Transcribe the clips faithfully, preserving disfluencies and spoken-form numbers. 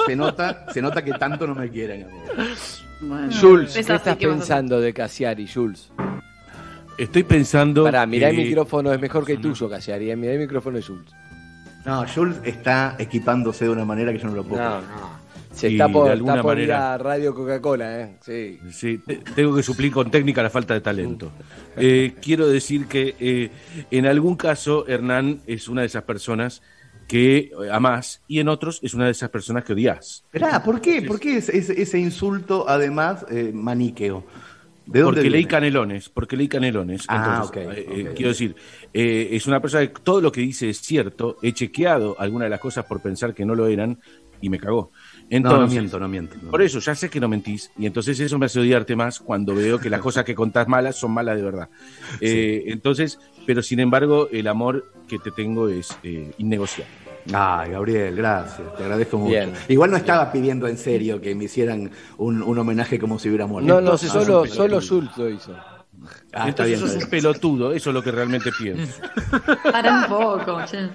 se nota, se nota que tanto no me quieren. Bueno, Jules, es ¿qué así, estás ¿qué vas a pensando de Cassiari, Jules? Estoy pensando... Pará, mirá que... el micrófono, es mejor que el tuyo, Cassiari. eh, Mirá el micrófono de Jules. No, Jules está equipándose de una manera que yo no lo puedo. No, no. Se Y está por, de alguna está por manera- ir a Radio Coca-Cola, ¿eh? Sí. Sí, te- tengo que suplir con técnica la falta de talento. Eh, quiero decir que eh, en algún caso Hernán es una de esas personas que amás y en otros es una de esas personas que odias. Esperá, ¿por qué? ¿Por qué ese, ese- ese insulto, además, eh, maniqueo? ¿De dónde Porque leí viene? canelones, porque leí canelones. Ah, Entonces, ok, eh, eh, ok. quiero decir, eh, es una persona que todo lo que dice es cierto. He chequeado algunas de las cosas por pensar que no lo eran y me cagó. Entonces, no, no miento, no miento. no por miento. eso, ya sé que no mentís, y entonces eso me hace odiarte más cuando veo que las cosas que contás malas son malas de verdad. Eh, entonces, pero sin embargo, el amor que te tengo es eh, innegociable. Ay, Gabriel, gracias, te agradezco mucho. Bien. Igual no estaba pidiendo en serio que me hicieran un, un homenaje como si hubiera muerto. No, no, Entonces, solo, es un solo pelotudo. Jules lo hizo. Ah, está bien, entonces sos está un bien. pelotudo, eso es lo que realmente pienso. Para un poco, che.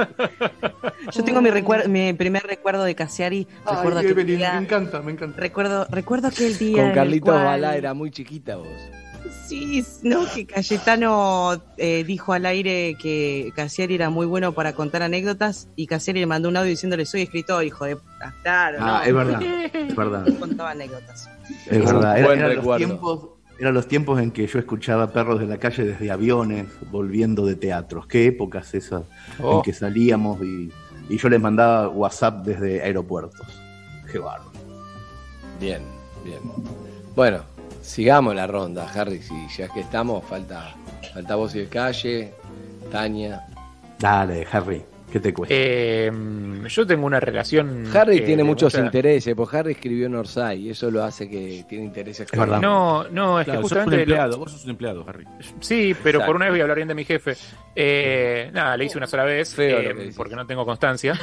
Yo tengo mi, recuer- mi primer recuerdo de Cassiari. Ay, Recuerdo aquel Evelyn, día- me encanta, me encanta. Recuerdo, recuerdo aquel día. en Con el Carlitos cual- Balá era muy chiquita vos. Sí, no, que Cayetano eh, dijo al aire que Cassiari era muy bueno para contar anécdotas y Cassiari le mandó un audio diciéndole: soy escritor, hijo de puta. Claro, Ah, no. es verdad, es verdad. Contaba anécdotas. Es Un verdad, era- buen eran los recuerdo. tiempos, eran los tiempos en que yo escuchaba perros de la calle desde aviones, volviendo de teatros. Qué épocas esas Oh. en que salíamos y, y yo les mandaba WhatsApp desde aeropuertos. Qué bárbaro. Bien, bien. Bueno, sigamos la ronda, Harry. Si ya que estamos, falta, falta vos y el Calle, Tania. Dale, Harry, ¿qué te cuesta? Eh, yo tengo una relación. Harry eh, tiene de muchos mucha- intereses, porque Harry escribió en Orsay y eso lo hace que tiene intereses. Es verdad. No, no, es Claro, que sos un justamente. lo- empleado, vos sos un empleado, Harry. Sí, pero Exacto. por una vez voy a hablar bien de mi jefe. Eh, nada, le hice una sola vez, Feo eh, lo que decís. porque no tengo constancia.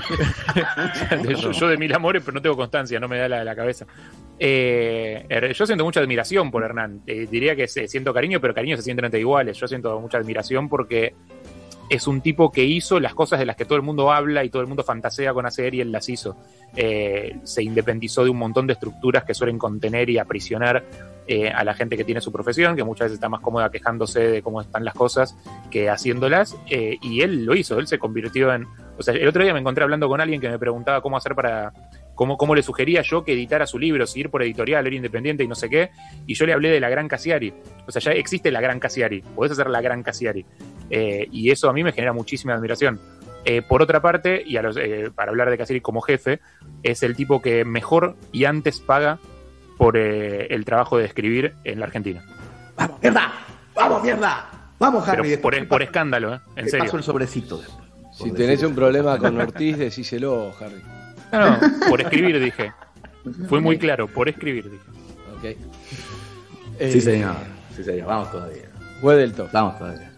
yo, yo de mil amores, pero no tengo constancia, no me da la, la cabeza. Eh, er- yo siento mucha admiración por Hernán. Eh, diría que se- siento cariño, pero cariño se sienten entre iguales. Yo siento mucha admiración porque es un tipo que hizo las cosas de las que todo el mundo habla y todo el mundo fantasea con hacer y él las hizo. Eh, se independizó de un montón de estructuras que suelen contener y aprisionar eh, a la gente que tiene su profesión, que muchas veces está más cómoda quejándose de cómo están las cosas que haciéndolas, eh, y él lo hizo, él se convirtió en... O sea, el otro día me encontré hablando con alguien que me preguntaba cómo hacer para... Cómo, cómo le sugería yo que editara su libro, seguir por editorial, era independiente y no sé qué, y yo le hablé de la Gran Cassiari. O sea, ya existe la Gran Cassiari, podés hacer la Gran Cassiari. Eh, y eso a mí me genera muchísima admiración. Eh, por otra parte, y a los, eh, para hablar de Cassiari como jefe, es el tipo que mejor y antes paga por eh, el trabajo de escribir en la Argentina. ¡Vamos, mierda! ¡Vamos, mierda! ¡Vamos, Harry! Pero después por, te por paso- escándalo, ¿eh? En te paso serio. el sobrecito después. Si Por tenés decir- un problema con Ortiz, decíselo, Harry. No, no, por escribir dije. Fue muy claro, por escribir dije. Ok. Sí, Eh, señor. Sí, señor. Vamos todavía. Wedelton. Vamos todavía.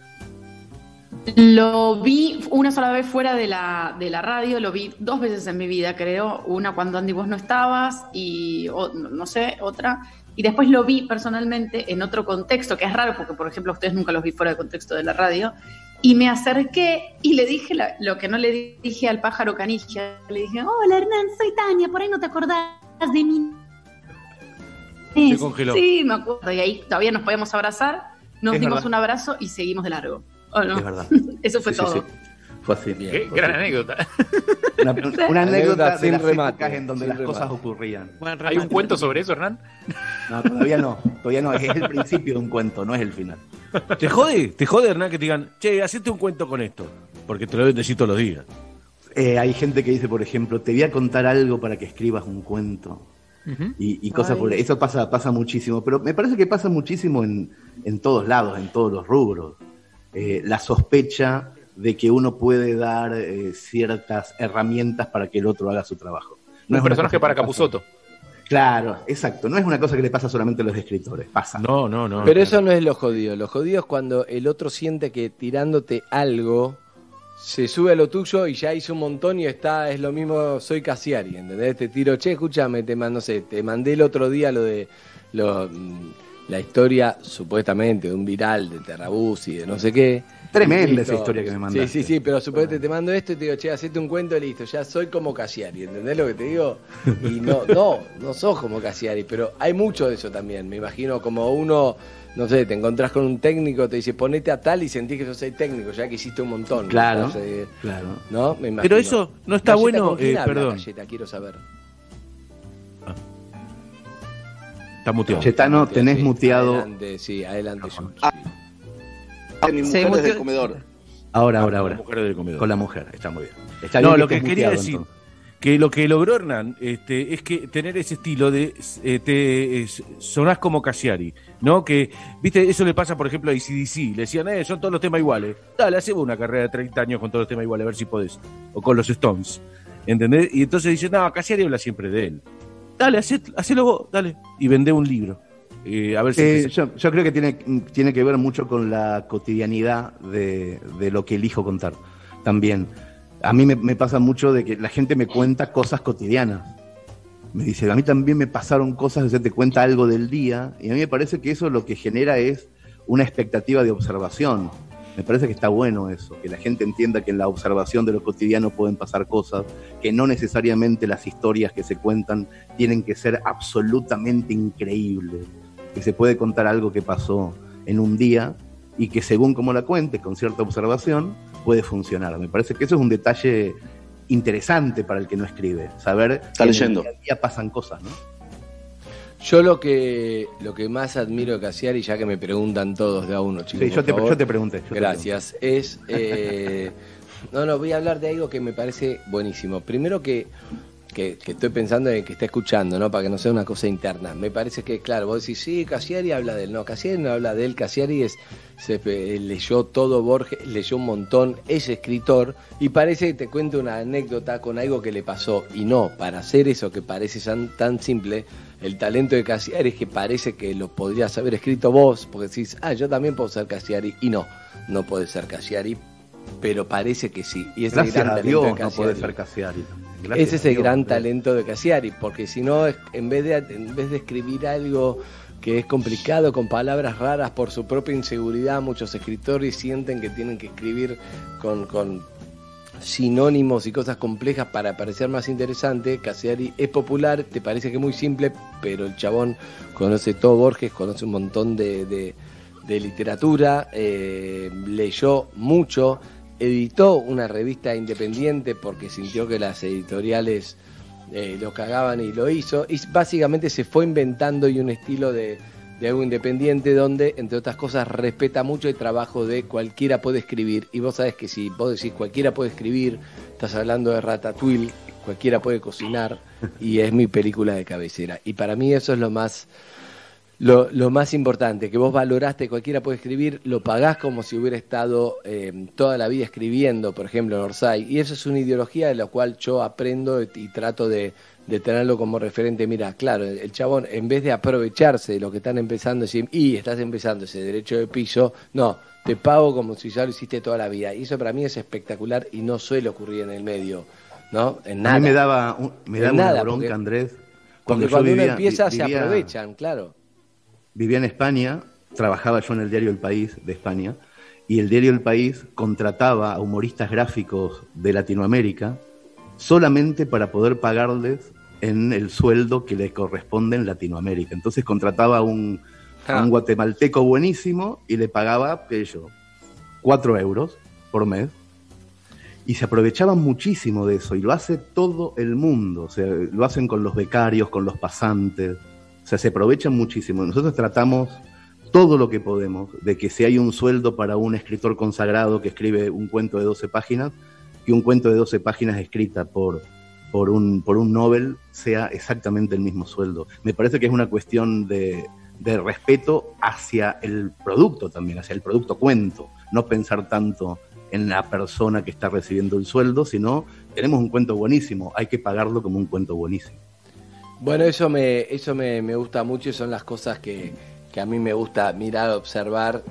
Lo vi una sola vez fuera de la, de la radio, lo vi dos veces en mi vida, creo. Una cuando Andy vos no estabas y o- no sé, otra. Y después lo vi personalmente en otro contexto, que es raro porque, por ejemplo, a ustedes nunca los vi fuera del contexto de la radio. Y me acerqué y le dije la- lo que no le dije al pájaro canilla. Le dije: hola Hernán, soy Tania, por ahí no te acordás de mí. Se congeló. Sí, me acuerdo. Y ahí todavía nos podíamos abrazar, nos Es dimos verdad. un abrazo y seguimos de largo. ¿O no? Es verdad. Eso fue Sí, sí, todo. sí. Fue así. Bien. Qué Fue gran así. anécdota. Una, una Anécdota anécdota de sin las remate, épocas en donde sin las cosas remate. ocurrían. ¿Hay un cuento sobre eso, Hernán? No, todavía no. Todavía no. Es el principio de un cuento, no es el final. ¿Te jode? ¿Te jode, Hernán, que te digan, che, hacete un cuento con esto? Porque te lo deben decir todos los días. Eh, hay gente que dice, por ejemplo, te voy a contar algo para que escribas un cuento. Ujú. Y, y cosas Ay. por eso pasa pasa muchísimo, pero me parece que pasa muchísimo en, en todos lados, en todos los rubros. Eh, la sospecha de que uno puede dar eh, ciertas herramientas para que el otro haga su trabajo. No Un es una personaje cosa para que pasa- Capusotto. Claro, exacto. No es una cosa que le pasa solamente a los escritores, pasa. No, no, no. Pero eso no es lo jodido. Lo jodido es cuando el otro siente que tirándote algo se sube a lo tuyo y ya hizo un montón y está, es lo mismo, soy Cassiari, ¿entendés? Te tiro, che, escúchame, te mando, no sé, te mandé el otro día lo de lo, mm, la historia supuestamente de un viral de Terrabús y de no sé qué, Tremenda esa historia que me mandaste. Sí, sí, sí, pero suponete te mando esto y te digo, che, hacete un cuento y listo, ya soy como Cassiari, ¿entendés lo que te digo? Y no, no, no sos como Cassiari, pero hay mucho de eso también, me imagino como uno, no sé, te encontrás con un técnico, te dice, ponete a tal y sentís que sos el técnico, ya que hiciste un montón. Claro, Entonces, claro. ¿no? Me imagino. Pero eso no está Galleta, bueno, ¿con quién eh, habla, perdón. Galleta? Quiero saber. Está muteado. Chetano, tenés Sí, muteado. Adelante, sí, adelante. George. Ah, mi Se mujer es del muteó- comedor. Ahora, ahora, La ahora. mujer del comedor. Con la mujer, está muy bien. Está No, bien lo que estés quería muteado, decir, entonces. que lo que logró Hernán este, es que tener ese estilo de eh, te es- sonás como Cassiari, ¿no? Que, viste, eso le pasa, por ejemplo, a A C D C. Le decían, eh, son todos los temas iguales. Dale, hacemos una carrera de treinta años con todos los temas iguales, a ver si podés. O con los Stones, ¿entendés? Y entonces dicen, no, Cassiari habla siempre de él. Dale, hacé- hacelo vos, dale. Y vendé un libro. Eh, a ver si... Eh, yo, yo creo que tiene, tiene que ver mucho con la cotidianidad de, de lo que elijo contar. También. A mí me, me pasa mucho de que la gente me cuenta cosas cotidianas. Me dice, a mí también me pasaron cosas, o sea, te cuenta algo del día, y a mí me parece que eso lo que genera es una expectativa de observación. Me parece que está bueno eso, que la gente entienda que en la observación de lo cotidiano pueden pasar cosas, que no necesariamente las historias que se cuentan tienen que ser absolutamente increíbles, que se puede contar algo que pasó en un día y que según como la cuentes, con cierta observación, puede funcionar. Me parece que eso es un detalle interesante para el que no escribe, saber Está que leyendo. en el día a día pasan cosas, ¿no? Yo lo que lo que más admiro de Cassiari, ya que me preguntan todos de a uno, chicos. Sí, por yo te, favor, yo te pregunté. yo te gracias. Es eh, no, no, voy a hablar de algo que me parece buenísimo. Primero que, que, que estoy pensando en que está escuchando, ¿no? Para que no sea una cosa interna. Me parece que, claro, vos decís, sí, Cassiari habla de él. No, Cassiari no habla de él. Cassiari es, se, eh, leyó todo Borges, leyó un montón, es escritor, y parece que te cuente una anécdota con algo que le pasó. Y no, para hacer eso que parece tan, tan simple, el talento de Cassiari es que parece que lo podrías haber escrito vos, porque decís, ah, yo también puedo ser Cassiari, y no, no podés ser Cassiari, pero parece que sí. Y ese Gracias gran a talento Dios de no puede Cassiari. ser Cassiari. Gracias Ese es a el Dios, gran Andrés. talento de Cassiari, porque si no, es- en vez de en vez de escribir algo que es complicado con palabras raras por su propia inseguridad, muchos escritores sienten que tienen que escribir con, con sinónimos y cosas complejas para parecer más interesante. Cassiari es popular, te parece que es muy simple, pero el chabón conoce todo Borges, conoce un montón de, de, de literatura, eh, leyó mucho, editó una revista independiente porque sintió que las editoriales eh, lo cagaban y lo hizo, y básicamente se fue inventando y un estilo de, de algo independiente donde, entre otras cosas, respeta mucho el trabajo de cualquiera puede escribir. Y vos sabés que si vos decís cualquiera puede escribir, estás hablando de Ratatouille, cualquiera puede cocinar, y es mi película de cabecera. Y para mí eso es lo más... Lo, lo más importante, que vos valoraste, cualquiera puede escribir, lo pagás como si hubiera estado eh, toda la vida escribiendo, por ejemplo, en Orsay. Y eso es una ideología de la cual yo aprendo y, y trato de, de tenerlo como referente. Mira, claro, el, el chabón, en vez de aprovecharse de lo que están empezando, decir, y estás empezando ese derecho de piso, no, te pago como si ya lo hiciste toda la vida. Y eso para mí es espectacular y no suele ocurrir en el medio, ¿no? En nada. A mí me daba, un- me En daba nada, una bronca, porque- Andrés. Porque yo cuando uno vivía- empieza vi- se vivía- aprovechan, claro. Vivía en España, trabajaba yo en el diario El País de España, y el diario El País contrataba a humoristas gráficos de Latinoamérica solamente para poder pagarles en el sueldo que le corresponde en Latinoamérica. Entonces contrataba a un, a un guatemalteco buenísimo y le pagaba, qué sé yo, cuatro euros por mes. Y se aprovechaban muchísimo de eso, y lo hace todo el mundo. O sea, lo hacen con los becarios, con los pasantes. O sea, se aprovechan muchísimo. Nosotros tratamos todo lo que podemos de que si hay un sueldo para un escritor consagrado que escribe un cuento de doce páginas, que un cuento de doce páginas escrita por, por, un, por un Nobel sea exactamente el mismo sueldo. Me parece que es una cuestión de, de respeto hacia el producto también, hacia el producto cuento. No pensar tanto en la persona que está recibiendo el sueldo, sino tenemos un cuento buenísimo, hay que pagarlo como un cuento buenísimo. Bueno, eso me eso me, me gusta mucho y son las cosas que, que a mí me gusta mirar, observar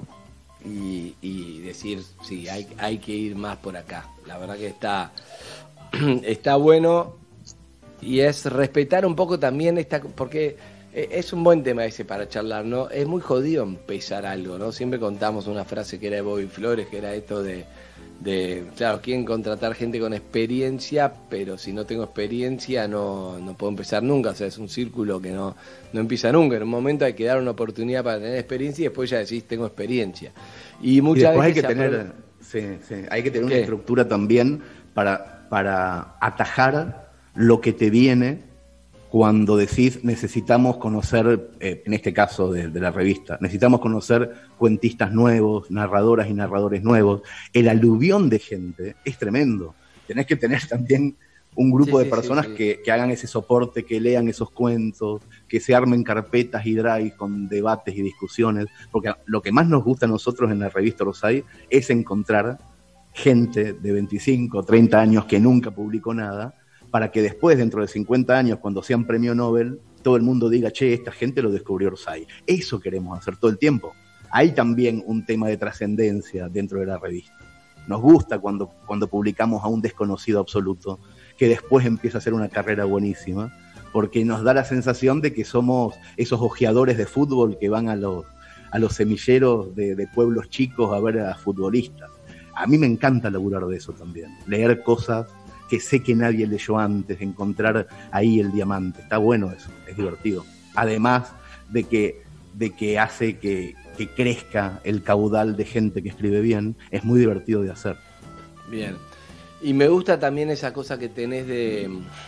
y, y decir, sí, hay, hay que ir más por acá. La verdad que está, está bueno y es respetar un poco también esta, porque Eh, Es un buen tema ese para charlar, ¿no? Es muy jodido empezar algo, ¿no? Siempre contamos una frase que era de Bobby Flores, que era esto de, de claro, quieren contratar gente con experiencia, pero si no tengo experiencia no, no puedo empezar nunca, o sea, es un círculo que no, no empieza nunca. En un momento hay que dar una oportunidad para tener experiencia y después ya decís, tengo experiencia. Y Y muchas después hay veces que se tener, aprove- sí, sí, hay que tener ¿Qué? una estructura también para, para atajar lo que te viene cuando decís necesitamos conocer, eh, en este caso de, de la revista, necesitamos conocer cuentistas nuevos, narradoras y narradores nuevos. El aluvión de gente es tremendo. Tenés que tener también un grupo Sí, de sí, personas sí, sí. Que, que hagan ese soporte, que lean esos cuentos, que se armen carpetas y drives con debates y discusiones, porque lo que más nos gusta a nosotros en la revista Rosay es encontrar gente de veinticinco, treinta años que nunca publicó nada, para que después, dentro de cincuenta años, cuando sean premio Nobel, todo el mundo diga, che, esta gente lo descubrió Rosay. Eso queremos hacer todo el tiempo. Hay también un tema de trascendencia dentro de la revista. Nos gusta cuando, cuando publicamos a un desconocido absoluto, que después empieza a hacer una carrera buenísima, porque nos da la sensación de que somos esos ojeadores de fútbol que van a los, a los semilleros de, de pueblos chicos a ver a futbolistas. A mí me encanta laburar de eso también, leer cosas que sé que nadie leyó antes, encontrar ahí el diamante. Está bueno eso, es divertido. Además de que, de que hace que, que crezca el caudal de gente que escribe bien, es muy divertido de hacer. Bien. Y me gusta también esa cosa que tenés de,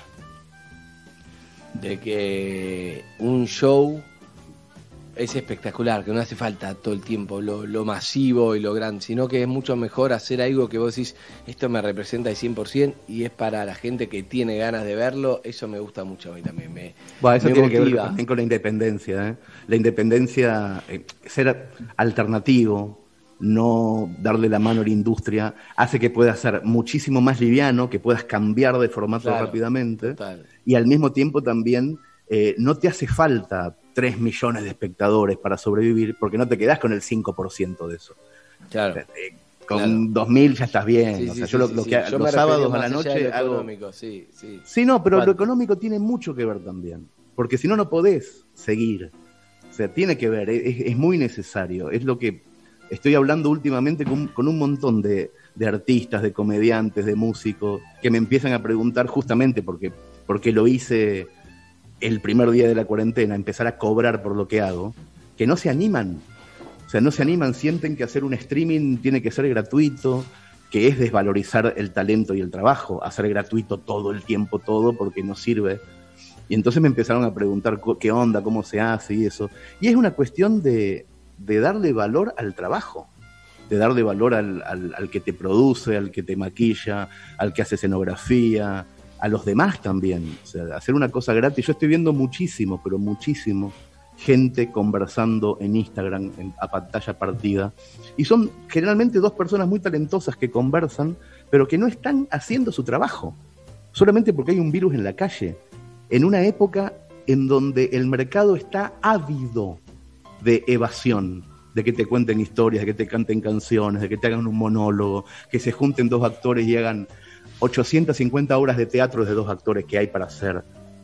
de que un show es espectacular, que no hace falta todo el tiempo lo, lo masivo y lo grande, sino que es mucho mejor hacer algo que vos decís, esto me representa al cien por ciento y es para la gente que tiene ganas de verlo. Eso me gusta mucho a mí también. Me, Bueno, eso me tiene que ver motiva. también con la independencia, ¿eh? La independencia, eh, ser alternativo, no darle la mano a la industria, hace que puedas ser muchísimo más liviano, que puedas cambiar de formato Claro, rápidamente, total. y al mismo tiempo también eh, no te hace falta tres millones de espectadores para sobrevivir, porque no te quedás con el cinco por ciento de eso. Claro. Eh, con Claro. dos mil ya estás bien. Sí, o sí, sea, sí, yo lo, sí, lo sí. que, Yo los me refería sábados a más la allá de noche lo hago... económico, sí, sí. Sí, no, pero ¿Cuánto? lo económico tiene mucho que ver también, porque si no, no podés seguir. O sea, tiene que ver, es, es muy necesario. Es lo que estoy hablando últimamente con, con un montón de, de artistas, de comediantes, de músicos, que me empiezan a preguntar justamente porque, porque lo hice el primer día de la cuarentena, empezar a cobrar por lo que hago, que no se animan. O sea, no se animan, sienten que hacer un streaming tiene que ser gratuito, que es desvalorizar el talento y el trabajo, hacer gratuito todo el tiempo, todo, porque no sirve. Y entonces me empezaron a preguntar qué onda, cómo se hace y eso. Y es una cuestión de, de darle valor al trabajo, de darle valor al, al, al que te produce, al que te maquilla, al que hace escenografía, a los demás también. O sea, hacer una cosa gratis. Yo estoy viendo muchísimo, pero muchísimo, gente conversando en Instagram en, a pantalla partida. Y son generalmente dos personas muy talentosas que conversan, pero que no están haciendo su trabajo, solamente porque hay un virus en la calle. En una época en donde el mercado está ávido de evasión, de que te cuenten historias, de que te canten canciones, de que te hagan un monólogo, que se junten dos actores y hagan ochocientas cincuenta horas de teatro de dos actores que hay para hacer.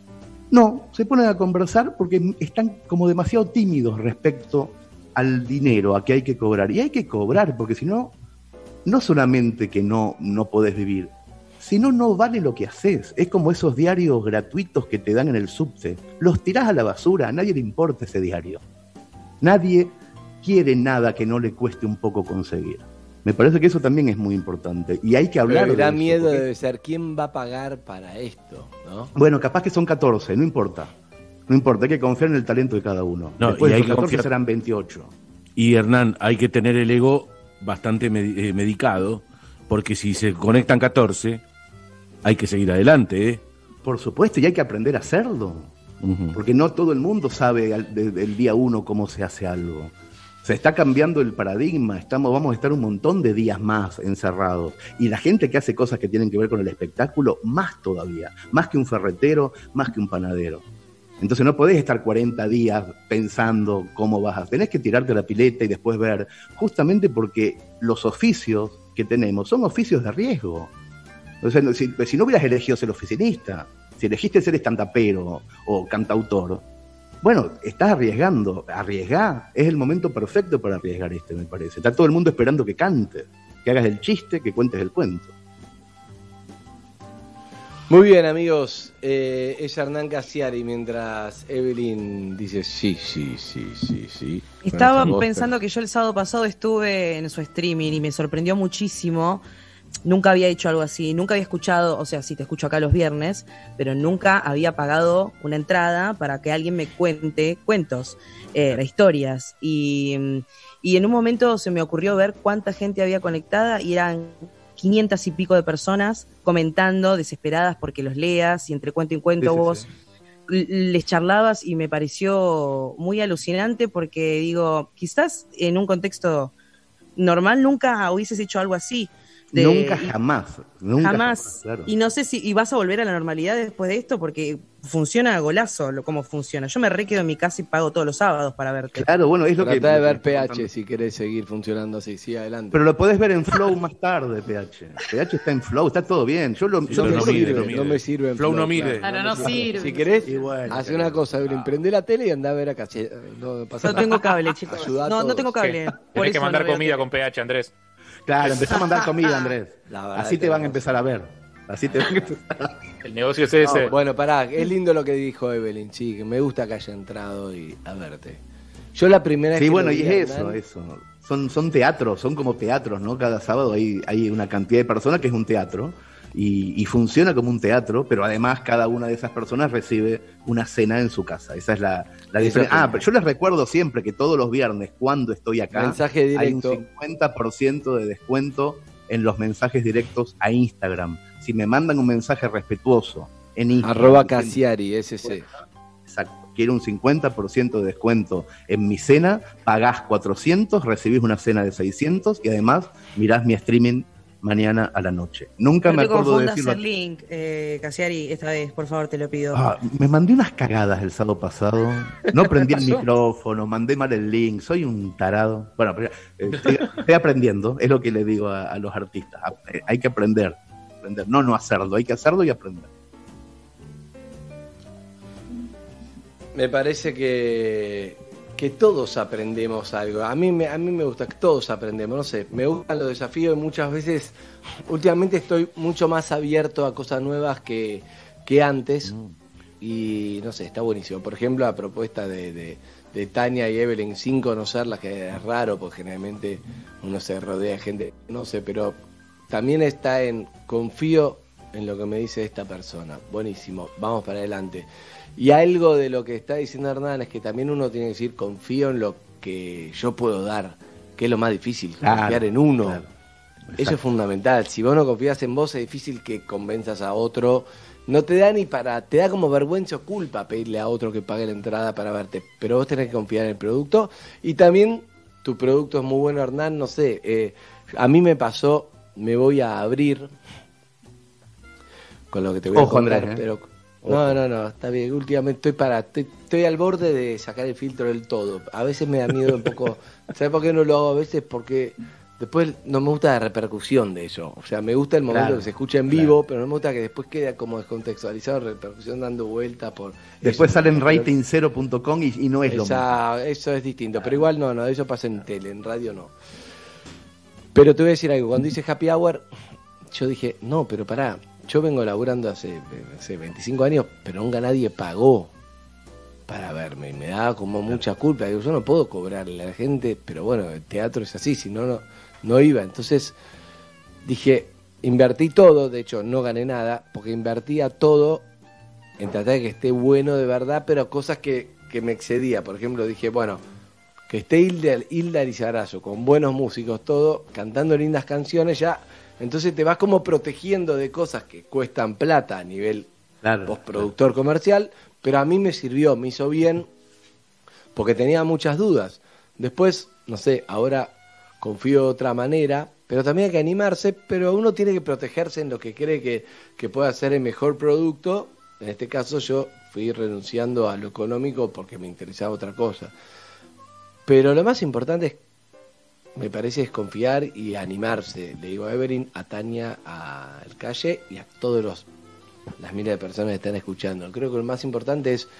No, se ponen a conversar porque están como demasiado tímidos respecto al dinero, a que hay que cobrar. Y hay que cobrar, porque si no, no solamente que no, no podés vivir, sino no vale lo que haces. Es como esos diarios gratuitos que te dan en el subte. Los tirás a la basura, a nadie le importa ese diario. Nadie quiere nada que no le cueste un poco conseguir. Me parece que eso también es muy importante. Y hay que hablar Pero de da eso, miedo porque... debe ser quién va a pagar para esto, ¿no? Bueno, capaz que son catorce, no importa. No importa, hay que confiar en el talento de cada uno. No, Después y de hay esos que catorce confiar- serán veintiocho. Y Hernán, hay que tener el ego bastante medi- eh, medicado, porque si se conectan catorce, hay que seguir adelante, ¿eh? Por supuesto, y hay que aprender a hacerlo. Ujú. Porque no todo el mundo sabe al- desde el día uno cómo se hace algo. Se está cambiando el paradigma, estamos, vamos a estar un montón de días más encerrados. Y la gente que hace cosas que tienen que ver con el espectáculo, más todavía. Más que un ferretero, más que un panadero. Entonces no podés estar cuarenta días pensando cómo vas a... Tenés que tirarte a la pileta y después ver, justamente porque los oficios que tenemos son oficios de riesgo. O sea, no- si, si no hubieras elegido ser oficinista, si elegiste ser estandapero o cantautor, Bueno, estás arriesgando, arriesgá, es el momento perfecto para arriesgar este, me parece. Está todo el mundo esperando que cantes, que hagas el chiste, que cuentes el cuento. Muy bien, amigos, eh, es Hernán Cassiari mientras Evelyn dice sí, sí, sí, sí, sí. Estaba Bueno, pensando que yo el sábado pasado estuve en su streaming y me sorprendió muchísimo. Nunca había hecho algo así, nunca había escuchado, o sea, sí te escucho acá los viernes, pero nunca había pagado una entrada para que alguien me cuente cuentos, eh, historias. Y, y en un momento se me ocurrió ver cuánta gente había conectada y eran quinientas y pico de personas comentando, desesperadas porque los leas y entre cuento y cuento Sí, sí, vos sí. l- les charlabas y me pareció muy alucinante porque digo, quizás en un contexto normal nunca hubieses hecho algo así. De- nunca y- jamás, nunca jamás. claro. Y no sé si y vas a volver a la normalidad después de esto porque funciona a golazo lo, cómo funciona. Yo me re quedo en mi casa y pago todos los sábados para verte. Claro, bueno, es lo que... Tratá de lo que ver estoy P H contando. si querés seguir funcionando así, sí, adelante. Pero lo podés ver en Flow más tarde, P H. P H está en Flow, está todo bien. Yo lo, Sí, yo no, pero me no lo- mide, sirve, no mide. no me sirve en Flow no mide. Claro, no sirve. Si querés, Y bueno, hace pero- una cosa, Evelyn, prende la tele y anda a ver a Cassiari. No, pasa No nada. tengo cable, chicos. Ayudá a No, no todos. tengo cable. Por Tenés que eso mandar no veo comida tele. con P H, Andrés. Claro, empezá a mandar comida, Andrés. La verdad Así que te van a no. empezar a ver. Así te van a empezar a ver. El negocio es ese. Bueno, pará, es lindo lo que dijo Evelyn, sí, que me gusta que haya entrado y a verte. Yo la primera vez Sí, que bueno, lo y vi a es eso, Hernán- eso. Son, son teatros, son como teatros, ¿no? Cada sábado hay, hay una cantidad de personas que es un teatro y, y funciona como un teatro, pero además cada una de esas personas recibe una cena en su casa. Esa es la, la Eso diferencia. es Ah, pero yo les recuerdo siempre que todos los viernes, cuando estoy acá, Mensaje hay un directo. cincuenta por ciento de descuento en los mensajes directos a Instagram. Si me mandan un mensaje respetuoso en Instagram, Arroba diciendo- Cassiari, ese sí. Exacto. Quiero un cincuenta por ciento de descuento en mi cena, pagás cuatrocientos, recibís una cena de seiscientos y además mirás mi streaming mañana a la noche. Nunca No me te acuerdo de confundas decirlo. el link, eh, Cassiari, esta vez, por favor, te lo pido. Ah, me mandé unas cagadas el sábado pasado. No prendí el micrófono, mandé mal el link, soy un tarado. Bueno, pero, eh, estoy, estoy aprendiendo, es lo que le digo a, a los artistas. Ah, eh, Hay que aprender, aprender, no no hacerlo, hay que hacerlo y aprender. Me parece que, que todos aprendemos algo. A mí, me, a mí me gusta que todos aprendemos, no sé, me gustan los desafíos y muchas veces, últimamente estoy mucho más abierto a cosas nuevas que, que antes y no sé, está buenísimo. Por ejemplo, la propuesta de, de, de Tania y Evelyn sin conocerlas, que es raro porque generalmente uno se rodea de gente, no sé, pero también está en confío en lo que me dice esta persona. Buenísimo, vamos para adelante. Y algo de lo que está diciendo Hernán es que también uno tiene que decir confío en lo que yo puedo dar, que es lo más difícil, Claro, confiar en uno. claro. Eso Exacto. es fundamental. Si vos no confías en vos es difícil que convenzas a otro. No te da ni para, te da como vergüenza o culpa pedirle a otro que pague la entrada para verte, pero vos tenés que confiar en el producto y también tu producto es muy bueno, Hernán, no sé, eh, a mí me pasó, me voy a abrir con lo que te voy Ojo, a contar, Andrés, ¿eh? pero no, no, no, está bien, últimamente estoy para, estoy, estoy al borde de sacar el filtro del todo, a veces me da miedo un poco, ¿sabes por qué no lo hago a veces? Porque después no me gusta la repercusión de eso, o sea, me gusta el momento Claro, que se escucha en claro. vivo, pero no me gusta que después quede como descontextualizado, repercusión dando vuelta por... Después eso. sale en Pero- rating cero punto com y, y no es lo mismo. Esa- eso es distinto, pero igual no, no, eso pasa en tele, en radio no. Pero te voy a decir algo, cuando hice Happy Hour, yo dije, no, pero pará, yo vengo laburando hace, hace veinticinco años, pero nunca nadie pagó para verme, y me daba como mucha culpa, digo, yo no puedo cobrarle a la gente, pero bueno, el teatro es así, si no, no, no iba, entonces dije, invertí todo, de hecho no gané nada, porque invertía todo en tratar de que esté bueno de verdad, pero cosas que, que me excedía. Por ejemplo, dije, bueno, que esté Hilda, Hilda Lizarazo con buenos músicos, todo, cantando lindas canciones, ya, entonces te vas como protegiendo de cosas que cuestan plata a nivel Claro, postproductor comercial, pero a mí me sirvió, me hizo bien, porque tenía muchas dudas. Después, no sé, ahora confío de otra manera, pero también hay que animarse, pero uno tiene que protegerse en lo que cree que, que pueda ser el mejor producto. En este caso yo fui renunciando a lo económico porque me interesaba otra cosa. Pero lo más importante es, me parece, es confiar y animarse. Le digo a Evelyn, a Tania, a El Calle y a todos los las miles de personas que están escuchando. Creo que lo más importante es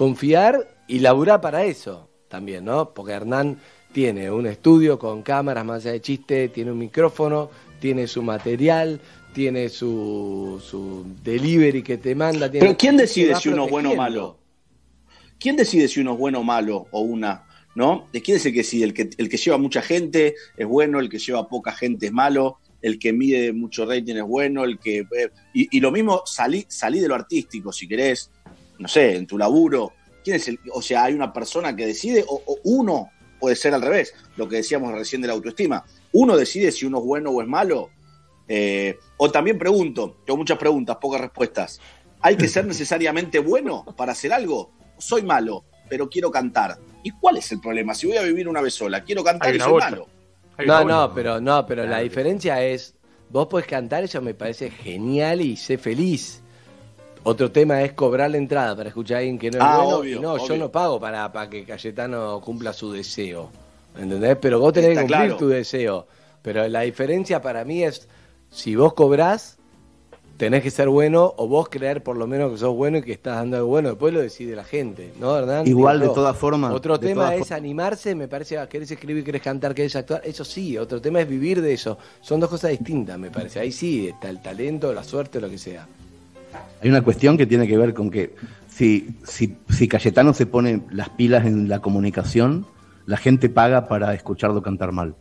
confiar y laburar para eso también, ¿no? Porque Hernán tiene un estudio con cámaras más allá de chiste, tiene un micrófono, tiene su material, tiene su, su delivery que te manda. Tiene, Pero ¿quién decide si uno es bueno o protegiendo. malo? ¿Quién decide si uno es bueno o malo o una? ¿No? ¿De quién es el que decide? ¿El que, el que lleva mucha gente es bueno, el que lleva poca gente es malo, el que mide mucho rating es bueno, el que... Eh, y, y lo mismo, salí, salí de lo artístico, si querés, no sé, en tu laburo. ¿Quién es el...? O sea, ¿hay una persona que decide o, o uno puede ser al revés? Lo que decíamos recién de la autoestima. ¿Uno decide si uno es bueno o es malo? Eh, o también pregunto, tengo muchas preguntas, pocas respuestas. ¿Hay que ser necesariamente bueno para hacer algo? Soy malo, pero quiero cantar. ¿Y cuál es el problema? Si voy a vivir una vez sola, quiero cantar Hay y una soy bolsa. malo. Hay No, una no, bolsa. pero no, pero la diferencia es, vos podés cantar, eso me parece genial y sé feliz. Otro tema es cobrar la entrada para escuchar a alguien que no es Ah, bueno. obvio, y no, yo obvio. no pago para, para que Cayetano cumpla su deseo. ¿Entendés? Pero vos tenés Está que cumplir claro. tu deseo. Pero la diferencia para mí es, si vos cobrás, tenés que ser bueno, o vos creer por lo menos que sos bueno y que estás dando algo bueno. Después lo decide la gente, ¿no, Hernán? Igual, Digo, de todas formas, Otro de tema todas es for- animarse, me parece, ah, querés escribir, querés cantar, querés actuar, eso sí. Otro tema es vivir de eso. Son dos cosas distintas, me parece. Ahí sí está el talento, la suerte, lo que sea. Hay una cuestión que tiene que ver con que si, si, si Cayetano se pone las pilas en la comunicación, la gente paga para escucharlo cantar mal.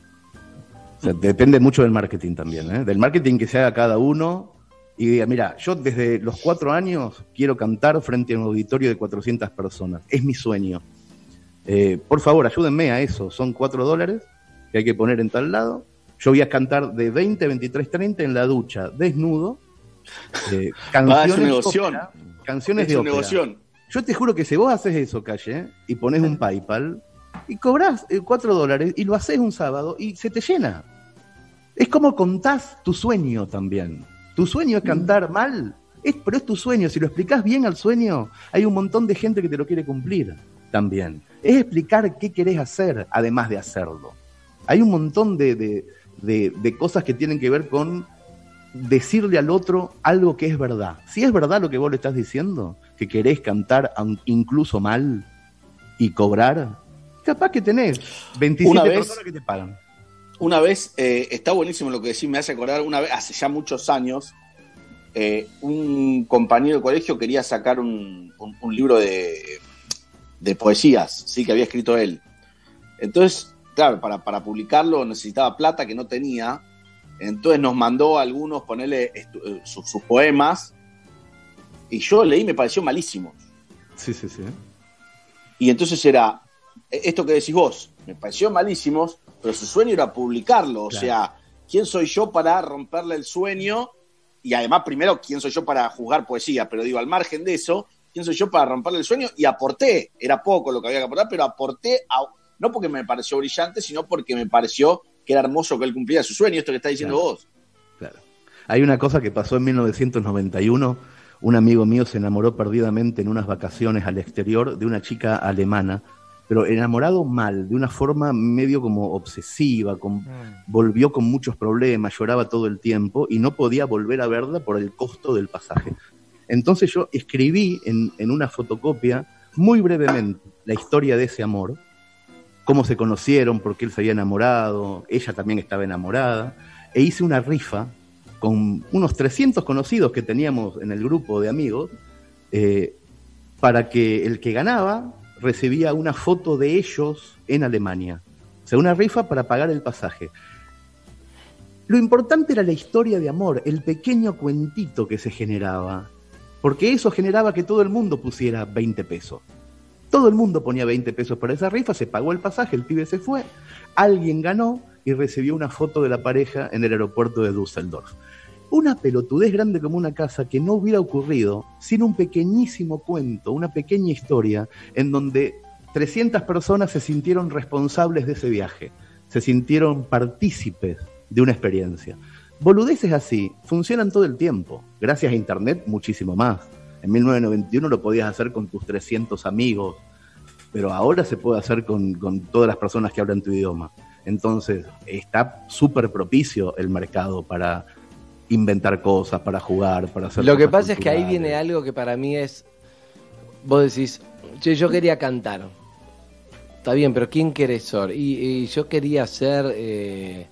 O sea, depende mucho del marketing también, ¿eh? Del marketing que se haga cada uno y diga, mira, yo desde los cuatro años quiero cantar frente a un auditorio de cuatrocientas personas. Es mi sueño. Eh, por favor, ayúdenme a eso. Son cuatro dólares que hay que poner en tal lado. Yo voy a cantar de veinte a veintitrés treinta en la ducha, desnudo. Eh, canciones Ah, es un negocio. ópera, canciones Es de un ópera. negocio. Yo te juro que si vos haces eso, Calle, y pones un PayPal y cobrás eh, cuatro dólares y lo haces un sábado y se te llena. Es como contás tu sueño también. Tu sueño es cantar mal, es, pero es tu sueño. Si lo explicás bien al sueño, hay un montón de gente que te lo quiere cumplir también. Es explicar qué querés hacer, además de hacerlo. Hay un montón de, de, de, de cosas que tienen que ver con decirle al otro algo que es verdad. Si es verdad lo que vos le estás diciendo, que querés cantar aun- incluso mal y cobrar, capaz que tenés veintisiete Una vez- personas que te pagan. Una vez, eh, está buenísimo lo que decís, me hace acordar, una vez, hace ya muchos años, eh, un compañero de colegio quería sacar un, un, un libro de, de poesías, sí, que había escrito él. Entonces, claro, para, para publicarlo necesitaba plata que no tenía, entonces nos mandó a algunos ponerle estu- eh, sus, sus poemas, y yo leí y me pareció malísimo. Sí, sí, sí. Y entonces era, eh, esto que decís vos, me pareció malísimos, pero su sueño era publicarlo. O Claro. sea, ¿quién soy yo para romperle el sueño? Y además, primero, ¿quién soy yo para juzgar poesía? Pero digo, al margen de eso, ¿quién soy yo para romperle el sueño? Y aporté, era poco lo que había que aportar, pero aporté, a, no porque me pareció brillante, sino porque me pareció que era hermoso que él cumpliera su sueño, esto que estás diciendo Claro. vos. Claro. Hay una cosa que pasó en mil novecientos noventa y uno. Un amigo mío se enamoró perdidamente en unas vacaciones al exterior de una chica alemana, pero enamorado mal, de una forma medio como obsesiva, con, volvió con muchos problemas, lloraba todo el tiempo y no podía volver a verla por el costo del pasaje. Entonces yo escribí en, en una fotocopia, muy brevemente, la historia de ese amor, cómo se conocieron, por qué él se había enamorado, ella también estaba enamorada, e hice una rifa con unos trescientos conocidos que teníamos en el grupo de amigos, eh, para que el que ganaba recibía una foto de ellos en Alemania. O sea, una rifa para pagar el pasaje. Lo importante era la historia de amor, el pequeño cuentito que se generaba, porque eso generaba que todo el mundo pusiera veinte pesos. Todo el mundo ponía veinte pesos para esa rifa, se pagó el pasaje, el pibe se fue, alguien ganó y recibió una foto de la pareja en el aeropuerto de Düsseldorf. Una pelotudez grande como una casa que no hubiera ocurrido sin un pequeñísimo cuento, una pequeña historia en donde trescientas personas se sintieron responsables de ese viaje, se sintieron partícipes de una experiencia. Boludeces así funcionan todo el tiempo. Gracias a Internet, muchísimo más. En mil novecientos noventa y uno lo podías hacer con tus trescientos amigos, pero ahora se puede hacer con, con todas las personas que hablan tu idioma. Entonces, está súper propicio el mercado para inventar cosas, para jugar, para hacer Lo que cosas pasa es que ahí culturales. viene algo que para mí es vos decís, che, yo quería cantar. Está bien, pero ¿quién querés ser? Y, y yo quería ser, eh,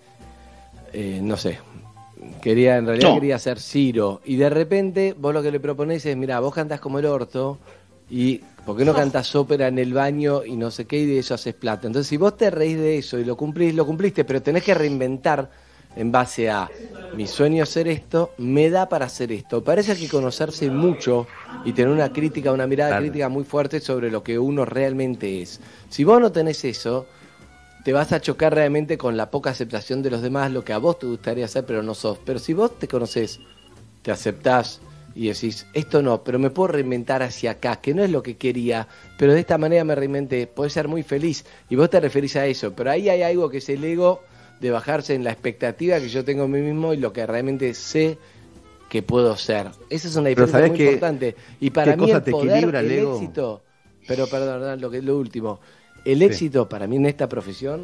eh, no sé, quería en realidad no. quería ser Ciro. Y de repente vos lo que le proponés es, mira, vos cantás como el orto y ¿por qué no cantás ópera en el baño y no sé qué y de eso haces plata? Entonces si vos te reís de eso y lo cumplís, lo cumpliste, pero tenés que reinventar en base a mi sueño hacer esto, me da para hacer esto. Parece que conocerse mucho y tener una crítica, una mirada claro. crítica muy fuerte sobre lo que uno realmente es. Si vos no tenés eso, te vas a chocar realmente con la poca aceptación de los demás, lo que a vos te gustaría hacer, pero no sos. Pero si vos te conocés, te aceptás y decís, esto no, pero me puedo reinventar hacia acá, que no es lo que quería, pero de esta manera me reinventé, podés ser muy feliz. Y vos te referís a eso, pero ahí hay algo que es el ego de bajarse en la expectativa que yo tengo en mí mismo y lo que realmente sé que puedo ser. Esa es una diferencia muy que, importante. Y para mí el poder, el éxito, pero perdón, lo que es lo último, el éxito sí. para mí en esta profesión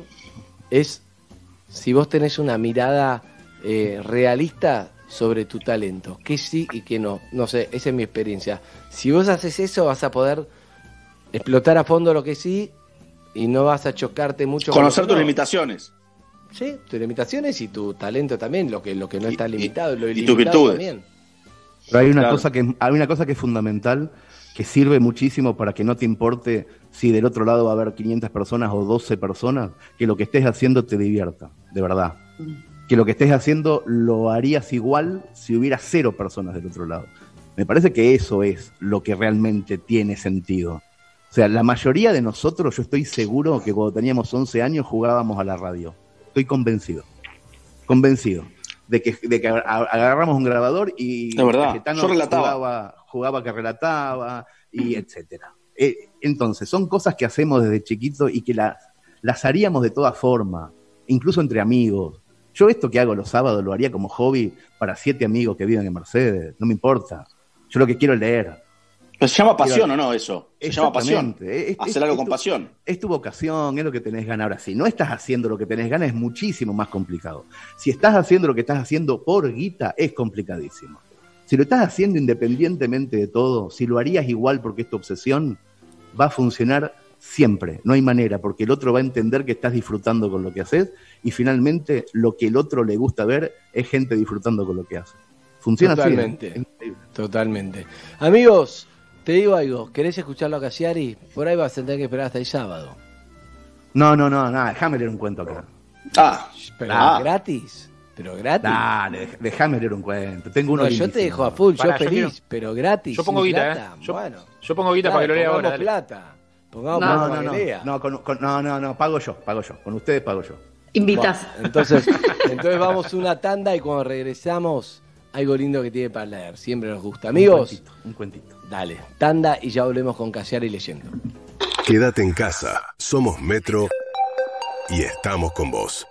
es si vos tenés una mirada eh, realista sobre tu talento, que sí y que no. No sé, esa es mi experiencia. Si vos haces eso vas a poder explotar a fondo lo que sí y no vas a chocarte mucho. Conocer tus no. limitaciones. Sí, tus limitaciones y tu talento también, lo que lo que no está limitado, y, lo y tus virtudes también. Pero hay una claro. cosa que hay una cosa que es fundamental, que sirve muchísimo para que no te importe si del otro lado va a haber quinientas personas o doce personas, que lo que estés haciendo te divierta, de verdad. Que lo que estés haciendo lo harías igual si hubiera cero personas del otro lado. Me parece que eso es lo que realmente tiene sentido. O sea, la mayoría de nosotros, yo estoy seguro que cuando teníamos once años jugábamos a la radio. Estoy convencido, convencido de que, de que agarramos un grabador y la verdad, yo relataba. Jugaba, jugaba que relataba y etcétera. Eh, entonces, son cosas que hacemos desde chiquitos y que las, las haríamos de todas formas, incluso entre amigos. Yo esto que hago los sábados lo haría como hobby para siete amigos que viven en Mercedes, no me importa. Yo lo que quiero es leer. Pero se llama pasión, ¿o no, eso? Se llama pasión. Es, Hacer algo con pasión. Es tu vocación, es lo que tenés ganas. Ahora, si no estás haciendo lo que tenés ganas, es muchísimo más complicado. Si estás haciendo lo que estás haciendo por guita, es complicadísimo. Si lo estás haciendo independientemente de todo, si lo harías igual porque es tu obsesión, va a funcionar siempre. No hay manera, porque el otro va a entender que estás disfrutando con lo que haces y finalmente lo que el otro le gusta ver es gente disfrutando con lo que hace. Funciona totalmente, así. ¿eh? Totalmente. Amigos, te digo algo, ¿querés escucharlo a Cassiari? Por ahí vas a tener que esperar hasta el sábado. No, no, no, nada, déjame leer un cuento acá. Ah, pero ah. gratis, pero gratis. Dale, déjame leer un cuento. Tengo uno no, yo te dejo a full, Pará, yo feliz, yo quiero... pero gratis. Yo pongo guita, plata. ¿eh? Yo, bueno, yo pongo guita para que lo lea ahora. Pongamos plata. Pongamos No, plata no, para no, que lea. no, con, con, no, no, no, pago yo, pago yo. Con ustedes pago yo. Invitas. Bueno, entonces, entonces vamos una tanda y cuando regresamos, algo lindo que tiene para leer. Siempre nos gusta. Amigos, Un cuentito, un cuentito. Dale, tanda y ya volvemos con Cassiari leyendo. Quédate en casa. Somos Metro y estamos con vos.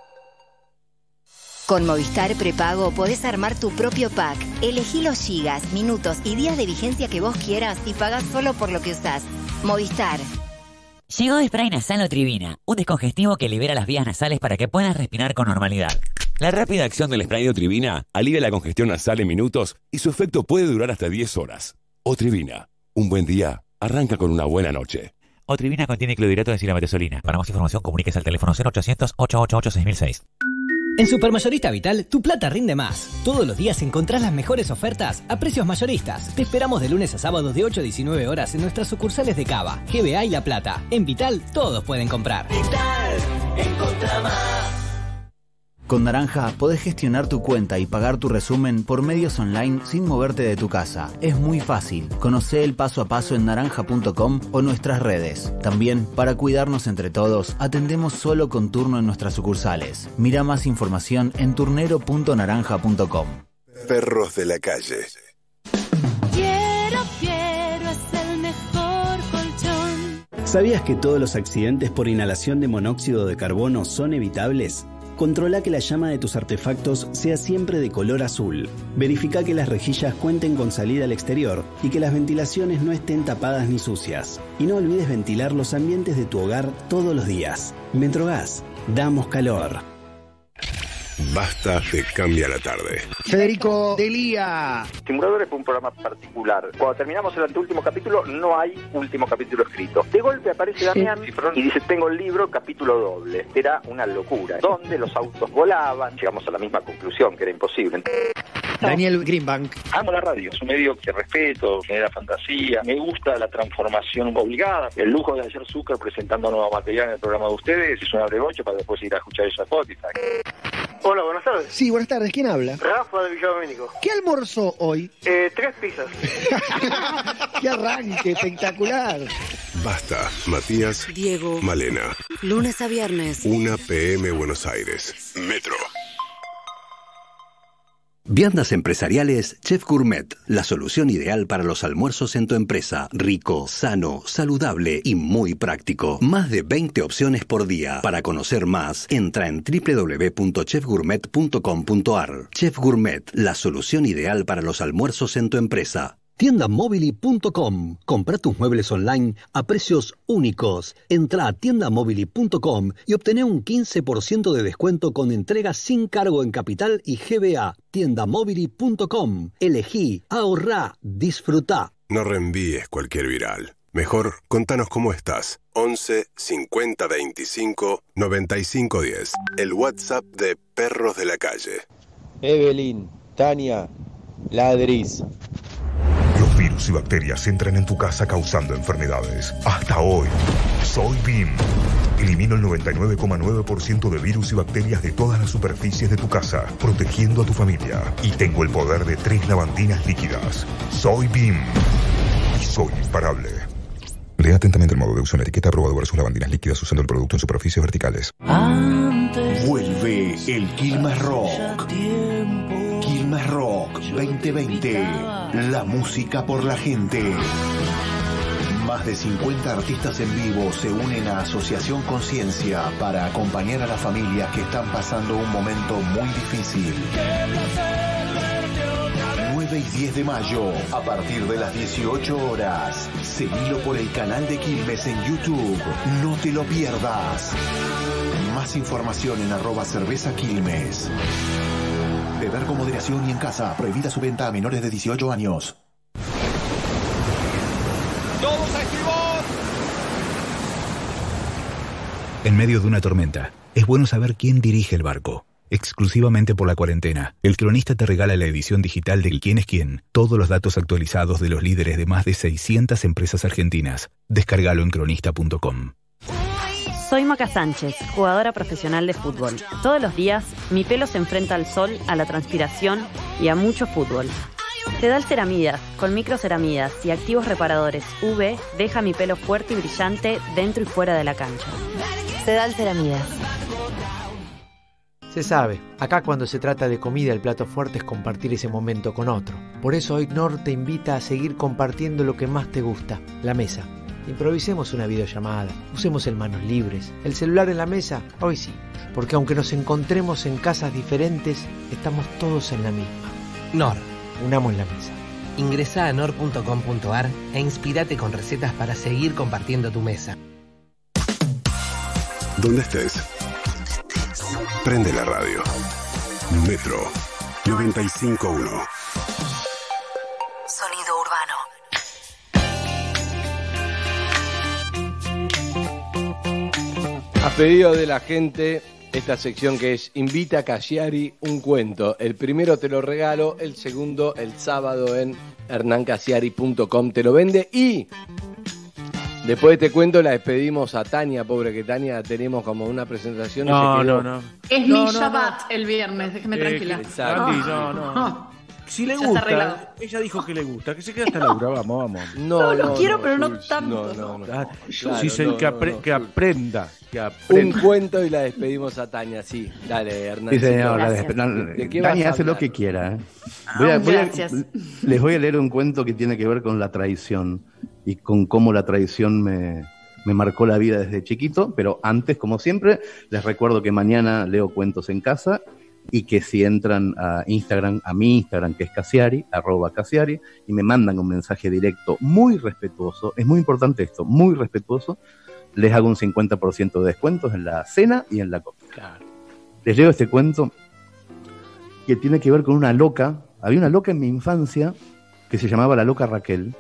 Con Movistar Prepago podés armar tu propio pack. Elegí los gigas, minutos y días de vigencia que vos quieras y pagás solo por lo que usás. Movistar. Llegó Spray Nasal Otrivina, un descongestivo que libera las vías nasales para que puedas respirar con normalidad. La rápida acción del spray de Otrivina alivia la congestión nasal en minutos y su efecto puede durar hasta diez horas. Otrivina, un buen día arranca con una buena noche. Otrivina contiene clorhidrato de silamatesolina. Para más información comuníquese al teléfono cero ochocientos, ochocientos ochenta y ocho, seis mil seis. En Supermayorista Vital, tu plata rinde más. Todos los días encontrás las mejores ofertas a precios mayoristas. Te esperamos de lunes a sábado de ocho a diecinueve horas en nuestras sucursales de Cava, G B A y La Plata. En Vital, todos pueden comprar. Vital, encontrá más. Con Naranja podés gestionar tu cuenta y pagar tu resumen por medios online sin moverte de tu casa. Es muy fácil. Conocé el paso a paso en naranja punto com o nuestras redes. También, para cuidarnos entre todos, atendemos solo con turno en nuestras sucursales. Mira más información en turnero punto naranja punto com. Perros de la calle. Quiero, quiero, es el mejor colchón. ¿Sabías que todos los accidentes por inhalación de monóxido de carbono son evitables? Controla que la llama de tus artefactos sea siempre de color azul. Verifica que las rejillas cuenten con salida al exterior y que las ventilaciones no estén tapadas ni sucias. Y no olvides ventilar los ambientes de tu hogar todos los días. Metrogas, damos calor. Basta te cambia la tarde. Federico Delía. Simuladores fue un programa particular. Cuando terminamos el anteúltimo capítulo, no hay último capítulo escrito. De golpe aparece Damián y dice, tengo el libro, capítulo doble. Era una locura. Donde los autos volaban. Llegamos a la misma conclusión, que era imposible. Daniel Greenbank. Amo la radio, es un medio que respeto, genera fantasía. Me gusta la transformación obligada. El lujo de hacer Zucker presentando nuevo material en el programa de ustedes es un abregocho para después ir a escuchar eso a Spotify. Hola, buenas tardes. Sí, buenas tardes. ¿Quién habla? Rafa de Villadomínico. ¿Qué almorzó hoy? Eh, tres pizzas. ¡Qué arranque espectacular! Basta, Matías, Diego, Malena. Lunes a viernes. una pe eme Buenos Aires. Metro. Viandas empresariales Chef Gourmet, la solución ideal para los almuerzos en tu empresa. Rico, sano, saludable y muy práctico. Más de veinte opciones por día. Para conocer más, entra en doble u doble u doble u punto chef gourmet punto com punto a r. Chef Gourmet, la solución ideal para los almuerzos en tu empresa. tienda mobili punto com. Compra tus muebles online a precios únicos. Entra a tienda mobili punto com y obtené un quince por ciento de descuento con entrega sin cargo en Capital y G B A. tienda mobili punto com. Elegí, ahorrá, disfrutá. No reenvíes cualquier viral. Mejor, contanos cómo estás. once cincuenta veinticinco noventa y cinco diez. El WhatsApp de Perros de la Calle. Evelyn, Tania, Ladris. Los virus y bacterias entran en tu casa causando enfermedades. Hasta hoy, soy B I M. Elimino el noventa y nueve coma nueve por ciento de virus y bacterias de todas las superficies de tu casa, protegiendo a tu familia. Y tengo el poder de tres lavandinas líquidas. Soy B I M. Y soy imparable. Lea atentamente el modo de uso en la etiqueta aprobado versus lavandinas líquidas usando el producto en superficies verticales. Vuelve el Quilmes Rock. Quilmes Rock veinte veinte. La música por la gente. Más de cincuenta artistas en vivo se unen a Asociación Conciencia para acompañar a las familias que están pasando un momento muy difícil. nueve y diez de mayo, a partir de las dieciocho horas. Seguilo por el canal de Quilmes en YouTube. No te lo pierdas. Más información en arroba cerveza Quilmes. Beber con moderación y en casa. Prohibida su venta a menores de dieciocho años. ¡Todos a estribor! En medio de una tormenta, es bueno saber quién dirige el barco. Exclusivamente por la cuarentena, El Cronista te regala la edición digital del Quién es Quién. Todos los datos actualizados de los líderes de más de seiscientas empresas argentinas. Descárgalo en cronista punto com. Soy Maca Sánchez, jugadora profesional de fútbol. Todos los días, mi pelo se enfrenta al sol, a la transpiración y a mucho fútbol. Sedal Ceramidas, con microceramidas y activos reparadores U V, deja mi pelo fuerte y brillante dentro y fuera de la cancha. Sedal Ceramidas. Se sabe, acá cuando se trata de comida el plato fuerte es compartir ese momento con otro. Por eso hoy Knorr te invita a seguir compartiendo lo que más te gusta, la mesa. Improvisemos una videollamada, usemos el manos libres, el celular en la mesa, hoy sí, porque aunque nos encontremos en casas diferentes, estamos todos en la misma. Knorr. Unamos la mesa. Ingresá a knorr punto com punto a r e inspirate con recetas para seguir compartiendo tu mesa. ¿Dónde estés? Prende la radio. Metro noventa y cinco punto uno. Sonido urbano. A pedido de la gente, esta sección que es Invita a Cassiari un cuento. El primero te lo regalo, el segundo el sábado en hernán cassiari punto com te lo vende y después de este cuento la despedimos a Tania, pobre que Tania tenemos como una presentación. No, y se quedó. no, no. Es No, mi no, Shabbat el viernes, déjeme Eh, tranquila. Exacto. Andy, no, no. Si le Ya está arreglado. gusta, ella dijo que le gusta, que se quede hasta Laura, vamos, vamos. No, lo quiero, pero no tanto. No, no, no. Ah, Claro, sí, se- no, que, no, apre- no, que sí. aprenda, que Un aprenda. cuento y la despedimos a Tania, sí. Dale, Hernán. Sí, señor. la Gracias. despe- ¿De qué vas Dani a hace lo hablar? que quiera. ¿eh? Voy a- voy a- Gracias. les voy a leer un cuento que tiene que ver con la traición y con cómo la traición me, me marcó la vida desde chiquito. Pero antes, como siempre, les recuerdo que mañana leo cuentos en casa y que si entran a Instagram, a mi Instagram, que es Cassiari, arroba Cassiari, y me mandan un mensaje directo muy respetuoso, es muy importante esto, muy respetuoso, les hago un cincuenta por ciento de descuentos en la cena y en la comida. Les leo este cuento que tiene que ver con una loca. Había una loca en mi infancia que se llamaba la loca Raquel.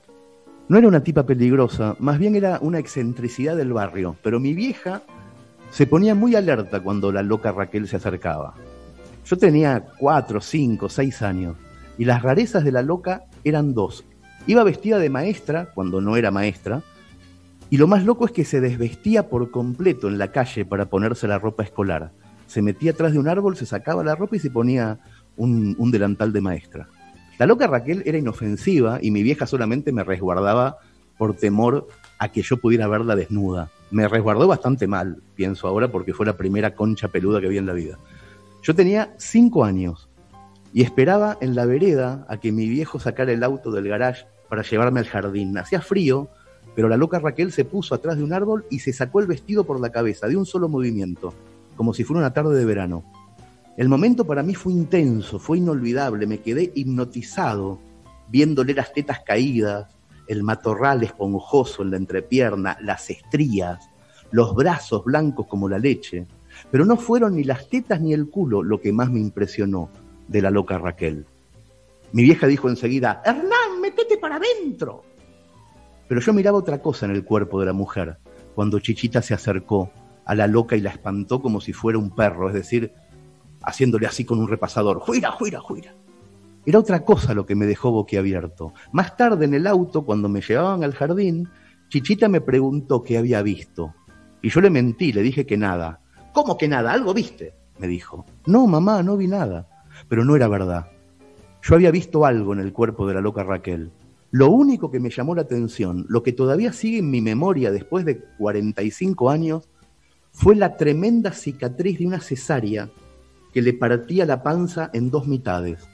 No era una tipa peligrosa, más bien era una excentricidad del barrio, pero mi vieja se ponía muy alerta cuando la loca Raquel se acercaba. Yo tenía cuatro, cinco, seis años, y las rarezas de la loca eran dos. Iba vestida de maestra, cuando no era maestra, y lo más loco es que se desvestía por completo en la calle para ponerse la ropa escolar. Se metía atrás de un árbol, se sacaba la ropa y se ponía un, un delantal de maestra. La loca Raquel era inofensiva y mi vieja solamente me resguardaba por temor a que yo pudiera verla desnuda. Me resguardó bastante mal, pienso ahora, porque fue la primera concha peluda que vi en la vida. Yo tenía cinco años y esperaba en la vereda a que mi viejo sacara el auto del garage para llevarme al jardín. Hacía frío, pero la loca Raquel se puso atrás de un árbol y se sacó el vestido por la cabeza, de un solo movimiento, como si fuera una tarde de verano. El momento para mí fue intenso, fue inolvidable, me quedé hipnotizado, viéndole las tetas caídas, el matorral esponjoso en la entrepierna, las estrías, los brazos blancos como la leche. Pero no fueron ni las tetas ni el culo lo que más me impresionó de la loca Raquel. Mi vieja dijo enseguida, Hernán, métete para adentro. Pero yo miraba otra cosa en el cuerpo de la mujer, cuando Chichita se acercó a la loca y la espantó como si fuera un perro, es decir, haciéndole así con un repasador, ¡juira, juira, juira! Era otra cosa lo que me dejó boquiabierto. Más tarde en el auto, cuando me llevaban al jardín, Chichita me preguntó qué había visto. Y yo le mentí, le dije que nada. ¿Cómo que nada? ¿Algo viste? Me dijo. No, mamá, no vi nada. Pero no era verdad. Yo había visto algo en el cuerpo de la loca Raquel. Lo único que me llamó la atención, lo que todavía sigue en mi memoria después de cuarenta y cinco años, fue la tremenda cicatriz de una cesárea que le partía la panza en dos mitades.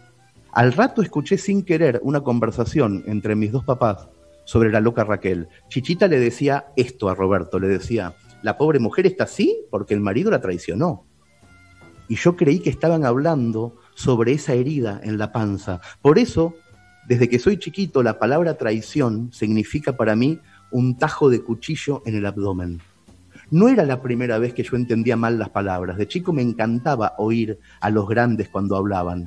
Al rato escuché sin querer una conversación entre mis dos papás sobre la loca Raquel. Chichita le decía esto a Roberto, le decía, la pobre mujer está así porque el marido la traicionó. Y yo creí que estaban hablando sobre esa herida en la panza. Por eso, desde que soy chiquito, la palabra traición significa para mí un tajo de cuchillo en el abdomen. No era la primera vez que yo entendía mal las palabras. De chico me encantaba oír a los grandes cuando hablaban.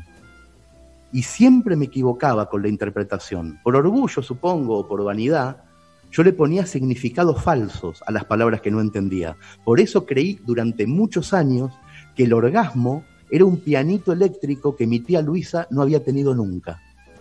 Y siempre me equivocaba con la interpretación. Por orgullo, supongo, o por vanidad, yo le ponía significados falsos a las palabras que no entendía. Por eso creí durante muchos años que el orgasmo era un pianito eléctrico que mi tía Luisa no había tenido nunca.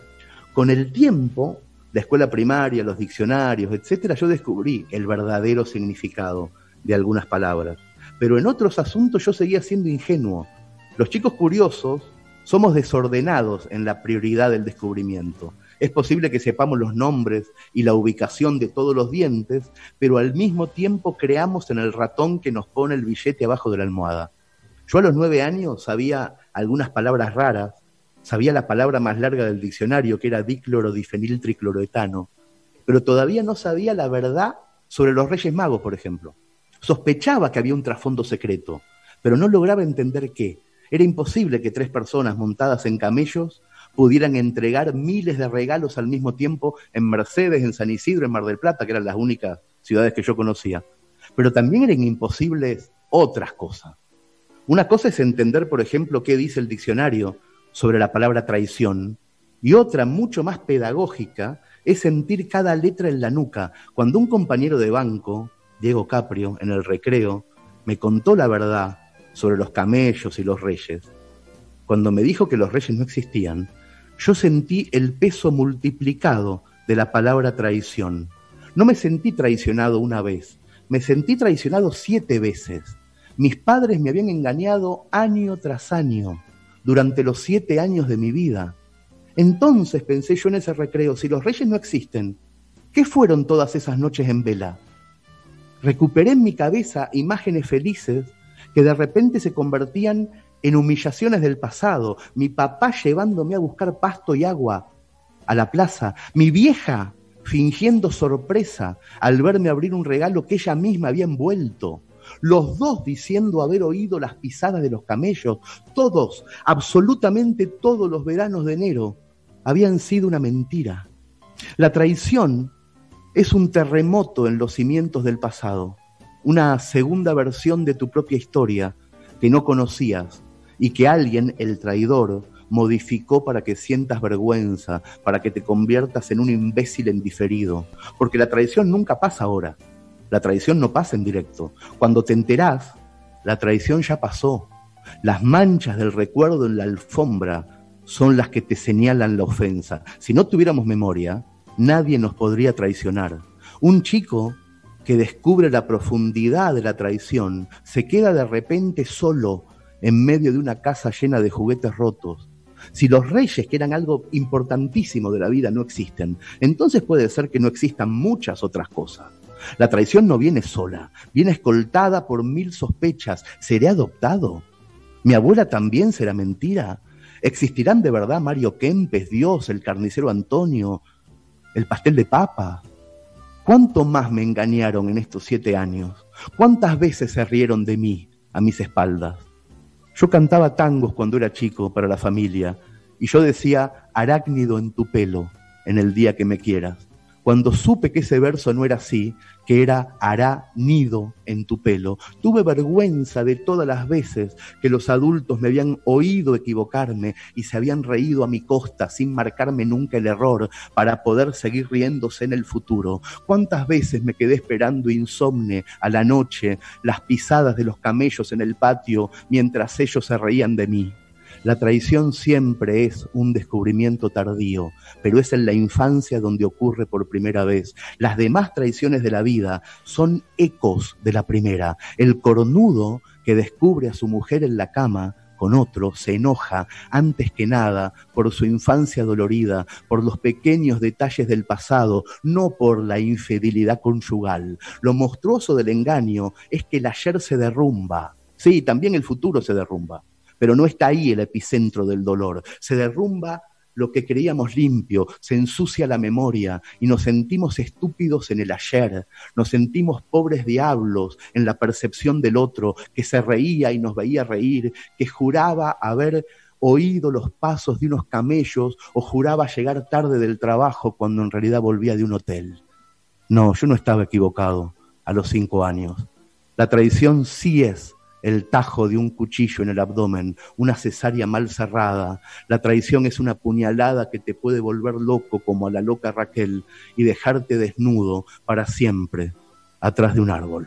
Con el tiempo, la escuela primaria, los diccionarios, etcétera, yo descubrí el verdadero significado de algunas palabras. Pero en otros asuntos yo seguía siendo ingenuo. Los chicos curiosos somos desordenados en la prioridad del descubrimiento. Es posible que sepamos los nombres y la ubicación de todos los dientes, pero al mismo tiempo creamos en el ratón que nos pone el billete abajo de la almohada. Yo a los nueve años sabía algunas palabras raras, sabía la palabra más larga del diccionario, que era diclorodifeniltricloroetano, pero todavía no sabía la verdad sobre los Reyes Magos, por ejemplo. Sospechaba que había un trasfondo secreto, pero no lograba entender qué. Era imposible que tres personas montadas en camellos pudieran entregar miles de regalos al mismo tiempo en Mercedes, en San Isidro, en Mar del Plata, que eran las únicas ciudades que yo conocía. Pero también eran imposibles otras cosas. Una cosa es entender, por ejemplo, qué dice el diccionario sobre la palabra traición, y otra, mucho más pedagógica, es sentir cada letra en la nuca. Cuando un compañero de banco, Diego Caprio, en el recreo, me contó la verdad sobre los camellos y los reyes, cuando me dijo que los reyes no existían, yo sentí el peso multiplicado de la palabra traición. No me sentí traicionado una vez, me sentí traicionado siete veces. Mis padres me habían engañado año tras año, durante los siete años de mi vida. Entonces pensé yo en ese recreo, si los reyes no existen, ¿qué fueron todas esas noches en vela? Recuperé en mi cabeza imágenes felices que de repente se convertían en humillaciones del pasado. Mi papá llevándome a buscar pasto y agua a la plaza. Mi vieja fingiendo sorpresa al verme abrir un regalo que ella misma había envuelto. Los dos diciendo haber oído las pisadas de los camellos. Todos, absolutamente todos los veranos de enero habían sido una mentira. La traición es un terremoto en los cimientos del pasado, una segunda versión de tu propia historia que no conocías, y que alguien, el traidor, modificó para que sientas vergüenza, para que te conviertas en un imbécil en diferido. Porque la traición nunca pasa ahora. La traición no pasa en directo. Cuando te enterás, la traición ya pasó. Las manchas del recuerdo en la alfombra son las que te señalan la ofensa. Si no tuviéramos memoria, nadie nos podría traicionar. Un chico que descubre la profundidad de la traición se queda de repente solo en medio de una casa llena de juguetes rotos. Si los reyes, que eran algo importantísimo de la vida, no existen, entonces puede ser que no existan muchas otras cosas. La traición no viene sola, viene escoltada por mil sospechas. ¿Seré adoptado? ¿Mi abuela también será mentira? ¿Existirán de verdad Mario Kempes, Dios, el carnicero Antonio, el pastel de papa? ¿Cuánto más me engañaron en estos siete años? ¿Cuántas veces se rieron de mí a mis espaldas? Yo cantaba tangos cuando era chico para la familia y yo decía arácnido en tu pelo en el día que me quieras. Cuando supe que ese verso no era así, que era hará nido en tu pelo, tuve vergüenza de todas las veces que los adultos me habían oído equivocarme y se habían reído a mi costa sin marcarme nunca el error para poder seguir riéndose en el futuro. ¿Cuántas veces me quedé esperando insomne a la noche las pisadas de los camellos en el patio mientras ellos se reían de mí? La traición siempre es un descubrimiento tardío, pero es en la infancia donde ocurre por primera vez. Las demás traiciones de la vida son ecos de la primera. El cornudo que descubre a su mujer en la cama con otro se enoja antes que nada por su infancia dolorida, por los pequeños detalles del pasado, no por la infidelidad conyugal. Lo monstruoso del engaño es que el ayer se derrumba. Sí, también el futuro se derrumba. Pero no está ahí el epicentro del dolor. Se derrumba lo que creíamos limpio, se ensucia la memoria y nos sentimos estúpidos en el ayer. Nos sentimos pobres diablos en la percepción del otro, que se reía y nos veía reír, que juraba haber oído los pasos de unos camellos o juraba llegar tarde del trabajo cuando en realidad volvía de un hotel. No, yo no estaba equivocado a los cinco años. La traición sí es el tajo de un cuchillo en el abdomen, una cesárea mal cerrada. La traición es una puñalada que te puede volver loco como a la loca Raquel y dejarte desnudo para siempre atrás de un árbol.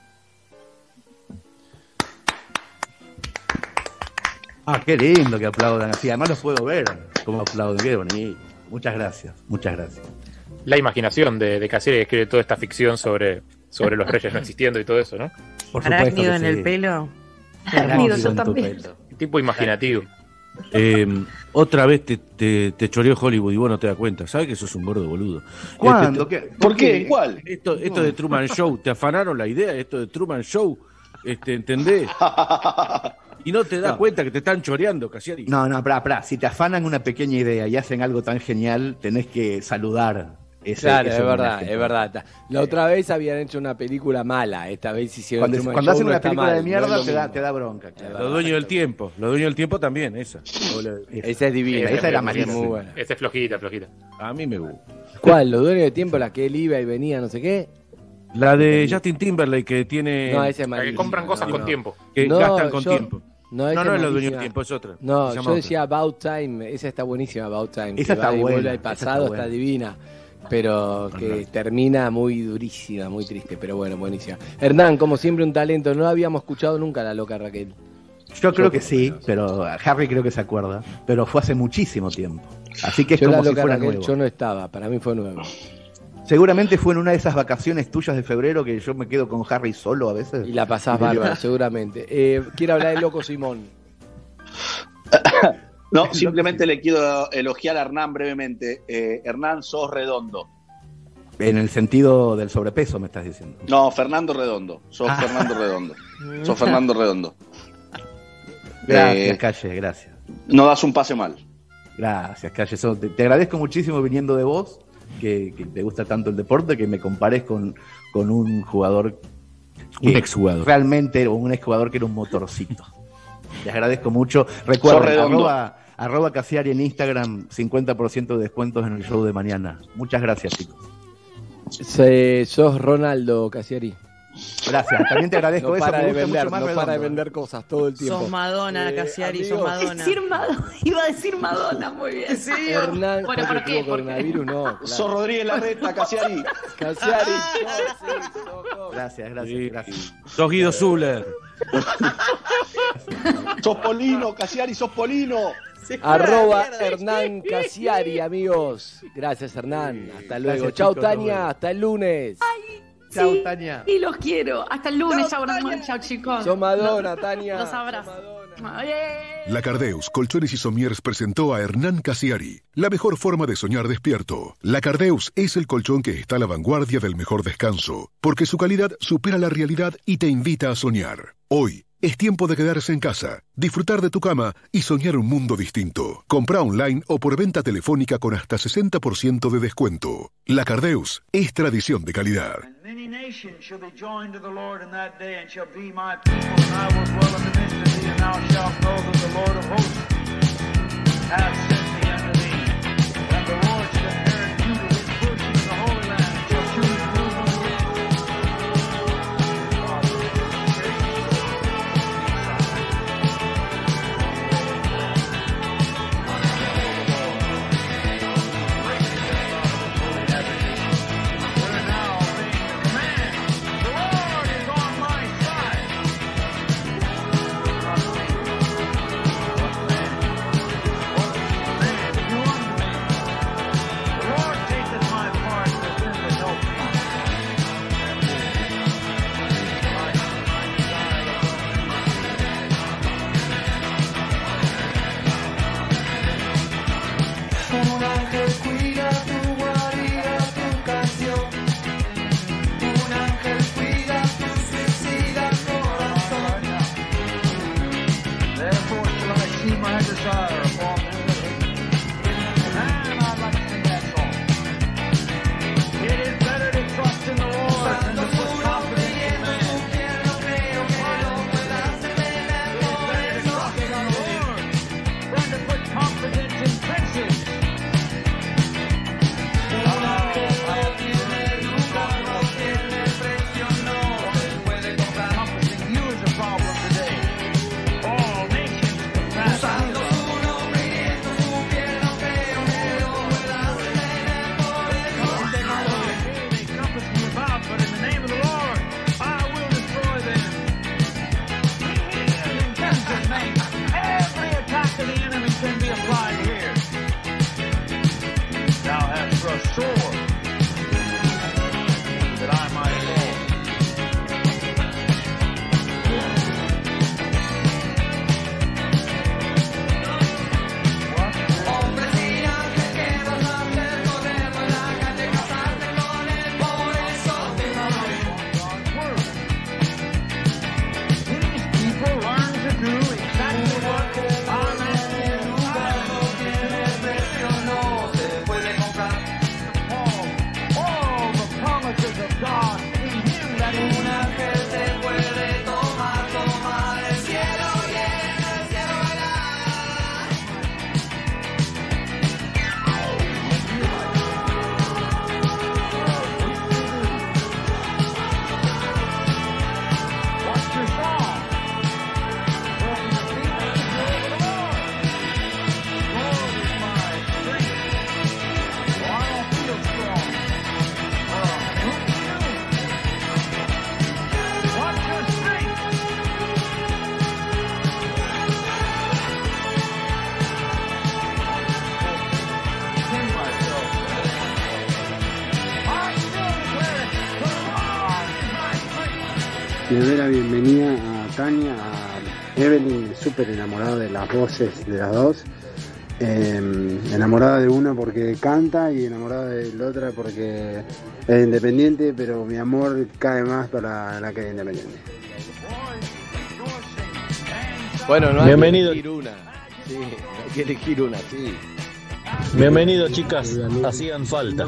Ah, qué lindo que aplaudan así. Además los puedo ver como aplauden. Qué bonito. Muchas gracias, muchas gracias. La imaginación de, de Casieri, que escribe toda esta ficción sobre, sobre los reyes no existiendo y todo eso, ¿no? Por arácnido en sí. El pelo. Arácnido, yo también. Tipo imaginativo. Eh, otra vez te, te, te choreó Hollywood y vos no te das cuenta. ¿Sabes que sos un gordo boludo? ¿Cuándo? Este, ¿Qué? ¿Por qué? ¿Cuál? Esto, esto de Truman Show, ¿te afanaron la idea? Esto de Truman Show, este, ¿entendés? Y no te das no. cuenta que te están choreando, Casieri. No, no, pará, pará. Si te afanan una pequeña idea y hacen algo tan genial, tenés que saludar. Ese, claro, ese es verdad, homenaje. es verdad. La otra vez habían hecho una película mala, esta vez hicieron Cuando, Truman cuando Show, hacen no una está película mal, de mierda no es te, lo da, mismo. te da bronca. Claro. Los dueños del tiempo, los dueños del tiempo también, esa. Esa es divina. Esa era malísima. muy buena. Esa es flojita, flojita. A mí me gusta. ¿Cuál? ¿Los dueños del tiempo? La que él iba y venía, no sé qué. La de Justin Timberlake que tiene... No, esa es la que compran cosas no, con tiempo. Que no, gastan con yo... tiempo. No, no, no es los dueños buenísima. del tiempo, es otra. No, Se llama yo otra. decía About Time, esa está buenísima, About Time. Esa que está va y buena, vuelve al esa pasado, está está, buena. divina. Pero que termina muy durísima, muy triste, pero bueno, buenísima. Hernán, como siempre, un talento. No habíamos escuchado nunca a la loca Raquel. Yo creo que sí, pero Harry creo que se acuerda. Pero fue hace muchísimo tiempo. Así que es yo como la si loca fuera Raquel, nuevo. yo no estaba, para mí fue nuevo. Seguramente fue en una de esas vacaciones tuyas de febrero que yo me quedo con Harry solo a veces. Y la pasás bárbaro, seguramente. Eh, quiero hablar del Loco Simón. No, simplemente le quiero elogiar a Hernán brevemente. Eh, Hernán, sos redondo. En el sentido del sobrepeso, me estás diciendo. No, Fernando Redondo. Sos Fernando Redondo. Sos Fernando Redondo. Gracias, Eh, Calle, gracias. No das un pase mal. Gracias, Calle. So, te, te agradezco muchísimo viniendo de vos, que, que te gusta tanto el deporte, que me compares con, con un jugador... Un que exjugador. Realmente, o un exjugador que era un motorcito. Les agradezco mucho. Recuerden, arroba, arroba Casiari en Instagram, cincuenta por ciento de descuentos en el show de mañana. Muchas gracias, chicos. Se, sos Ronaldo Casiari. Gracias, también te agradezco no eso. Para me de gusta vender, mucho más no redondo. para de vender cosas todo el tiempo. Sos Madonna, Eh, Cassiari, sos amigos. Madonna. Decir Madonna, iba a decir Madonna, muy bien. Sí. Hernán, Bueno, ¿por ¿por qué? tuvo coronavirus? No, claro. Sos Rodríguez Larreta, Cassiari. Cassiari. Gracias, gracias, Sí. gracias. Sos Guido Zuller. Sos Polino, Cassiari, sos Polino. Arroba Hernán Cassiari, amigos. Gracias, Hernán. Hasta luego. Gracias, Chau, chicos, Tania. nos Hasta el lunes. Chau, Sí, Tania. Y los quiero. Hasta el lunes. Chao, chao, chicos. Sos Madonna, Tania. Los abrazo. Ay. La Cardeus Colchones y Somiers presentó a Hernán Cassiari. La mejor forma de soñar despierto. La Cardeus es el colchón que está a la vanguardia del mejor descanso, porque su calidad supera la realidad y te invita a soñar. Hoy es tiempo de quedarse en casa, disfrutar de tu cama y soñar un mundo distinto. Compra online o por venta telefónica con hasta sesenta por ciento de descuento. La Cardeus es tradición de calidad. Many nations shall be joined to the Lord in that day, and shall be my people, and I will dwell in the midst of thee, and thou shalt know that the Lord of hosts hath sent me unto thee. And the Lord shall inherit Judah his portion in the Holy Land, and shall choose Un ángel cuida tu guarida, tu canción. Un ángel cuida tu suicida corazón. Therefore shall I see my desire upon them. And I'd like to sing that song. It is better to trust in the Lord than to put confidence in man. Than to put confidence in princes. Un ángel no tiene lugar, no tiene precio, no se puede comprar. Confidence in you is a problem today. All nations confess. Usando su nombre y en su piel, no creo que lo puedas tener por eso. They compass me about, but in the name of the Lord, I will destroy them. In Jesus' name, every attack of the enemy can be applied here. Thou hast thrust sore, that I might fall. Hombre, gigante, ¿qué vas a hacer? Corremos en la calle, casarte con él, por eso te amamos. These people learn to do exactly what I'm asking them to do. No tiene precio, no se puede comprar. All the promises of God in Him that is Un ángel te puede tomar, tomar el cielo y en el cielo bailar. What's your song? Well, the people of the Lord. Lord is my strength. Well, I don't feel strong. Uh, who do you? What's your strength? Sing myself. I still declare it. The Lord is my strength. Le doy la bienvenida a Tania, a Evelyn, súper enamorada de las voces de las dos. Eh, enamorada de una porque canta y enamorada de la otra porque es independiente, pero mi amor cae más para la que es independiente. Bueno, no hay Bienvenido. que elegir una. Sí, hay que elegir una, sí. Bienvenidos, chicas. Hacían falta.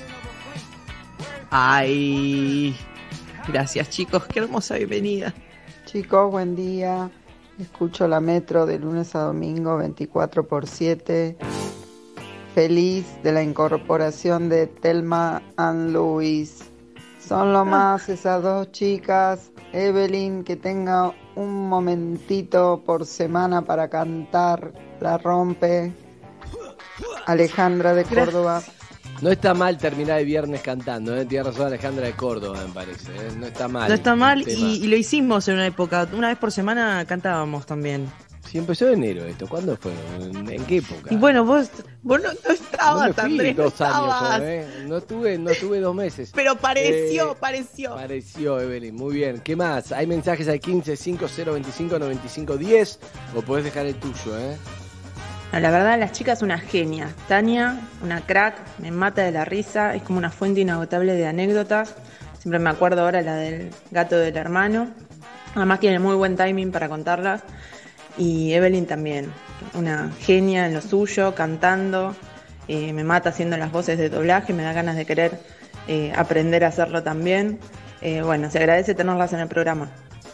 Ay, gracias chicos, qué hermosa bienvenida. Chicos, buen día. Escucho la Metro de lunes a domingo veinticuatro por siete. Feliz de la incorporación de Thelma and Louise. Son lo más esas dos chicas. Evelyn, que tenga un momentito por semana para cantar, la rompe. Alejandra de Córdoba. No está mal terminar el viernes cantando, ¿eh? Tiene razón Alejandra de Córdoba, me parece. ¿eh? No está mal. No está mal el y, y lo hicimos en una época. Una vez por semana cantábamos también. Si empezó en enero esto, ¿cuándo fue? ¿En qué época? Y bueno, vos, vos no, no estabas, no me fui Andrés, no dos años, estabas. ¿eh? No tuve, no tuve dos meses. Pero pareció, Eh, pareció. Pareció, Evelyn, muy bien. ¿Qué más? Hay mensajes al quince cinco cero veinticinco noventa y cinco diez o podés dejar el tuyo, ¿eh? No, la verdad, la chica es una genia. Tania, una crack, me mata de la risa, es como una fuente inagotable de anécdotas. Siempre me acuerdo ahora la del gato del hermano. Además tiene muy buen timing para contarlas. Y Evelyn también, una genia en lo suyo, cantando. Eh, me mata haciendo las voces de doblaje, me da ganas de querer eh, aprender a hacerlo también. Eh, bueno, se agradece tenerlas en el programa.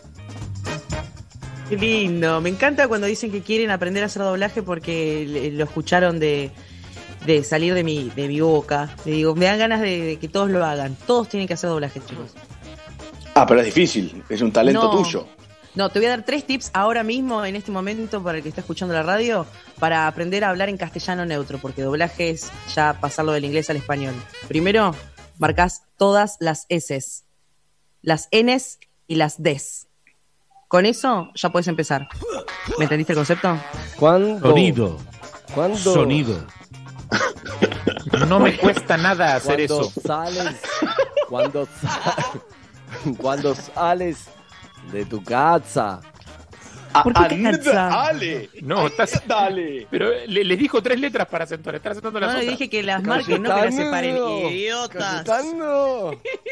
Qué lindo. Me encanta cuando dicen que quieren aprender a hacer doblaje porque le- lo escucharon de, de salir de mi, de mi boca. Le digo, me dan ganas de, de que todos lo hagan. Todos tienen que hacer doblaje, chicos. Ah, pero es difícil, es un talento No. tuyo. No, te voy a dar tres tips ahora mismo, en este momento, para el que está escuchando la radio, para aprender a hablar en castellano neutro, porque doblaje es ya pasarlo del inglés al español. Primero, marcás todas las S's, las N's y las D's. Con eso ya puedes empezar. ¿Me entendiste el concepto? ¿Cuándo? Sonido. ¿Cuándo? Sonido. No me cuesta nada hacer Cuando eso. sales, cuando, sa- cuando sales de tu casa. ¿Por qué casa? Dale. No, estás. Dale. Pero le- les dijo tres letras para acentuar. Estás acentuando las No, le otras. dije que las marquen, no que las separen. Idiotas. Cayetano.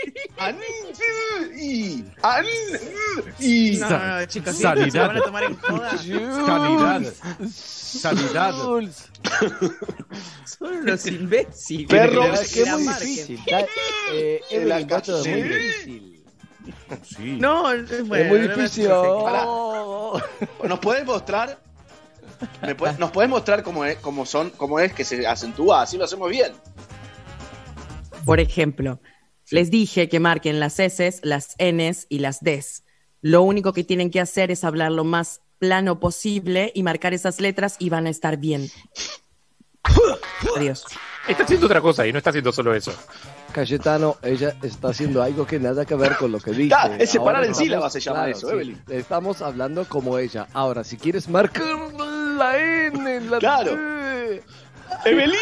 Y, an- y. No, no, no, chicos, si Sanidad. se van a tomar en joda. Sanidad. Sanidad. Jules. Son unos imbéciles. Perro, Que la- Es que es la muy marquen. difícil. Está- eh, En Evelyn, la esto es muy calle. difícil. Sí. No, es bueno, es muy no me difícil. parece Oh. ¿Nos podés mostrar? ¿Me podés- ¿Nos podés mostrar cómo es, cómo son, cómo es que se acentúa? Así lo hacemos bien. Por ejemplo, les dije que marquen las S's, las N's y las D's. Lo único que tienen que hacer es hablar lo más plano posible y marcar esas letras y van a estar bien. Adiós. Está haciendo otra cosa y no está haciendo solo eso. Cayetano, ella está haciendo algo que nada que ver con lo que dice. Ah, es separar Ahora en estamos- sílabas, se llama eso, sí, Evelyn. Estamos hablando como ella. Ahora, si quieres marcar la N, la Claro. T, Evelyn.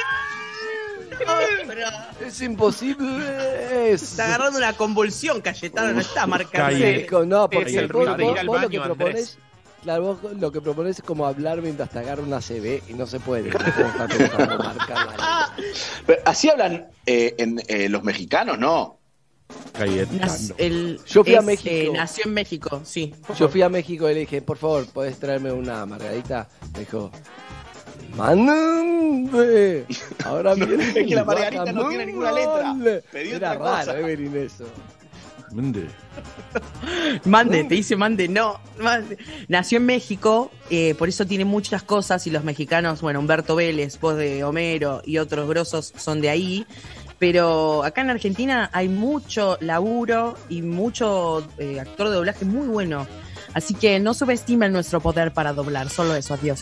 es imposible. Es... Está agarrando una convulsión, Cayetano, no está marcando. Calle. Sí, con- no, porque Es el vos- ruido de vos- ir al vos lo baño, que Andrés. propones, claro, vos lo que propones es como hablar mientras te agarra una C B y no se puede. No puedo estar pensando marcar la N. Pero así hablan eh, en, eh, los mexicanos, ¿no? Cayetano. Nas- el- Yo fui a es, México. eh, nació en México, sí. Yo fui a México y le dije, por favor, ¿podés traerme una margarita? Me dijo, ¡mande! Ahora No, viene es que la el margarita no tiene ninguna letra. guacamole. Pedí Era otra cosa. raro, Evelyn, eso. Mande. Mande, te dice mande, no. Mande. Nació en México, eh, por eso tiene muchas cosas y los mexicanos, bueno, Humberto Vélez, voz de Homero y otros grosos son de ahí. Pero acá en Argentina hay mucho laburo y mucho eh, actor de doblaje muy bueno. Así que no subestimen nuestro poder para doblar, solo eso, adiós.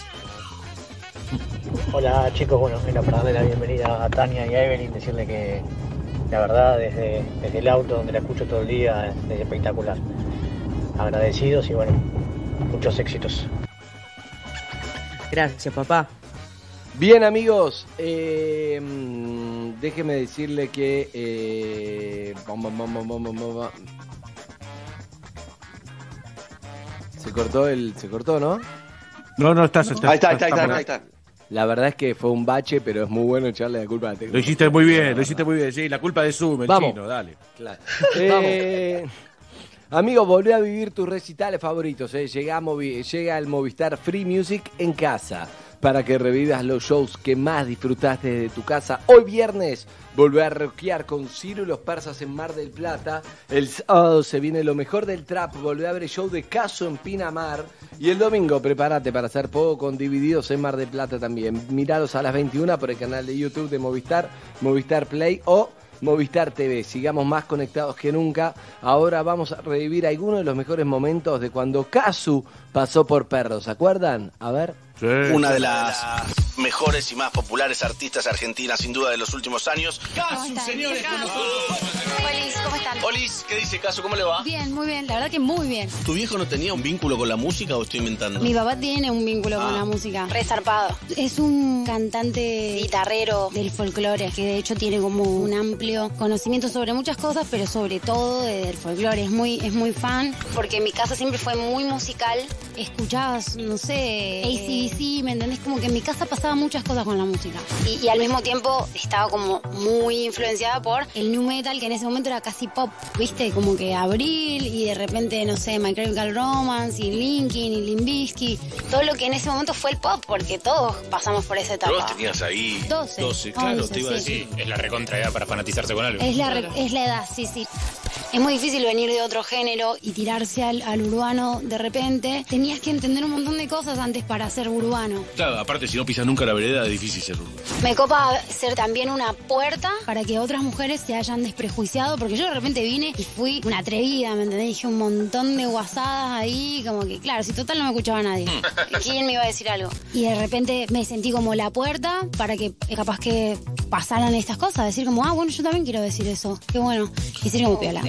Hola chicos, bueno, mira, para darle la bienvenida a Tania y a Evelyn, decirle que la verdad desde, desde el auto donde la escucho todo el día es, es espectacular. Agradecidos y bueno, muchos éxitos. Gracias, papá. Bien, amigos, eh, mm, déjeme decirle que... Eh, bom, bom, bom, bom, bom, bom, bom. Se cortó el... Se cortó, ¿no? No, no, estás. estás Ahí está, ahí está, ahí está, estamos- ahí está. La verdad es que fue un bache, pero es muy bueno echarle la culpa a la Lo tecnología. hiciste muy bien, lo hiciste muy bien. Sí, la culpa de Zoom, el Vamos. chino, dale. Claro. Eh, amigo, volvé a vivir tus recitales favoritos. Eh. Llega, a Movi- llega el Movistar Free Music en casa para que revivas los shows que más disfrutaste desde tu casa. Hoy viernes volvé a rockear con Ciro y los Persas en Mar del Plata. El sábado se viene lo mejor del trap. Volvé a ver el show de Caso en Pinamar. Y el domingo prepárate para hacer poco con Divididos en Mar del Plata también. Miralos a las veintiuna por el canal de YouTube de Movistar, Movistar Play o Movistar T V. Sigamos más conectados que nunca. Ahora vamos a revivir algunos de los mejores momentos de cuando Casu pasó por Perros. ¿Se acuerdan? A ver. Sí. Una de las mejores y más populares artistas argentinas, sin duda, de los últimos años. Casu, señores, con nosotros. Olis, ¿cómo están? Olis, ¿qué dice Casu? ¿Cómo le va? Bien, muy bien, la verdad que muy bien. ¿Tu viejo no tenía un vínculo con la música o estoy inventando? Mi papá tiene un vínculo Ah. con la música. Resarpado. Es un cantante guitarrero del folclore, que de hecho tiene como un amplio conocimiento sobre muchas cosas, pero sobre todo del folclore. Es muy, es muy fan, porque mi casa siempre fue muy musical. Escuchabas, no sé, A C D C, ¿me entendés? Como que en mi casa pasaba muchas cosas con la música. Y, y al mismo tiempo estaba como muy influenciada por el nu metal, que en ese momento era casi pop, ¿viste? Como que Abril y de repente, no sé, My Chemical Romance y Linkin y Limp Bizkit. Todo lo que en ese momento fue el pop, porque todos pasamos por esa etapa. Vos tenías ahí doce, doce, claro, once, te iba a sí. decir. Es la recontra edad para fanatizarse con algo. Es la, re- es la edad, sí, sí. Es muy difícil venir de otro género y tirarse al, al urbano de repente. Tenías que entender un montón de cosas antes para ser urbano. Claro, aparte, si no pisas nunca la vereda, es difícil ser urbano. Me copa ser también una puerta para que otras mujeres se hayan desprejuiciado, porque yo de repente vine y fui una atrevida, ¿me entendés? Dije un montón de guasadas ahí, como que, claro, si total no me escuchaba nadie. ¿Quién me iba a decir algo? Y de repente me sentí como la puerta para que eh, capaz que pasaran estas cosas, decir como, ah, bueno, yo también quiero decir eso. Qué bueno. Y ser como piola.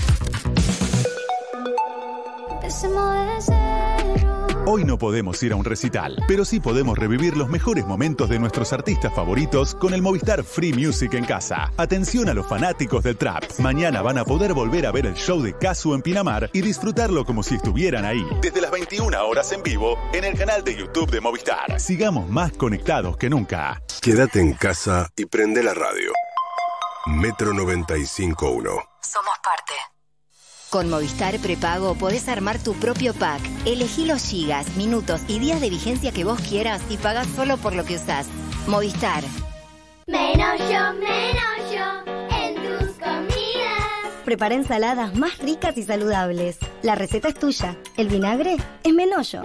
Hoy no podemos ir a un recital, pero sí podemos revivir los mejores momentos de nuestros artistas favoritos con el Movistar Free Music en casa. Atención a los fanáticos del trap. Mañana van a poder volver a ver el show de Casu en Pinamar y disfrutarlo como si estuvieran ahí. Desde las veintiuna horas en vivo en el canal de YouTube de Movistar. Sigamos más conectados que nunca. Quédate en casa y prende la radio. Metro noventa y cinco punto uno. Somos parte. Con Movistar Prepago podés armar tu propio pack. Elegí los gigas, minutos y días de vigencia que vos quieras y pagás solo por lo que usás. Movistar. Menos yo, menos yo en tus comidas. Prepara ensaladas más ricas y saludables. La receta es tuya. El vinagre es Menollo.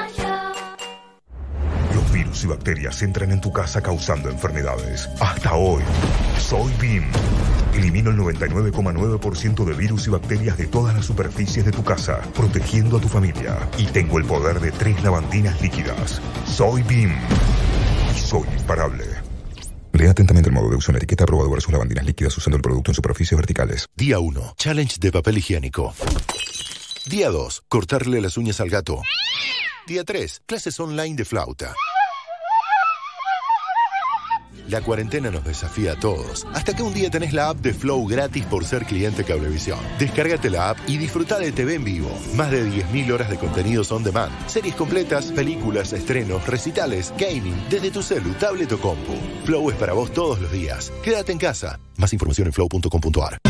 Los virus y bacterias entran en tu casa causando enfermedades. Hasta hoy, soy B I M. Elimino el noventa y nueve coma nueve por ciento de virus y bacterias de todas las superficies de tu casa, protegiendo a tu familia. Y tengo el poder de tres lavandinas líquidas. Soy B I M. Y soy imparable. Lea atentamente el modo de uso en la etiqueta. Aprobado versus lavandinas líquidas usando el producto en superficies verticales. Día uno. Challenge de papel higiénico. Día dos. Cortarle las uñas al gato. Día tres. Clases online de flauta. La cuarentena nos desafía a todos, hasta que un día tenés la app de Flow gratis por ser cliente Cablevisión. Descárgate la app y disfruta de T V en vivo. Más de diez mil horas de contenidos on demand. Series completas, películas, estrenos, recitales, gaming, desde tu celu, tablet o compu. Flow es para vos todos los días. Quédate en casa. Más información en flow punto com punto ar.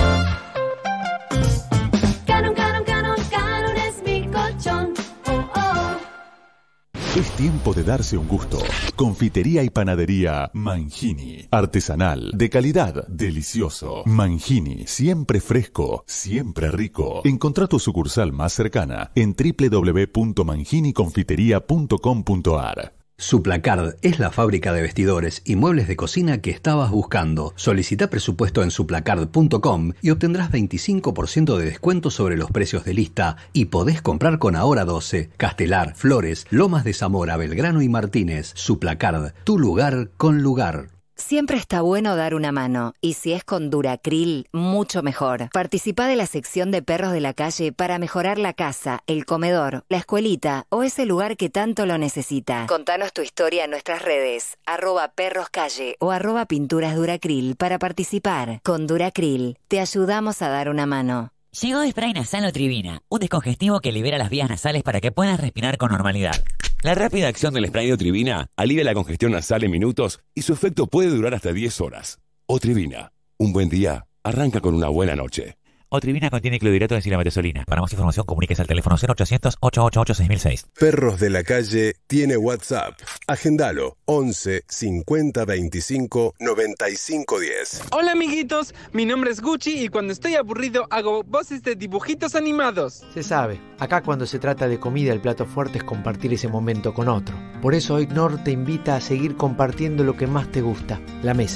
Canon, canon, canon, canon es mi colchón. Oh, oh. Es tiempo de darse un gusto. Confitería y panadería Mangini. Artesanal, de calidad, delicioso. Mangini, siempre fresco, siempre rico. Encontrá tu sucursal más cercana en doble u doble u doble u punto mangini confitería punto com punto ar. Suplacard es la fábrica de vestidores y muebles de cocina que estabas buscando. Solicita presupuesto en suplacard punto com y obtendrás veinticinco por ciento de descuento sobre los precios de lista y podés comprar con Ahora doce, Castelar, Flores, Lomas de Zamora, Belgrano y Martínez. Suplacard, tu lugar con lugar. Siempre está bueno dar una mano, y si es con Duracril, mucho mejor. Participá de la sección de perros de la calle para mejorar la casa, el comedor, la escuelita o ese lugar que tanto lo necesita. Contanos tu historia en nuestras redes, arroba perroscalle o arroba pinturas Duracril para participar. Con Duracril, te ayudamos a dar una mano. Llegó Spray Nasal Otrivina, un descongestivo que libera las vías nasales para que puedas respirar con normalidad. La rápida acción del spray de Otrivina alivia la congestión nasal en minutos y su efecto puede durar hasta diez horas. Otrivina, un buen día arranca con una buena noche. Otrivina contiene clorhidrato de silametesolina. Para más información, comuníquese al teléfono cero ochocientos, ochocientos ochenta y ocho, seis mil seis. Perros de la Calle tiene WhatsApp. Agendalo once cincuenta veinticinco noventa y cinco diez. Hola amiguitos, mi nombre es Gucci y cuando estoy aburrido hago voces de dibujitos animados. Se sabe, acá cuando se trata de comida el plato fuerte es compartir ese momento con otro. Por eso hoy Nor te invita a seguir compartiendo lo que más te gusta, la mesa.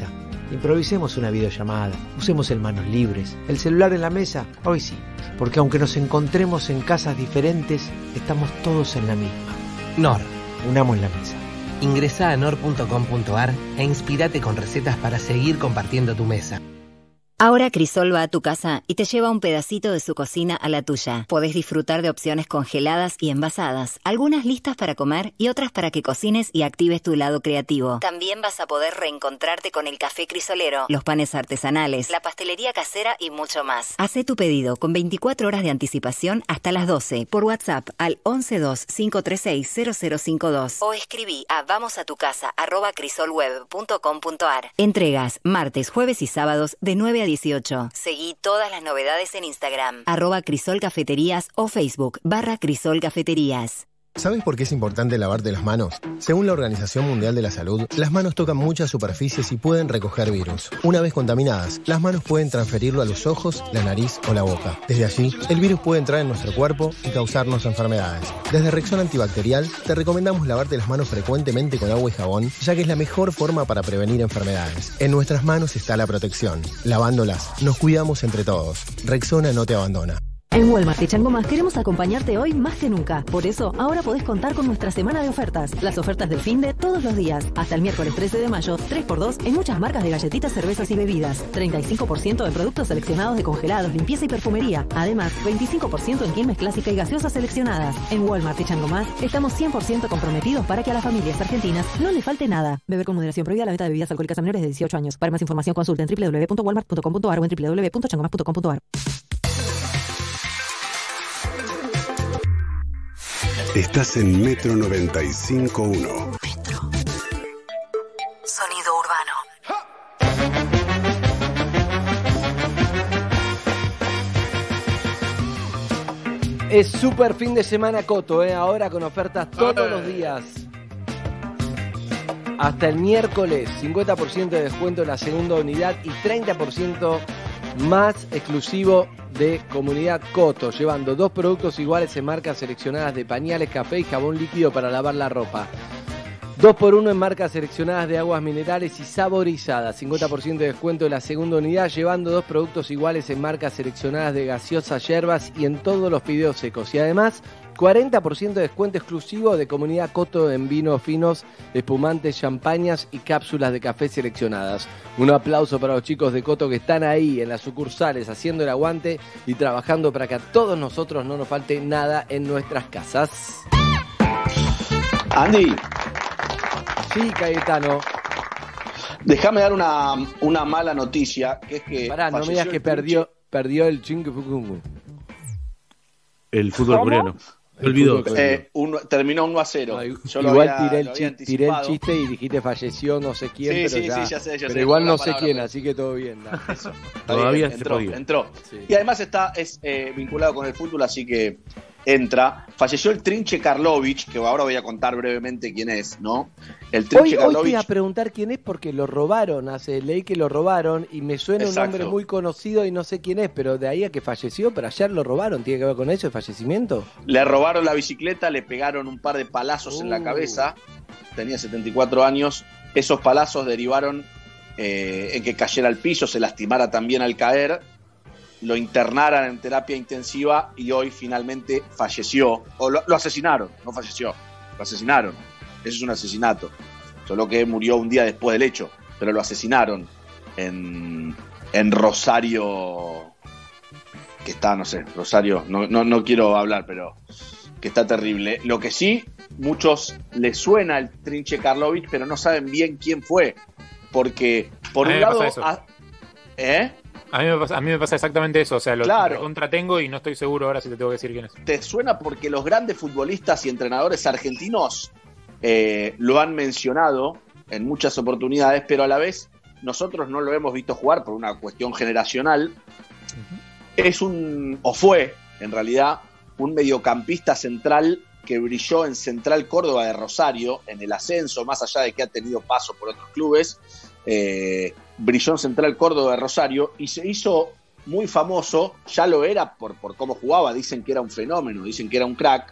Improvisemos una videollamada, usemos el manos libres, el celular en la mesa, hoy sí, porque aunque nos encontremos en casas diferentes, estamos todos en la misma. Nor. Unamos la mesa. Ingresá a nor punto com punto ar e inspirate con recetas para seguir compartiendo tu mesa. Ahora Crisol va a tu casa y te lleva un pedacito de su cocina a la tuya. Podés disfrutar de opciones congeladas y envasadas, algunas listas para comer y otras para que cocines y actives tu lado creativo. También vas a poder reencontrarte con el café crisolero, los panes artesanales, la pastelería casera y mucho más. Hacé tu pedido con veinticuatro horas de anticipación hasta las doce por WhatsApp al once dos cinco tres seis cero cero cinco dos o escribí a vamosatucasa arroba crisolweb punto com punto ar. Entregas martes, jueves y sábados de nueve a dieciocho. Seguí todas las novedades en Instagram, arroba Crisol Cafeterías o Facebook, barra Crisol Cafeterías. ¿Sabes por qué es importante lavarte las manos? Según la Organización Mundial de la Salud, las manos tocan muchas superficies y pueden recoger virus. Una vez contaminadas, las manos pueden transferirlo a los ojos, la nariz o la boca. Desde allí, el virus puede entrar en nuestro cuerpo y causarnos enfermedades. Desde Rexona Antibacterial, te recomendamos lavarte las manos frecuentemente con agua y jabón, ya que es la mejor forma para prevenir enfermedades. En nuestras manos está la protección. Lavándolas, nos cuidamos entre todos. Rexona no te abandona. En Walmart y Chango Más queremos acompañarte hoy más que nunca. Por eso, ahora podés contar con nuestra semana de ofertas. Las ofertas del fin de todos los días. Hasta el miércoles trece de mayo, tres por dos en muchas marcas de galletitas, cervezas y bebidas. treinta y cinco por ciento en productos seleccionados de congelados, limpieza y perfumería. Además, veinticinco por ciento en Quilmes clásica y gaseosas seleccionadas. En Walmart y Chango Más estamos cien por ciento comprometidos para que a las familias argentinas no le falte nada. Beber con moderación. Prohibida la venta de bebidas alcohólicas a menores de dieciocho años. Para más información consulta en doble u doble u doble u punto walmart punto com punto ar o en doble u doble u doble u punto chango más punto com punto ar. Estás en Metro noventa y cinco punto uno. Metro. Sonido urbano. Es súper fin de semana Coto, ¿eh? Ahora con ofertas todos los días. Hasta el miércoles, cincuenta por ciento de descuento en la segunda unidad y treinta por ciento más exclusivo de Comunidad Coto, llevando dos productos iguales en marcas seleccionadas de pañales, café y jabón líquido para lavar la ropa. dos por uno en marcas seleccionadas de aguas minerales y saborizadas. cincuenta por ciento de descuento en la segunda unidad, llevando dos productos iguales en marcas seleccionadas de gaseosas, yerbas y en todos los fideos secos. Y además, cuarenta por ciento de descuento exclusivo de Comunidad Coto en vinos finos, espumantes, champañas y cápsulas de café seleccionadas. Un aplauso para los chicos de Coto que están ahí en las sucursales haciendo el aguante y trabajando para que a todos nosotros no nos falte nada en nuestras casas. Andy. Sí, Cayetano. Déjame dar una, una mala noticia, que es que... Pará, no me digas que perdió, perdió el chingue. El fútbol coreano. Me olvidó. Eh, un, terminó uno a cero. No, Yo igual había, tiré, el chiste, tiré el chiste y dijiste falleció no sé quién, sí, pero, sí, ya, sí, ya sé, ya pero sé, igual no sé palabra, quién, pero... así que todo bien. ¿No? Eso. Todavía bien, se entró, podía. entró. Sí. Y además está es eh, vinculado con el fútbol, así que entra. Falleció el Trinche Karlovic, que ahora voy a contar brevemente quién es, ¿no? El Trinche Hoy, hoy Karlovic. te iba a preguntar quién es porque lo robaron, hace leí que lo robaron y me suena Exacto. un nombre muy conocido y no sé quién es, pero de ahí a que falleció, pero ayer lo robaron, ¿tiene que ver con eso, el fallecimiento? Le robaron la bicicleta, le pegaron un par de palazos Uh. en la cabeza, tenía setenta y cuatro años, esos palazos derivaron eh, en que cayera al piso, se lastimara también al caer, lo internaran en terapia intensiva y hoy finalmente falleció, o lo, lo asesinaron, no falleció, lo asesinaron, eso es un asesinato, solo que murió un día después del hecho, pero lo asesinaron en, en Rosario, que está, no sé, Rosario, no, no, no quiero hablar, pero que está terrible. Lo que sí, muchos les suena el Trinche Karlovic, pero no saben bien quién fue, porque por A mí un me lado... pasa eso. A, ¿Eh? A mí, me pasa, a mí me pasa exactamente eso, o sea, lo Claro. contratengo y no estoy seguro ahora si te tengo que decir quién es. ¿Te suena? Porque los grandes futbolistas y entrenadores argentinos eh, lo han mencionado en muchas oportunidades, pero a la vez nosotros no lo hemos visto jugar por una cuestión generacional. Uh-huh. Es un, o fue, en realidad, un mediocampista central que brilló en Central Córdoba de Rosario, en el ascenso, más allá de que ha tenido paso por otros clubes, eh, brilló en Central Córdoba de Rosario y se hizo muy famoso, ya lo era por, por cómo jugaba, dicen que era un fenómeno, dicen que era un crack.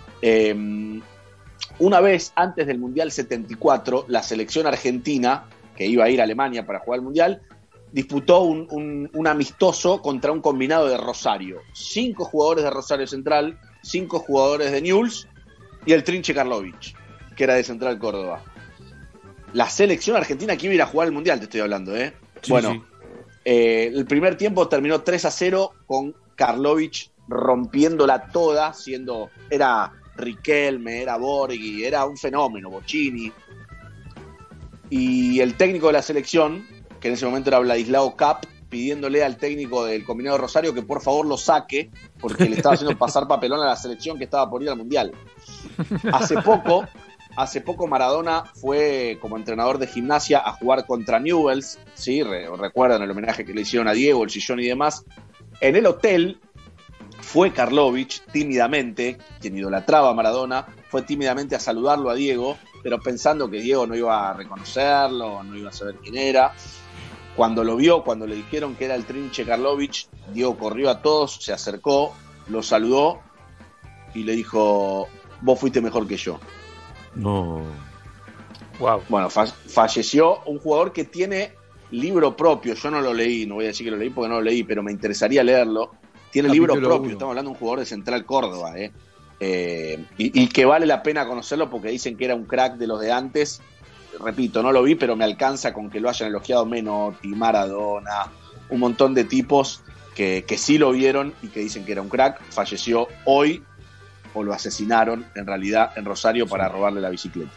Eh, una vez antes del Mundial setenta y cuatro, la selección argentina que iba a ir a Alemania para jugar el Mundial, disputó un, un, un amistoso contra un combinado de Rosario. Cinco jugadores de Rosario Central, cinco jugadores de Newell's y el Trinche Karlovich, que era de Central Córdoba. La selección argentina que iba a ir a jugar el Mundial, te estoy hablando, ¿eh? Sí, bueno, sí. Eh, el primer tiempo terminó tres a cero con Karlovich rompiéndola toda, siendo, era Riquelme, era Borghi, era un fenómeno, Bocchini. Y el técnico de la selección, que en ese momento era Vladislao Cap, pidiéndole al técnico del combinado Rosario que por favor lo saque, porque le estaba haciendo pasar papelón a la selección que estaba por ir al Mundial. Hace poco, hace poco Maradona fue como entrenador de Gimnasia a jugar contra Newell's, ¿sí? Re- recuerdan el homenaje que le hicieron a Diego, el sillón y demás. En el hotel fue Karlovich tímidamente, quien idolatraba a Maradona, fue tímidamente a saludarlo a Diego, pero pensando que Diego no iba a reconocerlo, no iba a saber quién era. Cuando lo vio, cuando le dijeron que era el Trinche Karlovich, Diego corrió a todos, se acercó, lo saludó y le dijo: vos fuiste mejor que yo. No. Wow. Bueno, fa- falleció un jugador que tiene libro propio. Yo no lo leí, no voy a decir que lo leí porque no lo leí, pero me interesaría leerlo. Tiene Capítulo libro propio, uno. Estamos hablando de un jugador de Central Córdoba, ¿eh? Eh, y, y que vale la pena conocerlo porque dicen que era un crack de los de antes. Repito, no lo vi, pero me alcanza con que lo hayan elogiado Menotti, Maradona, un montón de tipos que, que sí lo vieron y que dicen que era un crack. Falleció hoy, o lo asesinaron en realidad en Rosario para robarle la bicicleta.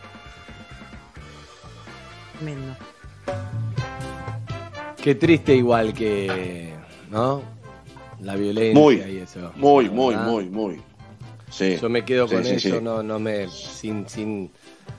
Tremendo. Qué triste igual que, ¿no? La violencia muy, y eso. Muy, muy, muy, muy. Sí. Yo me quedo con sí, sí, eso, sí. no, no me, sin, sin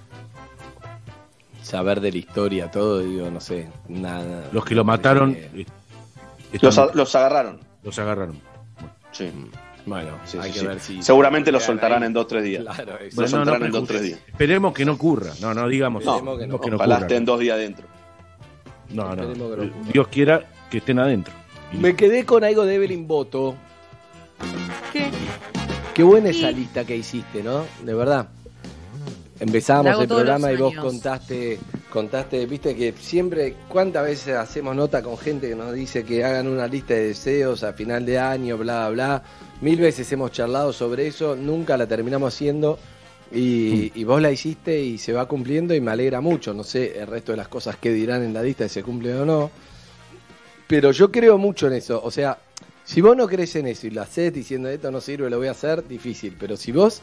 saber de la historia, todo, digo, no sé, nada. Los que lo mataron. Eh, los, a, los agarraron. Los agarraron. Sí. Bueno, sí, hay sí, que sí. ver si. Seguramente lo soltarán ahí en dos o tres días. Claro, lo bueno, soltarán no, en dos o tres días. Esperemos que no ocurra. No, no digamos. No, Esperemos que no. no, que no ojalá ocurra. estén dos días adentro. No, no. Esperemos que no ocurra. Dios quiera que estén adentro. Me quedé con algo de Evelyn Boto. ¿Qué? Qué buena esa lista que hiciste, ¿no? De verdad. Empezábamos el programa y vos contaste, contaste, viste que siempre, ¿cuántas veces hacemos nota con gente que nos dice que hagan una lista de deseos a final de año, bla, bla, bla? Mil veces hemos charlado sobre eso, nunca la terminamos haciendo y, y vos la hiciste y se va cumpliendo y me alegra mucho. No sé el resto de las cosas que dirán en la lista si se cumplen o no, pero yo creo mucho en eso. O sea, si vos no crees en eso y lo hacés diciendo esto no sirve, lo voy a hacer, difícil. Pero si vos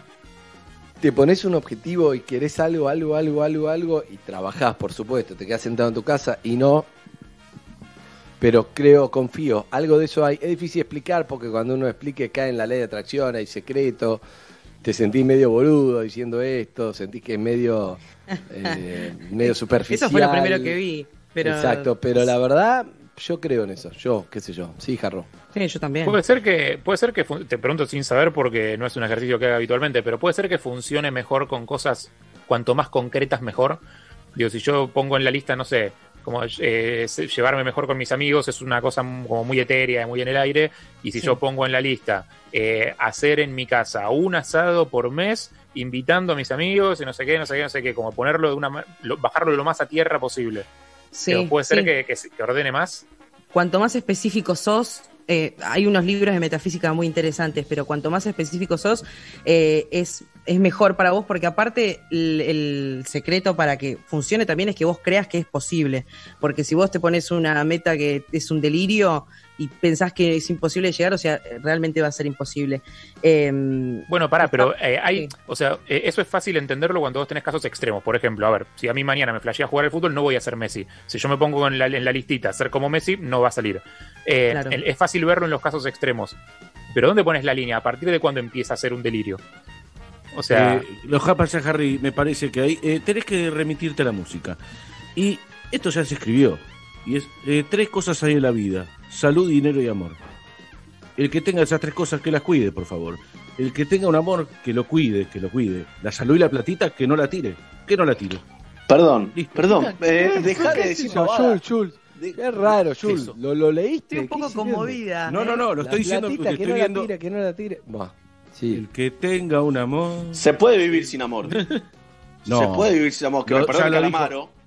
te pones un objetivo y querés algo, algo, algo, algo, algo y trabajás, por supuesto, te quedás sentado en tu casa y no, pero creo, confío, algo de eso hay. Es difícil explicar porque cuando uno explique cae en la ley de atracción, hay secreto, te sentís medio boludo diciendo esto, sentís que es medio, eh, medio superficial. Eso fue lo primero que vi. Pero... Exacto, pero la verdad, yo creo en eso, yo, qué sé yo, sí, Jarro. Sí, yo también. Puede ser que, puede ser que fun- te pregunto sin saber porque no es un ejercicio que haga habitualmente, pero puede ser que funcione mejor con cosas cuanto más concretas mejor. Digo, si yo pongo en la lista, no sé, como eh, llevarme mejor con mis amigos es una cosa como muy etérea, muy en el aire, y si Sí. yo pongo en la lista eh, hacer en mi casa un asado por mes, invitando a mis amigos y no sé qué, no sé qué, no sé qué, como ponerlo de una ma- lo- bajarlo lo más a tierra posible. Sí, Pero puede ser sí. que, que, se- que ordene más. Cuanto más específico sos, eh, hay unos libros de metafísica muy interesantes, pero cuanto más específico sos, eh, es, es mejor para vos, porque aparte el, el secreto para que funcione también es que vos creas que es posible, porque si vos te pones una meta que es un delirio y pensás que es imposible llegar, o sea, realmente va a ser imposible. Eh, Bueno, pará, pero eh, hay, o sea, eh, eso es fácil entenderlo cuando vos tenés casos extremos. Por ejemplo, a ver, si a mí mañana me flashea jugar al fútbol, no voy a ser Messi. Si yo me pongo en la, en la listita ser como Messi, no va a salir. Eh, Claro. el- es fácil verlo en los casos extremos. Pero ¿dónde pones la línea? ¿A partir de cuándo empieza a ser un delirio? O sea, Eh, lo que pasa, Harry, me parece que ahí eh, tenés que remitirte a la música. Y esto ya se escribió. Y es eh, tres cosas hay en la vida: salud, dinero y amor. El que tenga esas tres cosas, que las cuide, por favor. El que tenga un amor, que lo cuide, que lo cuide. La salud y la platita, que no la tire. Que no la tire. Perdón, Listo. perdón, eh, dejá de ¿Qué decir es eso, pavada. Jules, Jules? Qué raro, Jules. eso? ¿Lo, lo leíste? Estoy un poco ¿Qué sirviendo? conmovida. No, no, no, lo La estoy diciendo platita, porque que estoy no viendo. la tire, que no la tire. Buah, sí. El que tenga un amor. Se puede vivir sin amor. No. Se puede vivir sin amor. Que Lo- me perdone ya lo dijo. Calamaro.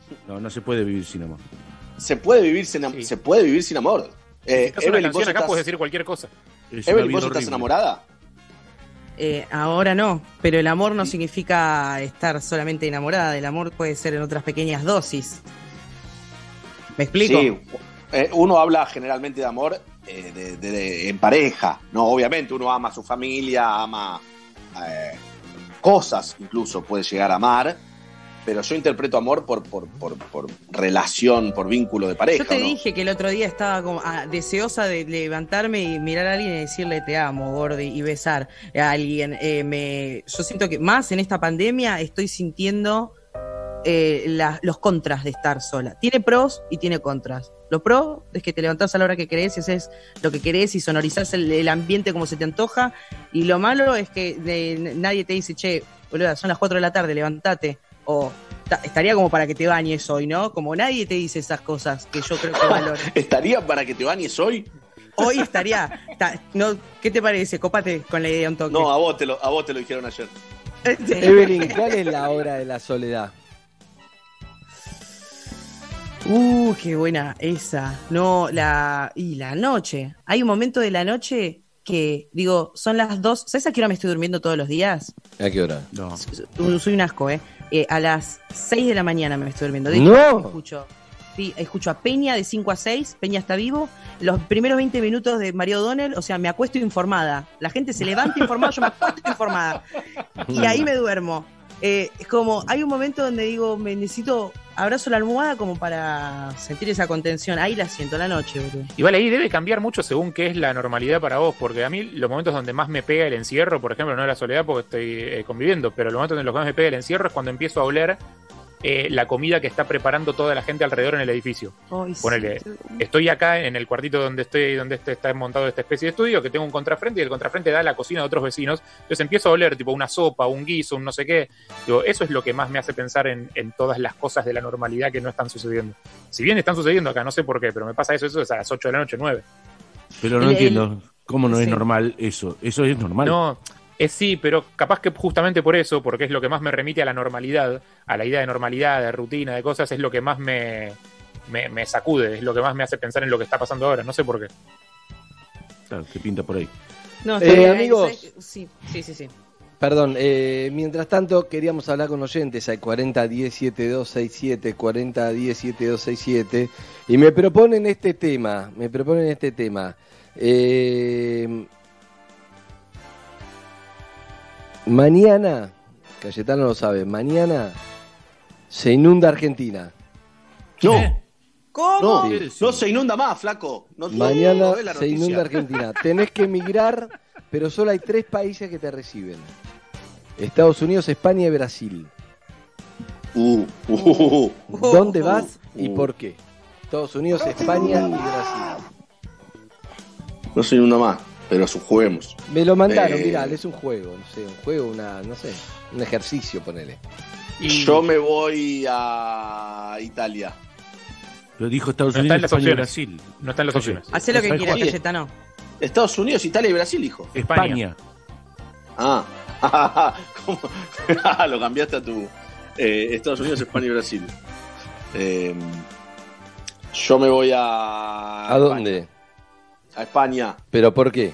No, no se puede vivir sin amor. Se puede vivir sin, am- Sí. se puede vivir sin amor. Eh, Si una Evelyn, ¿vos canción acá estás, puedes decir cualquier cosa. Es una Evelyn, vida ¿vos estás horrible. enamorada? Eh, ahora no, pero el amor no significa estar solamente enamorada. El amor puede ser en otras pequeñas dosis. ¿Me explico? Sí. Eh, uno habla generalmente de amor eh, de, de- de- en pareja, ¿no? Obviamente uno ama a su familia, ama eh, cosas, incluso puede llegar a amar, pero yo interpreto amor por, por, por, por relación, por vínculo de pareja. Yo te ¿no? dije que el otro día estaba como ah, deseosa de levantarme y mirar a alguien y decirle te amo, Gordi, y besar a alguien. Eh, me, yo siento que más en esta pandemia estoy sintiendo eh, la- los contras de estar sola. Tiene pros y tiene contras. Lo pro es que te levantás a la hora que querés y haces lo que querés y sonorizás el, el ambiente como se te antoja. Y lo malo es que de- nadie te dice, che, boluda, son las cuatro de la tarde, levantate. O ta- estaría como para que te bañes hoy, ¿no? Como nadie te dice esas cosas que yo creo que valoro. ¿Estaría para que te bañes hoy? Hoy estaría. ta- no, ¿qué te parece? Cópate con la idea un toque. No, a vos te lo, a vos te lo dijeron ayer. Evelyn, ¿cuál es la hora de la soledad? Uh, qué buena esa. No, la. Y la noche. Hay un momento de la noche que, digo, son las dos. ¿Sabes a qué hora me estoy durmiendo todos los días? ¿A qué hora? No. Uh, Soy un asco, ¿eh? Eh, a las seis de la mañana me estoy durmiendo. De hecho, ¡No! escucho. Sí, escucho a Peña de cinco a seis. Peña está vivo. Los primeros veinte minutos de Mario O'Donnell, o sea, me acuesto informada. La gente se levanta informada, yo me acuesto informada. Y ahí me duermo. Eh, es como, hay un momento donde digo, me necesito, abrazo la almohada como para sentir esa contención. Ahí la siento, la noche, boludo. Igual ahí debe cambiar mucho según qué es la normalidad para vos, porque a mí los momentos donde más me pega el encierro, por ejemplo, no es la soledad porque estoy eh, conviviendo, pero los momentos en los que más me pega el encierro es cuando empiezo a oler eh, la comida que está preparando toda la gente alrededor en el edificio. Ay, sí. Ponele, estoy acá en el cuartito donde estoy, donde este está montado esta especie de estudio, que tengo un contrafrente y el contrafrente da a la cocina de otros vecinos. Entonces empiezo a oler tipo una sopa, un guiso, un no sé qué. Digo, eso es lo que más me hace pensar en, en todas las cosas de la normalidad que no están sucediendo. Si bien están sucediendo acá, no sé por qué, pero me pasa eso, eso es a las ocho de la noche, nueve. Pero no El- entiendo cómo no es sí. normal eso. Eso es normal. No, es sí, pero capaz que justamente por eso, porque es lo que más me remite a la normalidad, a la idea de normalidad, de rutina, de cosas, es lo que más me, me, me sacude, es lo que más me hace pensar en lo que está pasando ahora, no sé por qué. Claro, que pinta por ahí. No, Eh, está bien, amigos. ¿sabes? Sí, sí, sí, sí. Perdón, eh, mientras tanto queríamos hablar con oyentes al cuarenta diez setenta y dos sesenta y siete, cuarenta diez setenta y dos sesenta y siete, y me proponen este tema, me proponen este tema. Eh, mañana, Cayetano lo sabe, mañana se inunda Argentina. No. ¿Cómo? No, no se inunda más, flaco. No, no, Mañana no ves la se noticia. inunda Argentina. Tenés que emigrar, pero solo hay tres países que te reciben. Estados Unidos, España y Brasil. Uh, uh, uh, ¿Dónde vas y uh. por qué? Estados Unidos, España y Brasil. No se inunda más, pero juguemos. Me lo mandaron, Eh. mirá, es un juego, no sé, un juego, una, no sé, un ejercicio, ponele. Yo me voy a Italia. Lo dijo Estados No está Unidos, en las España y opciones. Brasil. No está en las opciones. Hacé lo que ¿Sabes quieras, cuál? Cayetano. Estados Unidos, Italia y Brasil, hijo. España. Ah, ¿cómo? Lo cambiaste a tu eh, Estados Unidos, España y Brasil. Eh, yo me voy a. ¿A dónde? A España. ¿Pero por qué?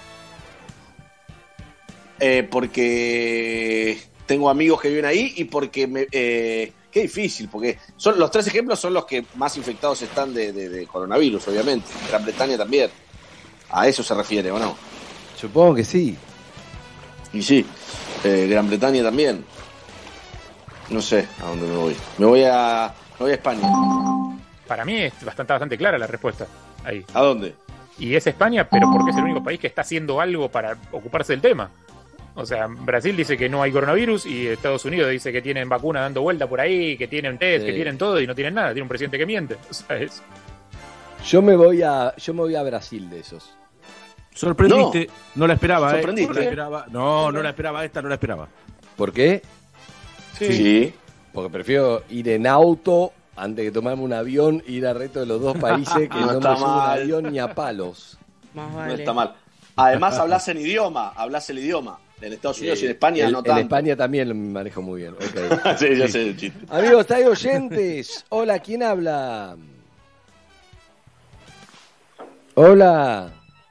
Eh, porque tengo amigos que viven ahí y porque me. Eh, qué difícil, porque son los tres ejemplos son los que más infectados están de, de, de coronavirus, obviamente. Gran Bretaña también. A eso se refiere, ¿o no? Supongo que sí. Y sí, eh, Gran Bretaña también. No sé a dónde me voy. Me voy a, me voy a España. Para mí es bastante, bastante clara la respuesta ahí. ¿A dónde? Y es España, pero porque es el único país que está haciendo algo para ocuparse del tema. O sea, Brasil dice que no hay coronavirus y Estados Unidos dice que tienen vacuna dando vuelta por ahí, que tienen test, Sí. que tienen todo y no tienen nada. Tiene un presidente que miente. O sea, es... Yo me voy a, yo me voy a Brasil de esos. Sorprendiste, no, no la esperaba, ¿Sorprendiste? ¿eh? No la esperaba. No, no la esperaba, esta no la esperaba. ¿Por qué? Sí. Sí. Porque prefiero ir en auto antes que tomarme un avión e ir al resto de los dos países que No no, está me subo un mal. avión ni a palos. Más No vale. está mal. Además hablas en idioma, hablas el idioma. En Estados Unidos y en España en, no en tanto. España también lo manejo muy bien. Okay. Sí, yo sé el chiste. Amigos, hay oyentes. Hola, ¿quién habla? Hola.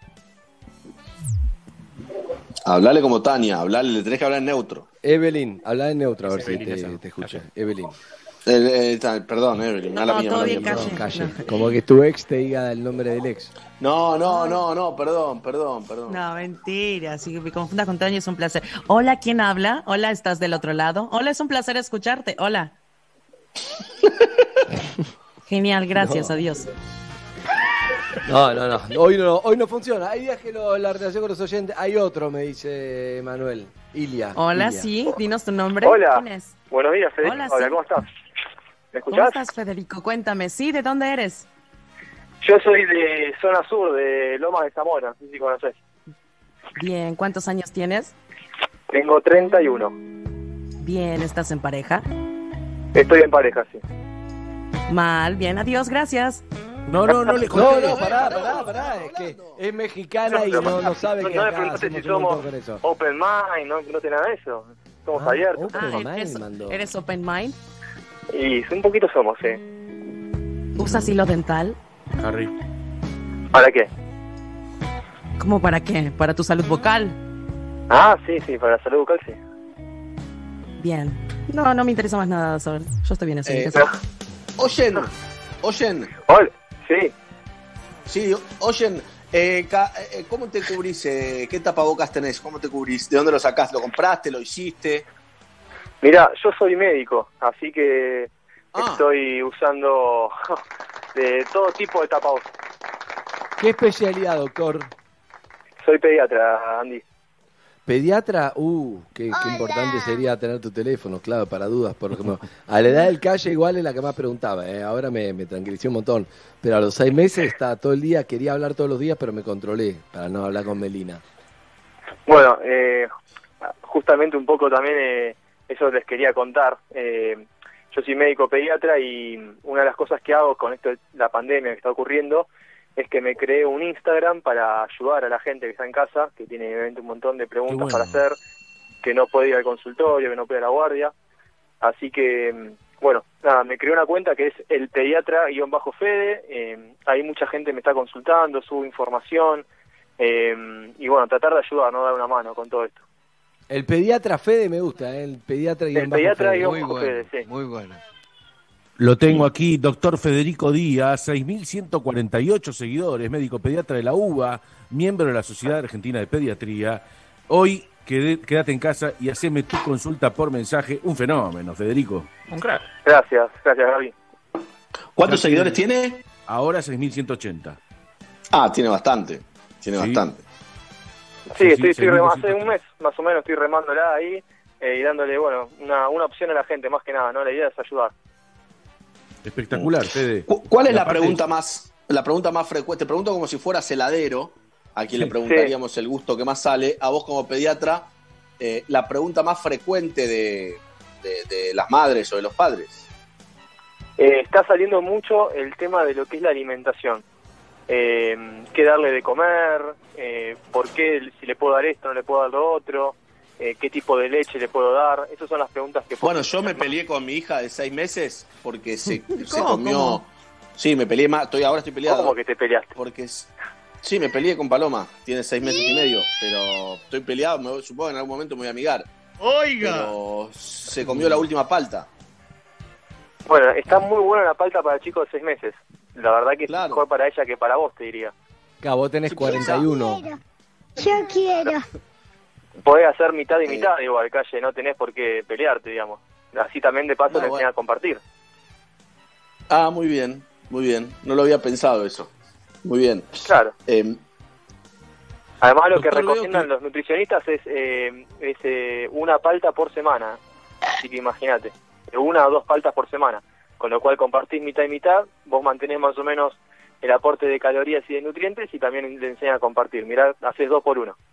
Hablale como Tania, hablale, le tenés que hablar en neutro. Evelyn, habla en neutro a ver Es si Evelyn, te, esa. te escucha. Evelyn. El, el, el, perdón, Evelyn, mala No, mía, todo mala bien, mía, calle. perdón. Calle. Como que tu ex te diga el nombre del ex. No, no, no, no, perdón, perdón, perdón. No, mentira, si me confundas con Tania es un placer. Hola, ¿quién habla? Hola, ¿estás del otro lado? Hola, es un placer escucharte. Hola. Genial, gracias, No. adiós. No, no, no. Hoy no, hoy no funciona. Hay días que lo- la relación con los oyentes. Hay otro, me dice Manuel. Ilia. Hola, Ilia. sí, dinos tu nombre. Hola. ¿Quién es? Buenos días, Federico. Hola, Hola, sí. ¿cómo estás? ¿Me ¿Cómo escuchás? estás, Federico? Cuéntame. Sí, ¿de dónde eres? Yo soy de zona sur, de Lomas de Zamora, no sé si conoces. Bien, ¿cuántos años tienes? Tengo treinta y uno. Bien, ¿estás en pareja? Estoy en pareja, sí. Mal, bien, adiós, gracias. No, no, no le No, conté. no, pará, pará, pará. Es que es mexicana y no, no sabe no, que no me acá preguntaste hacemos si un montón somos con eso. open mind, no, no tiene nada de eso. Somos Ah, abiertos. open Ah, mind, eres, mandó. ¿eres open mind? Y un poquito somos, sí. ¿Usas hilo dental? Harry. ¿Para qué? ¿Cómo para qué? ¿Para tu salud vocal? Ah, sí, sí, para la salud bucal, sí. Bien. No, no me interesa más nada, Sol. Yo estoy bien así. Eh, ¿qué sé? Oyen, oyen. Hola, sí. Sí, oyen. Eh, ca- eh, ¿Cómo te cubrís? Eh, ¿Qué tapabocas tenés? ¿Cómo te cubrís? ¿De dónde lo sacás? ¿Lo compraste? ¿Lo hiciste? Mira, yo soy médico, así que Ah. estoy usando de todo tipo de tapabocas. ¿Qué especialidad, doctor? Soy pediatra, Andy. Pediatra, uh, qué, qué importante sería tener tu teléfono, claro, para dudas. Por ejemplo, a la edad del calle igual es la que más preguntaba, ¿eh? Ahora me, me tranquilicé un montón. Pero a los seis meses estaba todo el día, quería hablar todos los días, pero me controlé para no hablar con Melina. Bueno, eh, justamente un poco también eh, eso les quería contar. Eh, yo soy médico pediatra y una de las cosas que hago con esto de la pandemia que está ocurriendo es que me creé un Instagram para ayudar a la gente que está en casa, que tiene obviamente un montón de preguntas bueno. para hacer, que no puede ir al consultorio, que no puede ir a la guardia. Así que, bueno, nada, me creé una cuenta que es el pediatra-fede. Eh, ahí mucha gente me está consultando, subo información. Eh, y bueno, tratar de ayudar, no dar una mano con todo esto. El pediatra Fede me gusta, ¿eh? El pediatra y El pediatra y Muy bajo bueno. Fede, sí. Muy bueno. Lo tengo aquí, doctor Federico Díaz, seis mil ciento cuarenta y ocho seguidores, médico pediatra de la U B A, miembro de la Sociedad Argentina de Pediatría. Hoy quedé- quédate en casa y haceme tu consulta por mensaje. Un fenómeno, Federico. Un crack. Gracias, gracias, Gaby. ¿Cuántos seguidores tiene? Ahora seis mil ciento ochenta. Ah, tiene bastante. Tiene Sí. bastante. Sí, Sí, estoy, sí, estoy rem- hace seguimos, un mes más o menos estoy remándola ahí eh, y dándole, bueno, una, una opción a la gente, más que nada, ¿no? La idea es ayudar. Espectacular, Fede. ¿Cu- ¿Cuál es Y la aparte- pregunta más la pregunta más frecuente? Te pregunto como si fueras heladero, a quien le preguntaríamos el gusto que más sale. A vos como pediatra, eh, la pregunta más frecuente de, de- de las madres o de los padres. Eh, está saliendo mucho el tema de lo que es la alimentación. Eh, ¿Qué darle de comer? Eh, ¿Por qué? Si le puedo dar esto, no le puedo dar lo otro. Eh, ¿Qué tipo de leche le puedo dar? Esas son las preguntas que... Bueno, yo me peleé con mi hija de seis meses porque se, se ¿Cómo? comió... ¿Cómo? Sí, me peleé más, estoy, ahora estoy peleado. ¿Cómo que te peleaste? Porque es- sí, me peleé con Paloma, tiene seis meses y medio, pero estoy peleado, me voy- supongo que en algún momento me voy a amigar. Oiga. Pero se comió la última palta. Bueno, está muy buena la palta para chicos de seis meses. La verdad que es mejor para ella que para vos, te diría. Acá, vos tenés cuarenta y uno. Yo quiero. Podés hacer mitad y mitad, igual, calle, no tenés por qué pelearte, digamos. Así también de paso No, te bueno. enseñan a compartir. Ah, muy bien, muy bien. No lo había pensado eso. Muy bien. Claro. Eh, Además, lo que Doctor, veo recomiendan que- los nutricionistas es, eh, es eh, una palta por semana. Así que imagínate, de una o dos paltas por semana. Con lo cual compartís mitad y mitad, vos mantenés más o menos el aporte de calorías y de nutrientes y también te enseñan a compartir. Mirá, haces dos por uno.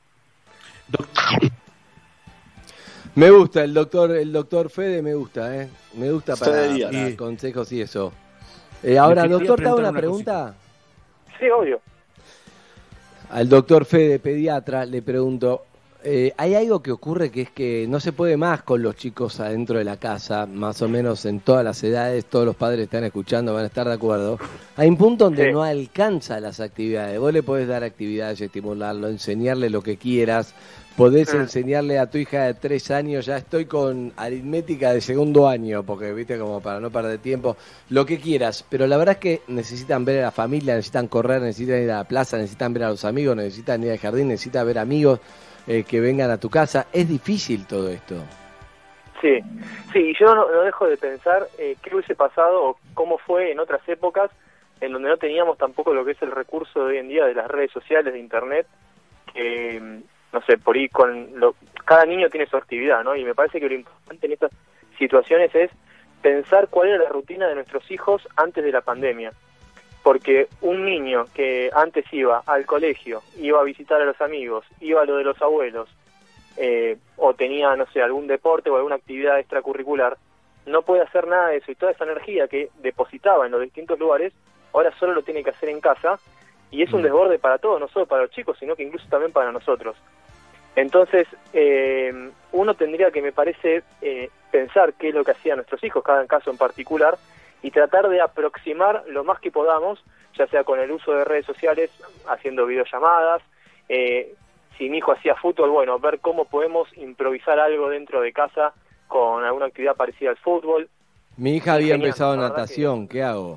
Me gusta el doctor, el doctor Fede me gusta, ¿eh? Me gusta para, Fede Díaz. para Y- consejos y eso. Eh, ahora, Le quería doctor, te hago preguntar una una pregunta. Sí, obvio. Al doctor Fede, pediatra, le pregunto, eh, hay algo que ocurre que es que no se puede más con los chicos adentro de la casa, más o menos en todas las edades, todos los padres están escuchando, van a estar de acuerdo. Hay un punto donde Sí. no alcanza las actividades. Vos le podés dar actividades, estimularlo, enseñarle lo que quieras. Podés Mm. enseñarle a tu hija de tres años, ya estoy con aritmética de segundo año, porque viste como para no perder tiempo, lo que quieras, pero la verdad es que necesitan ver a la familia, necesitan correr, necesitan ir a la plaza, necesitan ver a los amigos, necesitan ir al jardín, necesitan ver amigos eh, que vengan a tu casa. Es difícil todo esto. Sí, sí, y yo no, no dejo de pensar eh, qué hubiese pasado o cómo fue en otras épocas en donde no teníamos tampoco lo que es el recurso de hoy en día de las redes sociales, de internet, que, no sé, por ahí con lo, cada niño tiene su actividad, ¿no? Y me parece que lo importante en estas situaciones es pensar cuál era la rutina de nuestros hijos antes de la pandemia. Porque un niño que antes iba al colegio, iba a visitar a los amigos, iba a lo de los abuelos, eh, o tenía, no sé, algún deporte o alguna actividad extracurricular, no puede hacer nada de eso. Y toda esa energía que depositaba en los distintos lugares, ahora solo lo tiene que hacer en casa. Y es un desborde para todos, no solo para los chicos, sino que incluso también para nosotros. Entonces, eh, uno tendría que, me parece, eh, pensar qué es lo que hacían nuestros hijos, cada caso en particular, y tratar de aproximar lo más que podamos, ya sea con el uso de redes sociales, haciendo videollamadas, eh, si mi hijo hacía fútbol, bueno, ver cómo podemos improvisar algo dentro de casa con alguna actividad parecida al fútbol. Mi hija había Genial, empezado la verdad natación, ¿qué hago?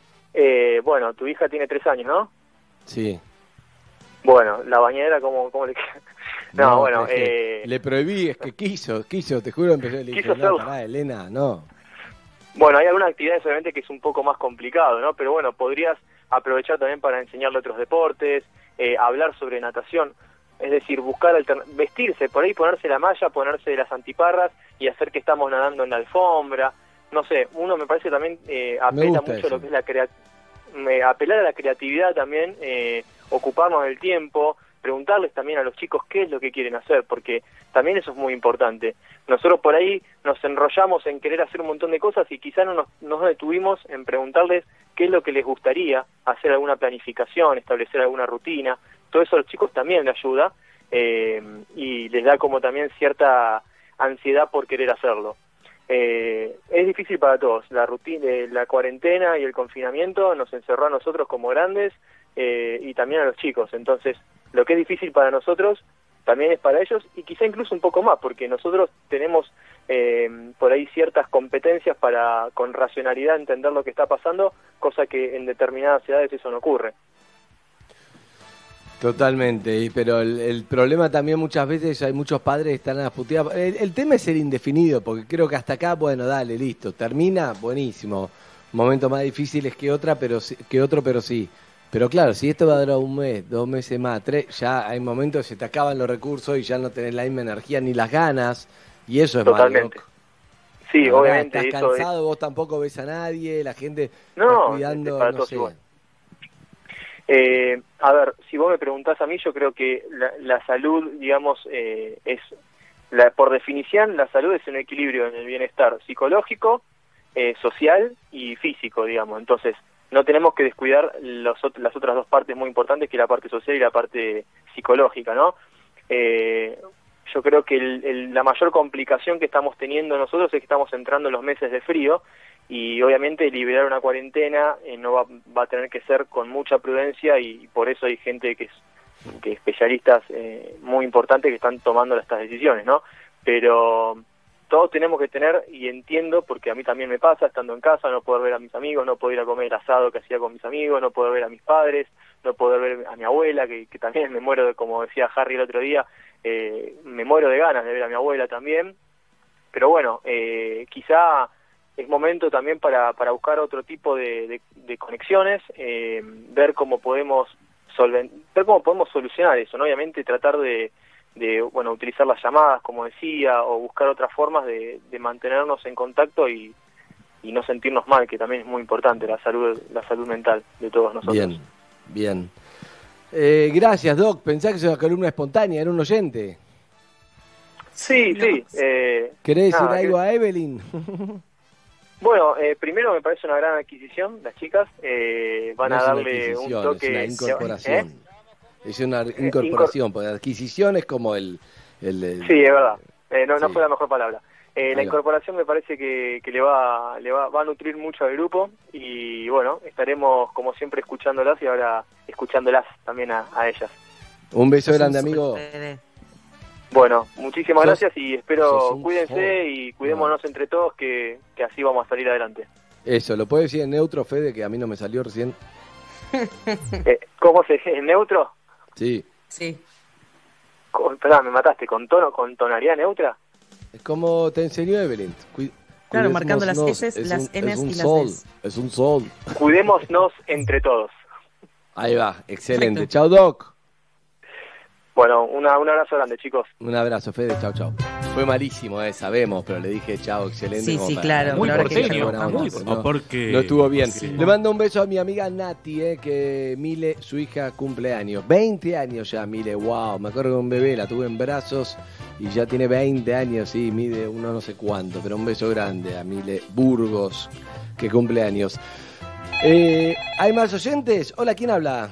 Eh, bueno, tu hija tiene tres años, ¿no? Sí. Bueno, la bañera, ¿cómo, cómo le queda? No, bueno, es que eh, le prohibí, es que quiso, quiso, te juro, empezó, le dije, Quiso no, hacerlo. pará, Elena, no. bueno, hay algunas actividades obviamente que es un poco más complicado, ¿no? Pero bueno, podrías aprovechar también para enseñarle otros deportes, eh, hablar sobre natación, es decir, buscar altern- vestirse, por ahí ponerse la malla, ponerse las antiparras y hacer que estamos nadando en la alfombra, no sé, uno me parece también eh, apela gusta mucho a eso. lo que es la crea- me- apelar a la creatividad también, eh, ocuparnos del tiempo, preguntarles también a los chicos qué es lo que quieren hacer, porque también eso es muy importante. Nosotros por ahí nos enrollamos en querer hacer un montón de cosas y quizá no nos, nos detuvimos en preguntarles qué es lo que les gustaría, hacer alguna planificación, establecer alguna rutina. Todo eso a los chicos también les ayuda eh, y les da como también cierta ansiedad por querer hacerlo. Eh, es difícil para todos. La rutina, la cuarentena y el confinamiento nos encerró a nosotros como grandes eh, y también a los chicos. Entonces, lo que es difícil para nosotros también es para ellos y quizá incluso un poco más, porque nosotros tenemos eh, por ahí ciertas competencias para con racionalidad entender lo que está pasando, cosa que en determinadas edades eso no ocurre. Totalmente, y- pero el, el problema también muchas veces hay muchos padres que están a las puteadas. El, el tema es el indefinido, porque creo que hasta acá, bueno, dale, listo, termina, buenísimo. Momentos más difíciles que otra, pero sí- que otro, pero sí. Pero claro, si esto va a durar un mes, dos meses más, tres, ya hay momentos que se te acaban los recursos y ya no tenés la misma energía ni las ganas, y eso es Totalmente. malo. Sí, La verdad, obviamente. Estás eso es- cansado, vos tampoco ves a nadie, la gente No, está cuidando, es para no todos sé. igual. Eh, a ver, si vos me preguntás a mí, yo creo que la, la salud, digamos, eh, es, la, por definición, la salud es un equilibrio en el bienestar psicológico, eh, social y físico, digamos. Entonces, no tenemos que descuidar los, ot- las otras dos partes muy importantes, que es la parte social y la parte psicológica, ¿no? Eh, yo creo que el, el- la mayor complicación que estamos teniendo nosotros es que estamos entrando en los meses de frío y obviamente liberar una cuarentena eh, no va, va a tener que ser con mucha prudencia y, y por eso hay gente que es que especialistas eh, muy importantes que están tomando estas decisiones, ¿no? Pero todos tenemos que tener, y entiendo, porque a mí también me pasa, estando en casa, no poder ver a mis amigos, no poder ir a comer el asado que hacía con mis amigos, no poder ver a mis padres, no poder ver a mi abuela, que, que también me muero, de, como decía Harry el otro día, eh, me muero de ganas de ver a mi abuela también. Pero bueno, eh, quizá es momento también para, para buscar otro tipo de, de, de conexiones, eh, ver cómo podemos solven- ver cómo podemos solucionar eso, ¿no? Obviamente tratar de, de bueno, utilizar las llamadas, como decía, o buscar otras formas de, de mantenernos en contacto y, y no sentirnos mal, que también es muy importante la salud, la salud mental de todos nosotros. Bien, bien. Eh, gracias, Doc. Pensá que es una columna espontánea, era un oyente. Sí, sí. Eh, ¿Querés decir nada, algo que- a Evelyn? Bueno, eh, primero me parece una gran adquisición, las chicas eh, van No a es una darle un adquisición, toque... es una incorporación. ¿Eh? Es una incorporación, porque adquisición es como el, El, el- Sí, es verdad. Eh, no, no Sí. fue la mejor palabra. Eh, la Ahí va. incorporación me parece que, que le va le va, va a nutrir mucho al grupo y bueno, estaremos como siempre escuchándolas y ahora escuchándolas también a, a ellas. Un beso grande, amigo. Bueno, muchísimas Sos- gracias y espero sos un cuídense joven. y cuidémonos entre todos que, que así vamos a salir adelante. Eso, ¿lo puedes decir en neutro, Fede, que a mí no me salió recién? Eh, ¿Cómo se dice? ¿En neutro? Sí. Sí. Con, perdón, me mataste. ¿Con tono, con tonalidad neutra? Es como te enseñó Evelyn. Cu- Claro, marcando las cuidémonos, S's, es las un- N's es un y las sol, Ds. Es un sol. Cuidémonos entre todos. Ahí va, excelente. Chao, Doc. Bueno, una, un abrazo grande, chicos. Un abrazo, Fede. Chao, chao. Fue malísimo, eh, sabemos, pero le dije chao, excelente. Sí, como sí, para- claro, Muy pero ahora que porteño, dijeron buena onda, muy pero porteño. no, Porque- no estuvo bien. porque- Le mando un beso a mi amiga Nati, eh, que Mile, su hija, cumple años. veinte años ya, Mile, wow. Me acuerdo de un bebé, la tuve en brazos y ya tiene veinte años, sí, mide uno no sé cuánto, pero un beso grande a Mile Burgos, que cumple años. Eh, ¿Hay más oyentes? Hola, ¿quién habla?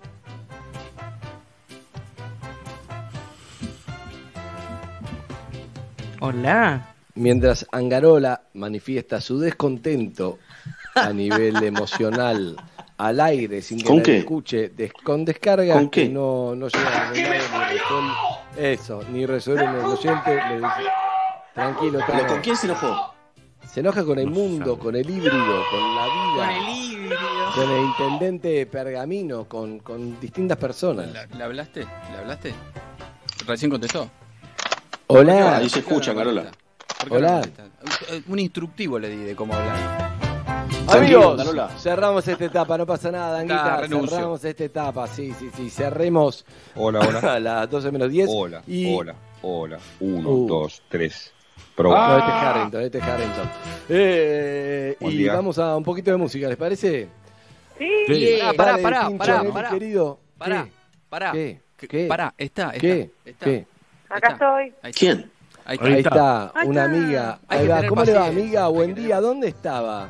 Hola. Mientras Angarola manifiesta su descontento a nivel emocional al aire sin que ¿Con nadie qué? escuche, des- con descargas ¿Con qué? que no, no llegan a ningún lado, ni resuelven eso, ni resuelven el oyente, le dice, tranquilo, ¿Pero Tano. con quién se enojó? Se enoja con el mundo, con el híbrido, con la vida, con el intendente Pergamino, con, con distintas personas. ¿Le hablaste? ¿Le hablaste? Recién contestó. Hola. Ahí se escucha, Carola. ¿Por qué no Hola. contesta? Un instructivo le di de cómo hablar. Tranquilo, Amigos, Carola. cerramos esta etapa, no pasa nada, Anguita, Ah, renuncio. cerramos esta etapa, sí, sí, sí, cerremos Hola, hola. a las doce menos diez. Hola, y... hola, hola. Uno, Uh. dos, tres. No, Proba. este es Harrington, este es Harrington. Eh, Buen y día. vamos a un poquito de música, ¿les parece? Sí. Sí. Pará, Dale, pará, Tincho, pará, Nelly, pará. querido. Pará, ¿Qué? pará. ¿Qué? ¿Qué? ¿Qué? Pará, está, está. ¿Qué? está, ¿Qué? Acá estoy. Ahí está. ¿Quién? Ahí está. Ahí Ahí está, Ahí una está. amiga. Hay Ahí que va. tener ¿Cómo le va, paciencia, amiga? hay que Buen tener- día. ¿Dónde estaba?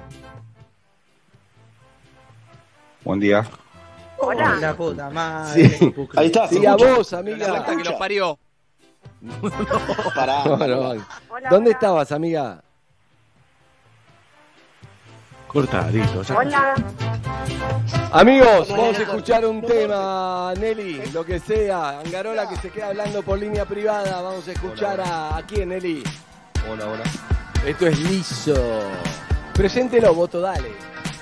Buen día. Hola. La puta madre. Sí, Ahí está. ¿se sí a escucha? vos, La amiga. secta que los parió. Pará, No, Carola. no. Hola, ¿Dónde hola. estabas, amiga? Cortadito. ya. Hola. Amigos, vamos a escuchar un tema, Nelly, lo que sea. Angarola que se queda hablando por línea privada. Vamos a escuchar a, ¿a quién, Nelly? Hola, hola. Esto es liso. Preséntelo, voto, dale.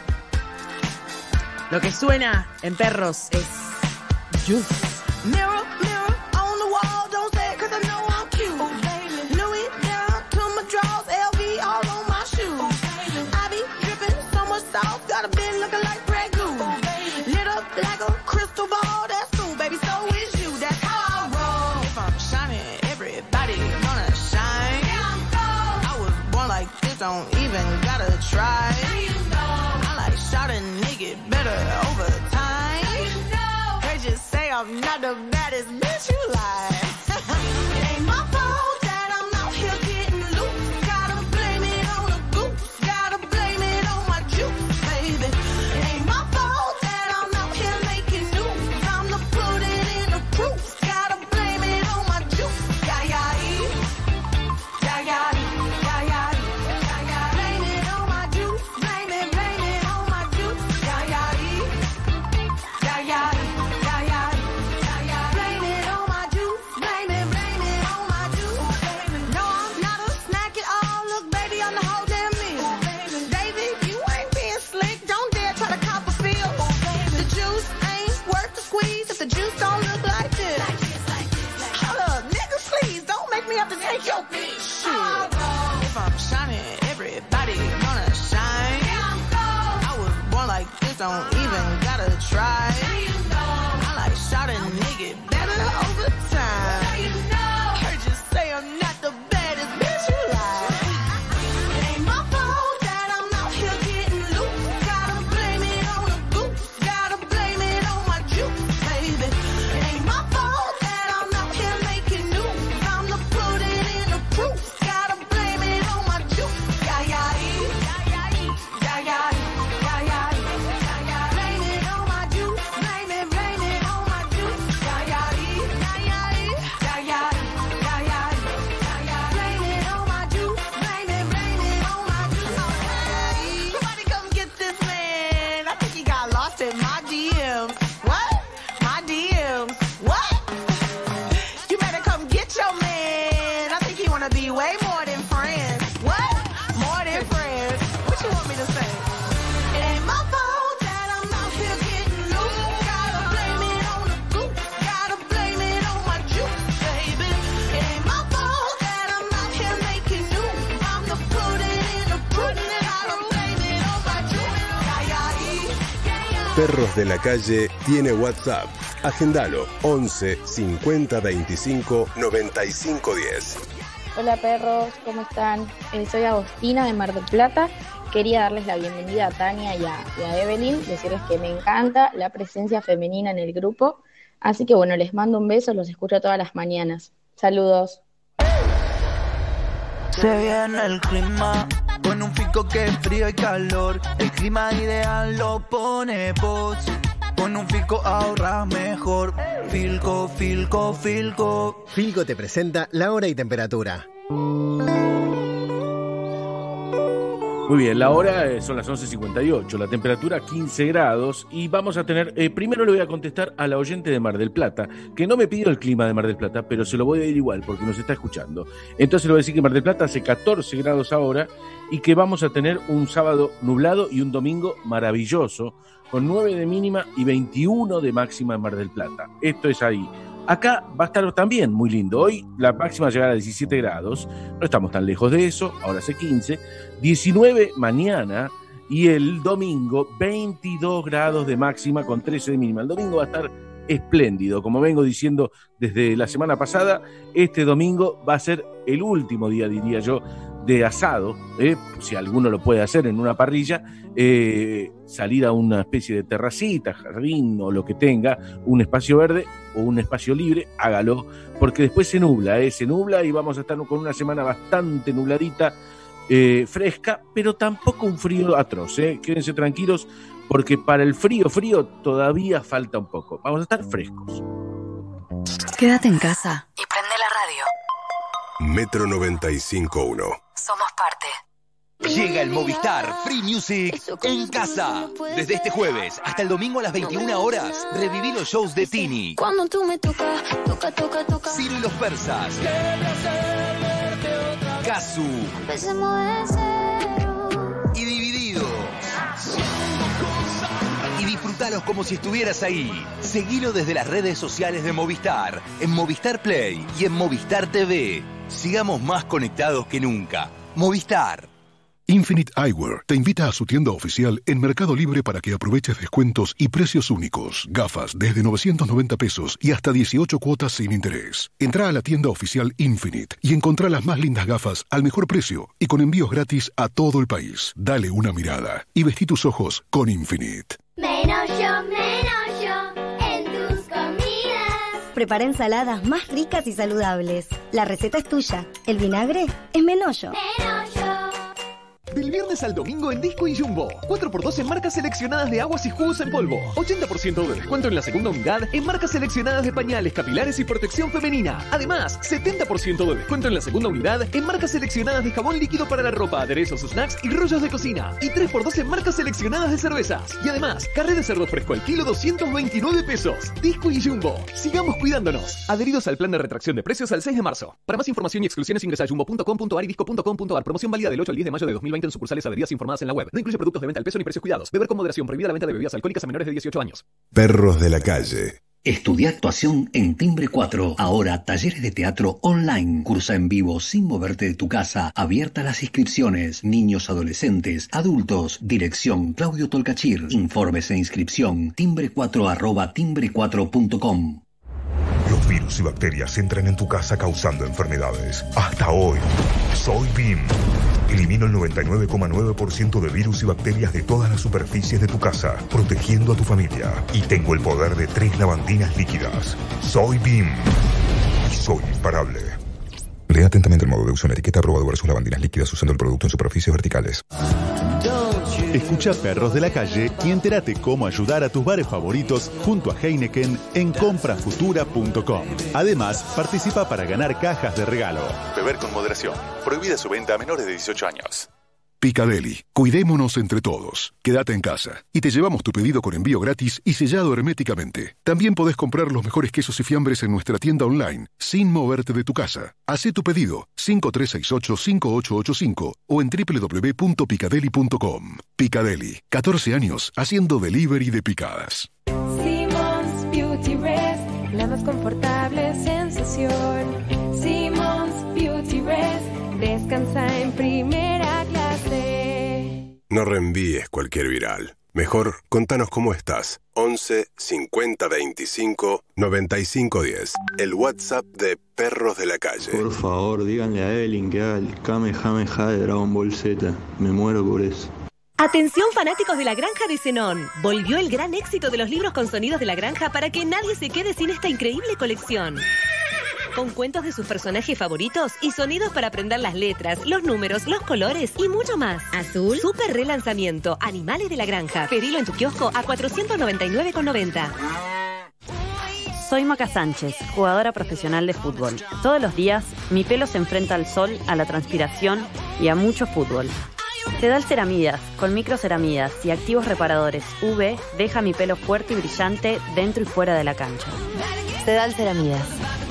Lo que suena en perros es Juice. Mirror, mirror on the wall, don't say it 'cause I know I'm cute. Oh, baby. Louis down to my drawers, L V all on my shoes. Oh, I be dripping so much sauce, got a bin looking like Grey Goose. Oh, lit up like a crystal ball, that's cool, baby, so is you, that's how I roll. If I'm shining, everybody gonna shine. I was born like this, don't even gotta try. I like shot a nigga better over time. They just say I'm not the baddest bitch you like. It ain't my fault that I'm out here getting loose. Gotta blame it on the goose. Gotta blame it on my juice, baby. It ain't my fault that I'm out here making news. Time to put it in the proof. Gotta blame it on my juice. Yeah, yeah, yeah, yeah, yeah, yeah, yeah. Blame it on my juice. Blame it, blame it on my juice. Yeah, yeah, yeah, yeah, yeah, yeah, yeah. Blame it on my juice. Blame it, blame it on my juice. No, I'm not a snack at all. Look, baby, I'm the whole damn meal. David, you ain't being slick. Don't dare try to cop a feel. The juice ain't worth the squeeze if the juice don't look like this. Hold up, nigga, please don't make me have to take your bitch. Shit. If I'm shining, everybody gonna shine. I was born like this, don't even gotta try. I like shot a nigga better over time. Heard you say I'm not the baddest bitch you like. It ain't my fault that I'm out here getting loose. Gotta blame it on the goose. Gotta blame it on my juice, baby. It ain't my fault that I'm out here making news. Time to put it in the proof. Perros de la Calle tiene WhatsApp. Agendalo once cincuenta veinticinco noventa y cinco diez. Hola perros, ¿cómo están? Eh, soy Agostina de Mar del Plata. Quería darles la bienvenida a Tania y a, y a Evelyn, decirles que me encanta la presencia femenina en el grupo. Así que bueno, les mando un beso, los escucho todas las mañanas. Saludos. Se viene el clima, con un fico que es frío y calor. El clima ideal lo pone vos. Con un Filco ahorras mejor. Filco, Filco, Filco. Filco te presenta la hora y temperatura. Muy bien, la hora eh, son las once cincuenta y ocho, la temperatura quince grados y vamos a tener, eh, primero le voy a contestar a la oyente de Mar del Plata, que no me pidió el clima de Mar del Plata, pero se lo voy a ir igual porque nos está escuchando. Entonces le voy a decir que Mar del Plata hace catorce grados ahora y que vamos a tener un sábado nublado y un domingo maravilloso, con nueve de mínima y veintiuno de máxima en Mar del Plata. Esto es ahí. Acá va a estar también muy lindo. Hoy la máxima llegará a diecisiete grados, no estamos tan lejos de eso, ahora hace quince, diecinueve mañana y el domingo veintidós grados de máxima con trece de mínima. El domingo va a estar espléndido, como vengo diciendo desde la semana pasada, este domingo va a ser el último día, diría yo, de asado, eh, si alguno lo puede hacer en una parrilla, eh, salir a una especie de terracita, jardín o lo que tenga, un espacio verde o un espacio libre, hágalo, porque después se nubla, eh, se nubla y vamos a estar con una semana bastante nubladita, eh, fresca, pero tampoco un frío atroz, eh. Quédense tranquilos, porque para el frío, frío todavía falta un poco, vamos a estar frescos. Quédate en casa y prende la radio. Metro noventa y cinco punto uno. Somos parte. Llega el Movistar Free Music en casa. Desde este jueves hasta el domingo a las veintiuna horas, reviví los shows de Tini, Cuando tú me tocas, toca, toca, toca. Ciro y los Persas, Kazu Empecemos de cero. y Divididos. Y disfrutalos como si estuvieras ahí. Seguilo desde las redes sociales de Movistar, en Movistar Play y en Movistar T V. Sigamos más conectados que nunca. Movistar. Infinite Eyewear te invita a su tienda oficial en Mercado Libre para que aproveches descuentos y precios únicos. Gafas desde novecientos noventa pesos y hasta dieciocho cuotas sin interés. Entrá a la tienda oficial Infinite y encontrá las más lindas gafas al mejor precio y con envíos gratis a todo el país. Dale una mirada y vestí tus ojos con Infinite. Menos yo, menos yo en tus comidas. Prepara ensaladas más ricas y saludables. La receta es tuya. El vinagre es Menollo. Del viernes al domingo en Disco y Jumbo. cuatro por dos en marcas seleccionadas de aguas y jugos en polvo. ochenta por ciento de descuento en la segunda unidad en marcas seleccionadas de pañales, capilares y protección femenina. Además, setenta por ciento de descuento en la segunda unidad en marcas seleccionadas de jabón líquido para la ropa, aderezos, snacks y rollos de cocina. Y tres por dos en marcas seleccionadas de cervezas. Y además, carré de cerdo fresco al kilo doscientos veintinueve pesos. Disco y Jumbo. Sigamos cuidándonos. Adheridos al plan de retracción de precios al seis de marzo. Para más información y exclusiones ingresa a jumbo punto com punto ar y disco punto com punto ar. Promoción válida del ocho al diez de mayo de dos mil veinte en sucursales adheridas informadas en la web. No incluye productos de venta al peso ni precios cuidados. Beber con moderación. Prohibida la venta de bebidas alcohólicas a menores de dieciocho años. Perros de la Calle. Estudia actuación en Timbre cuatro. Ahora talleres de teatro online. Cursa en vivo sin moverte de tu casa. Abiertas las inscripciones. Niños, adolescentes, adultos. Dirección Claudio Tolcachir. Informes e inscripción timbre cuatro arroba timbre cuatro punto com. Los virus y bacterias entran en tu casa causando enfermedades. Hasta hoy, soy B I M. Elimino el noventa y nueve coma nueve por ciento de virus y bacterias de todas las superficies de tu casa, protegiendo a tu familia. Y tengo el poder de tres lavandinas líquidas. Soy B I M. Y soy imparable. Lea atentamente el modo de uso en la etiqueta aprobado versus lavandinas líquidas usando el producto en superficies verticales. Escucha Perros de la Calle y entérate cómo ayudar a tus bares favoritos junto a Heineken en compra futura punto com. Además, participa para ganar cajas de regalo. Beber con moderación. Prohibida su venta a menores de dieciocho años. Picadeli. Cuidémonos entre todos. Quédate en casa y te llevamos tu pedido con envío gratis y sellado herméticamente. También podés comprar los mejores quesos y fiambres en nuestra tienda online sin moverte de tu casa. Hacé tu pedido cinco tres seis ocho cinco ocho ocho cinco o en doble u doble u doble u punto picadeli punto com. Picadeli. catorce años haciendo delivery de picadas. Simmons Beauty Rest, la más confortable sensación. Simmons Beauty Rest, descansa en primera clase. No reenvíes cualquier viral. Mejor, contanos cómo estás. once cincuenta veinticinco noventa y cinco diez. El WhatsApp de Perros de la Calle. Por favor, díganle a Evelyn que haga el Kamehameha de Dragon Ball Z. Me muero por eso. Atención fanáticos de La Granja de Zenón. Volvió el gran éxito de los libros con sonidos de La Granja para que nadie se quede sin esta increíble colección. Con cuentos de sus personajes favoritos y sonidos para aprender las letras, los números, los colores y mucho más. Azul, super relanzamiento, Animales de la Granja. Pedilo en tu kiosco a cuatrocientos noventa y nueve con noventa. Soy Maca Sánchez, jugadora profesional de fútbol. Todos los días, mi pelo se enfrenta al sol, a la transpiración y a mucho fútbol. Sedal Ceramidas, con microceramidas y activos reparadores U V, deja mi pelo fuerte y brillante dentro y fuera de la cancha. Sedal Ceramidas.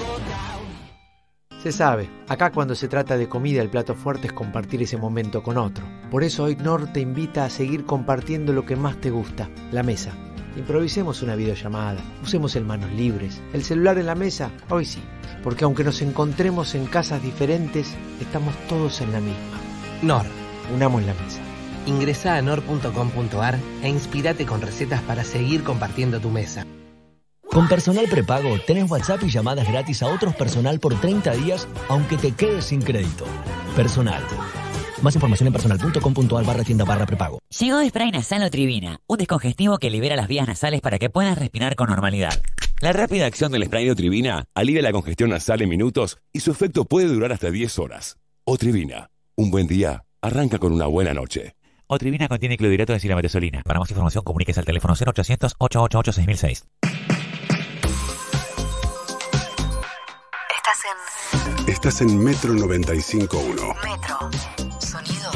Se sabe, acá cuando se trata de comida el plato fuerte es compartir ese momento con otro. Por eso hoy Knorr te invita a seguir compartiendo lo que más te gusta, la mesa. Improvisemos una videollamada, usemos el manos libres. El celular en la mesa, hoy sí, porque aunque nos encontremos en casas diferentes, estamos todos en la misma. Knorr. Unamos la mesa. Ingresá a knorr punto com punto ar e inspirate con recetas para seguir compartiendo tu mesa. Con Personal Prepago tenés WhatsApp y llamadas gratis a otros personal por treinta días, aunque te quedes sin crédito. Personal. Más información en personal punto com punto ar barra tienda barra prepago. Llegó Spray Nasal Otrivina, un descongestivo que libera las vías nasales para que puedas respirar con normalidad. La rápida acción del spray de Otrivina alivia la congestión nasal en minutos y su efecto puede durar hasta diez horas. Otrivina. Un buen día arranca con una buena noche. Otrivina contiene clorhidrato de silamatesolina. Para más información, comuníquese al teléfono cero ochocientos, ochocientos ochenta y ocho, seis mil seis. Estás en... Estás en Metro noventa y cinco punto uno. Metro. Sonido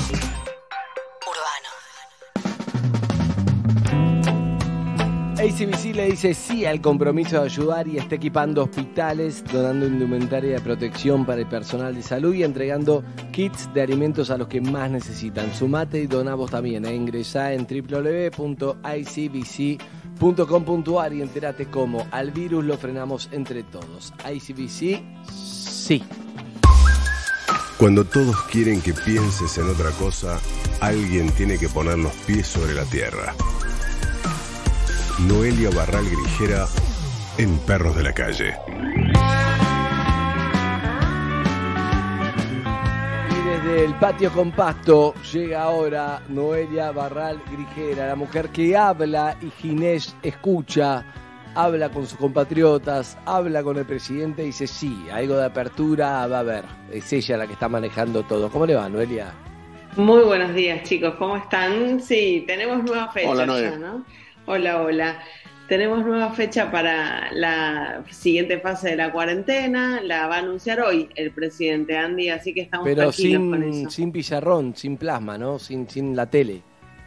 urbano. A C B C le dice sí al compromiso de ayudar y está equipando hospitales, donando indumentaria de protección para el personal de salud y entregando kits de alimentos a los que más necesitan. Sumate y dona vos también. E ingresá en doble u doble u doble u punto i c b c punto com punto ar y entérate cómo al virus lo frenamos entre todos. I C B C, sí. Cuando todos quieren que pienses en otra cosa, alguien tiene que poner los pies sobre la tierra. Noelia Barral Grijera en Perros de la Calle. Y desde el patio compacto llega ahora Noelia Barral Grijera, la mujer que habla y Ginés escucha, habla con sus compatriotas, habla con el presidente y dice sí, algo de apertura va a haber. Es ella la que está manejando todo. ¿Cómo le va, Noelia? Muy buenos días, chicos. ¿Cómo están? Sí, tenemos nueva fecha. Hola, ya, ¿no? Hola, hola. Tenemos nueva fecha para la siguiente fase de la cuarentena. La va a anunciar hoy el presidente Andy, así que estamos Pero tranquilos sin, con eso. sin pizarrón, sin plasma, ¿no? Sin, sin la tele.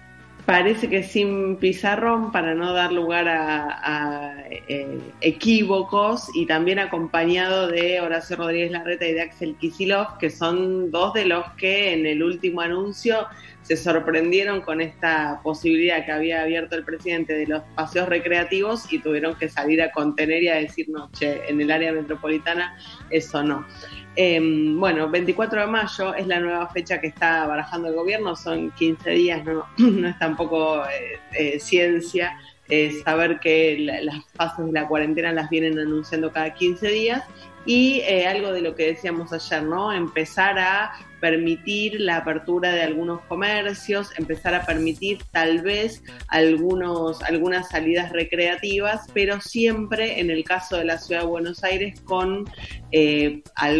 Parece que sin pizarrón para no dar lugar a, a eh, equívocos y también acompañado de Horacio Rodríguez Larreta y de Axel Kicillof, que son dos de los que en el último anuncio se sorprendieron con esta posibilidad que había abierto el presidente de los paseos recreativos y tuvieron que salir a contener y a decir, no, che, en el área metropolitana eso no. Eh, bueno, veinticuatro de mayo es la nueva fecha que está barajando el gobierno, son quince días, no, no es tampoco eh, eh, ciencia eh, saber que la, las fases de la cuarentena las vienen anunciando cada quince días y eh, algo de lo que decíamos ayer, ¿no? Empezar a permitir la apertura de algunos comercios, empezar a permitir tal vez algunos, algunas salidas recreativas, pero siempre en el caso de la Ciudad de Buenos Aires con eh,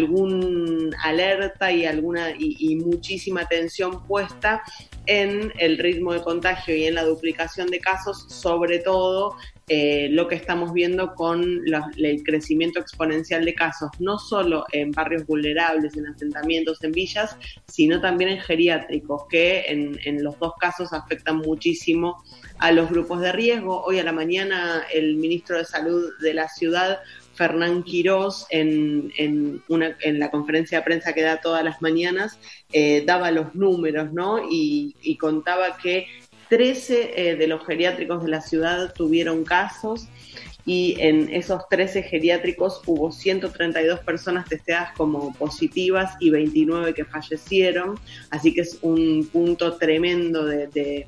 algún alerta y, alguna, y, y muchísima atención puesta en el ritmo de contagio y en la duplicación de casos, sobre todo eh, lo que estamos viendo con los, el crecimiento exponencial de casos, no solo en barrios vulnerables, en asentamientos, en villas, sino también en geriátricos, que en, en los dos casos afectan muchísimo a los grupos de riesgo. Hoy a la mañana el ministro de Salud de la ciudad, Fernán Quirós, en, en, una, en la conferencia de prensa que da todas las mañanas, eh, daba los números, ¿no? Y, y contaba que trece eh, de los geriátricos de la ciudad tuvieron casos y en esos trece geriátricos hubo ciento treinta y dos personas testeadas como positivas y veintinueve que fallecieron, así que es un punto tremendo de, de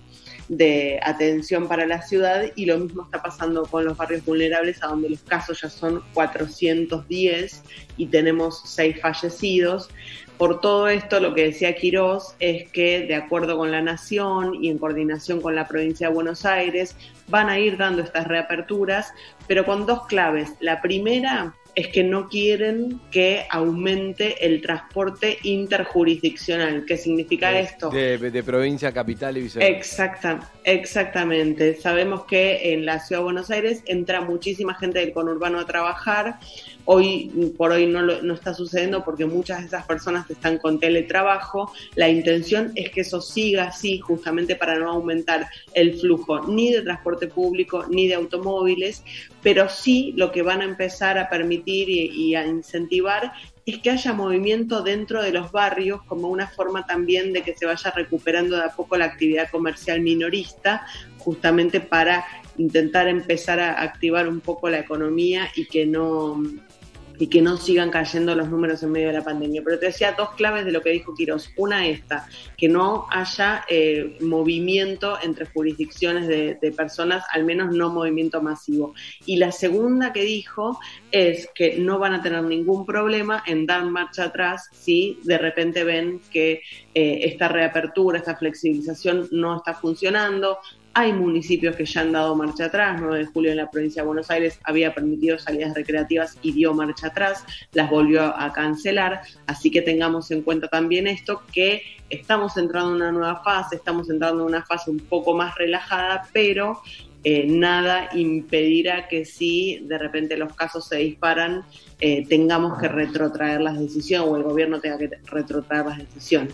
de atención para la ciudad, y lo mismo está pasando con los barrios vulnerables, a donde los casos ya son cuatrocientos diez y tenemos seis fallecidos. Por todo esto, lo que decía Quirós es que, de acuerdo con la Nación y en coordinación con la provincia de Buenos Aires, van a ir dando estas reaperturas, pero con dos claves. La primera es que no quieren que aumente el transporte interjurisdiccional. ¿Qué significa de, esto? De, de provincia a capital y viceversa. Exacta, exactamente. Sabemos que en la Ciudad de Buenos Aires entra muchísima gente del conurbano a trabajar. Hoy por hoy no, lo, no está sucediendo porque muchas de esas personas están con teletrabajo. La intención es que eso siga así, justamente para no aumentar el flujo ni de transporte público ni de automóviles, pero sí lo que van a empezar a permitir y, y a incentivar es que haya movimiento dentro de los barrios, como una forma también de que se vaya recuperando de a poco la actividad comercial minorista, justamente para intentar empezar a activar un poco la economía y que no... y que no sigan cayendo los números en medio de la pandemia. Pero te decía dos claves de lo que dijo Quirós. Una esta, que no haya eh, movimiento entre jurisdicciones de, de personas, al menos no movimiento masivo. Y la segunda que dijo es que no van a tener ningún problema en dar marcha atrás si de repente ven que eh, esta reapertura, esta flexibilización no está funcionando. Hay municipios que ya han dado marcha atrás. nueve de julio en la provincia de Buenos Aires había permitido salidas recreativas y dio marcha atrás, las volvió a cancelar, así que tengamos en cuenta también esto, que estamos entrando en una nueva fase, estamos entrando en una fase un poco más relajada, pero eh, nada impedirá que si de repente los casos se disparan, eh, tengamos que retrotraer las decisiones o el gobierno tenga que retrotraer las decisiones.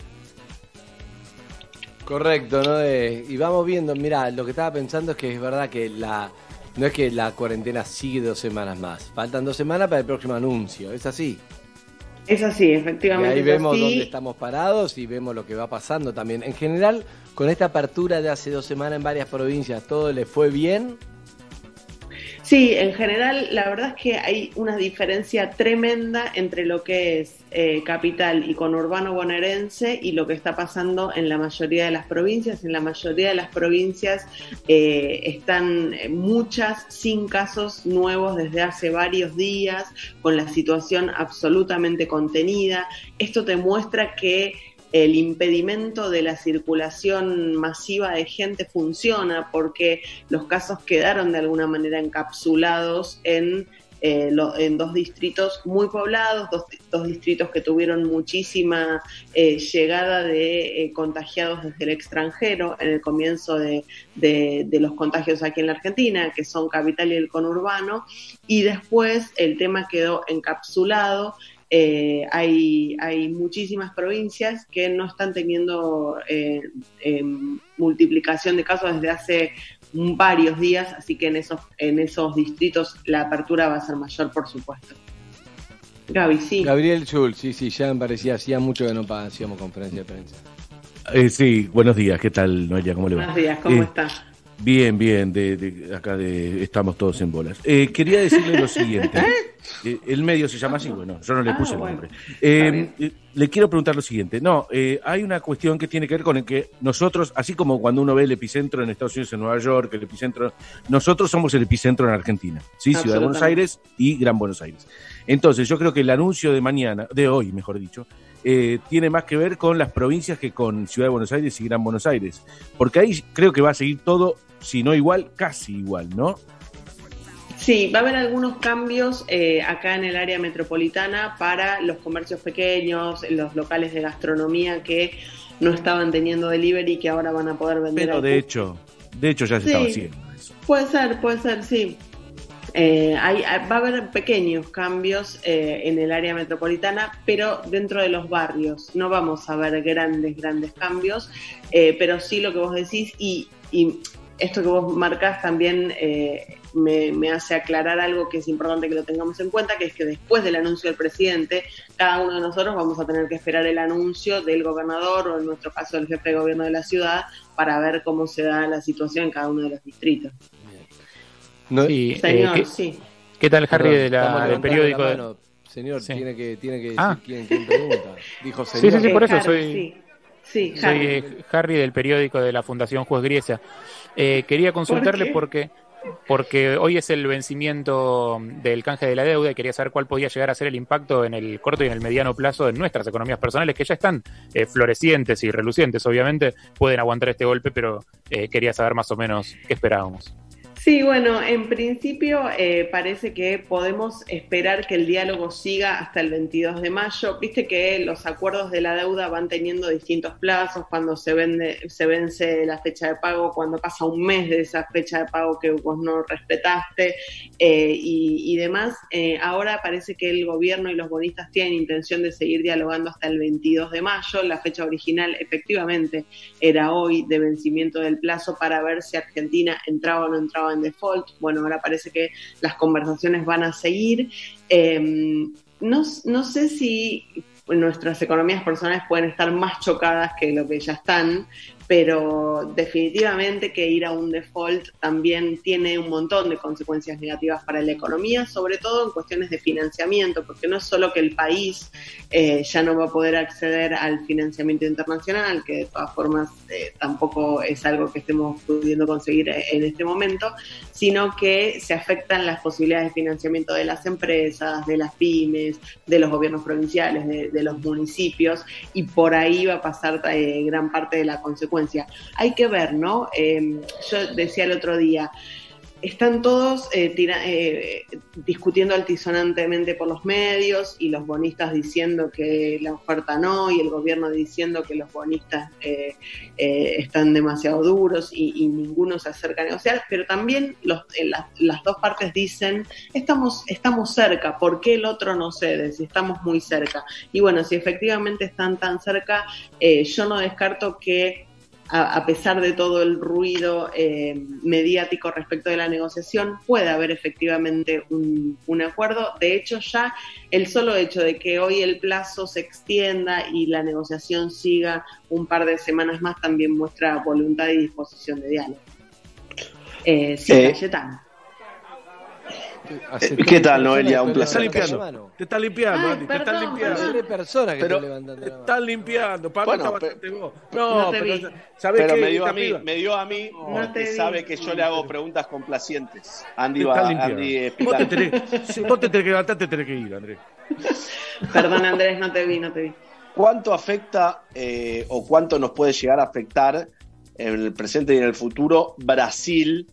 Correcto, ¿no? Eh, y vamos viendo, mira, lo que estaba pensando es que es verdad que la no es que la cuarentena sigue dos semanas más, faltan dos semanas para el próximo anuncio, ¿es así? Es así, efectivamente. Y ahí vemos así. dónde estamos parados y vemos lo que va pasando también. En general, con esta apertura de hace dos semanas en varias provincias, ¿todo le fue bien? Sí, en general, la verdad es que hay una diferencia tremenda entre lo que es eh, capital y conurbano bonaerense y lo que está pasando en la mayoría de las provincias. En la mayoría de las provincias eh, están muchas sin casos nuevos desde hace varios días, con la situación absolutamente contenida. Esto te muestra que el impedimento de la circulación masiva de gente funciona porque los casos quedaron de alguna manera encapsulados en, eh, lo, en dos distritos muy poblados, dos, dos distritos que tuvieron muchísima eh, llegada de eh, contagiados desde el extranjero en el comienzo de, de, de los contagios aquí en la Argentina, que son Capital y el conurbano, y después el tema quedó encapsulado. Eh, hay, hay muchísimas provincias que no están teniendo eh, eh, multiplicación de casos desde hace varios días, así que en esos, en esos distritos la apertura va a ser mayor, por supuesto. Gaby, sí. Gabriel Schulz, sí, sí, ya me parecía, hacía mucho que no hacíamos conferencia de prensa. Eh, sí, buenos días, ¿qué tal, Noelia? ¿Cómo le va? Buenos días, ¿cómo eh, estás? Bien, bien, de, de acá de, estamos todos en bolas. Eh, quería decirle lo siguiente. Eh, el medio se llama así, bueno, yo no le puse ah, bueno. el nombre. Eh, eh, le quiero preguntar lo siguiente. No, eh, hay una cuestión que tiene que ver con el que nosotros, así como cuando uno ve el epicentro en Estados Unidos, en Nueva York, el epicentro, nosotros somos el epicentro en Argentina, ¿sí? Ciudad de Buenos Aires y Gran Buenos Aires. Entonces, yo creo que el anuncio de mañana, de hoy, mejor dicho, eh, tiene más que ver con las provincias que con Ciudad de Buenos Aires y Gran Buenos Aires. Porque ahí creo que va a seguir todo, si no igual, casi igual, ¿no? Sí, va a haber algunos cambios eh, acá en el área metropolitana para los comercios pequeños, los locales de gastronomía que no estaban teniendo delivery y que ahora van a poder vender. Pero de hecho, de hecho ya se sí, estaba haciendo eso. Puede ser, puede ser, sí. Eh, hay, va a haber pequeños cambios eh, en el área metropolitana, pero dentro de los barrios. No vamos a ver grandes, grandes cambios, eh, pero sí lo que vos decís y... y esto que vos marcás también eh, me, me hace aclarar algo que es importante que lo tengamos en cuenta, que es que después del anuncio del presidente, cada uno de nosotros vamos a tener que esperar el anuncio del gobernador o en nuestro caso del jefe de gobierno de la ciudad para ver cómo se da la situación en cada uno de los distritos. No, sí, Señor, eh, ¿qué, sí. ¿Qué tal, Harry, de la, del periódico? La mano, señor, sí. tiene que, tiene que decir ah. quién, quién pregunta. Dijo señor. Sí, sí, sí, por eso Harry, soy... Sí. Sí, Soy eh, Harry del periódico de la Fundación Juez Griesa. Eh, quería consultarle ¿Por qué? porque porque hoy es el vencimiento del canje de la deuda y quería saber cuál podía llegar a ser el impacto en el corto y en el mediano plazo en nuestras economías personales, que ya están eh, florecientes y relucientes, obviamente, pueden aguantar este golpe, pero eh, quería saber más o menos qué esperábamos. Sí, bueno, en principio eh, parece que podemos esperar que el diálogo siga hasta el veintidós de mayo. Viste que los acuerdos de la deuda van teniendo distintos plazos, cuando se, vende, se vence la fecha de pago, cuando pasa un mes de esa fecha de pago que vos no respetaste eh, y, y demás. Eh, ahora parece que el gobierno y los bonistas tienen intención de seguir dialogando hasta el veintidós de mayo. La fecha original efectivamente era hoy de vencimiento del plazo para ver si Argentina entraba o no entraba en default. Bueno, ahora parece que las conversaciones van a seguir. Eh, no, no sé si nuestras economías personales pueden estar más chocadas que lo que ya están, pero definitivamente que ir a un default también tiene un montón de consecuencias negativas para la economía, sobre todo en cuestiones de financiamiento, porque no es solo que el país eh, ya no va a poder acceder al financiamiento internacional, que de todas formas eh, tampoco es algo que estemos pudiendo conseguir en este momento, sino que se afectan las posibilidades de financiamiento de las empresas, de las pymes, de los gobiernos provinciales, de, de los municipios, y por ahí va a pasar eh, gran parte de la consecuencia. Hay que ver, ¿no? Eh, yo decía el otro día, están todos eh, tira, eh, discutiendo altisonantemente por los medios y los bonistas diciendo que la oferta no y el gobierno diciendo que los bonistas eh, eh, están demasiado duros y, y ninguno se acerca a negociar, pero también los, eh, las, las dos partes dicen estamos, estamos cerca, ¿por qué el otro no cede? Si estamos muy cerca. Y bueno, si efectivamente están tan cerca, eh, yo no descarto que A, a pesar de todo el ruido eh, mediático respecto de la negociación, puede haber efectivamente un, un acuerdo. De hecho, ya el solo hecho de que hoy el plazo se extienda y la negociación siga un par de semanas más también muestra voluntad y disposición de diálogo. Eh, sí, eh, Cayetano. Eh, ¿Qué tal, Noelia? Un placer. Te estás limpiando, te estás limpiando, Ay, Andy, perdón, te estás limpiando. perdón. Hay personas que pero te levantan de la te estás limpiando, para bueno, bastante vos. No, No, no te pero vi. ¿sabés pero qué? me dio a mí, Arriba. me dio a mí No porque te sabe vi. que yo le hago preguntas complacientes. Andy Te va, estás Andy limpiando. es Vos te, picante. tenés, si vos te tenés que levantar, te tenés que ir, Andrés. Perdón, Andrés, no te vi, no te vi. ¿Cuánto afecta eh, o cuánto nos puede llegar a afectar en el presente y en el futuro Brasil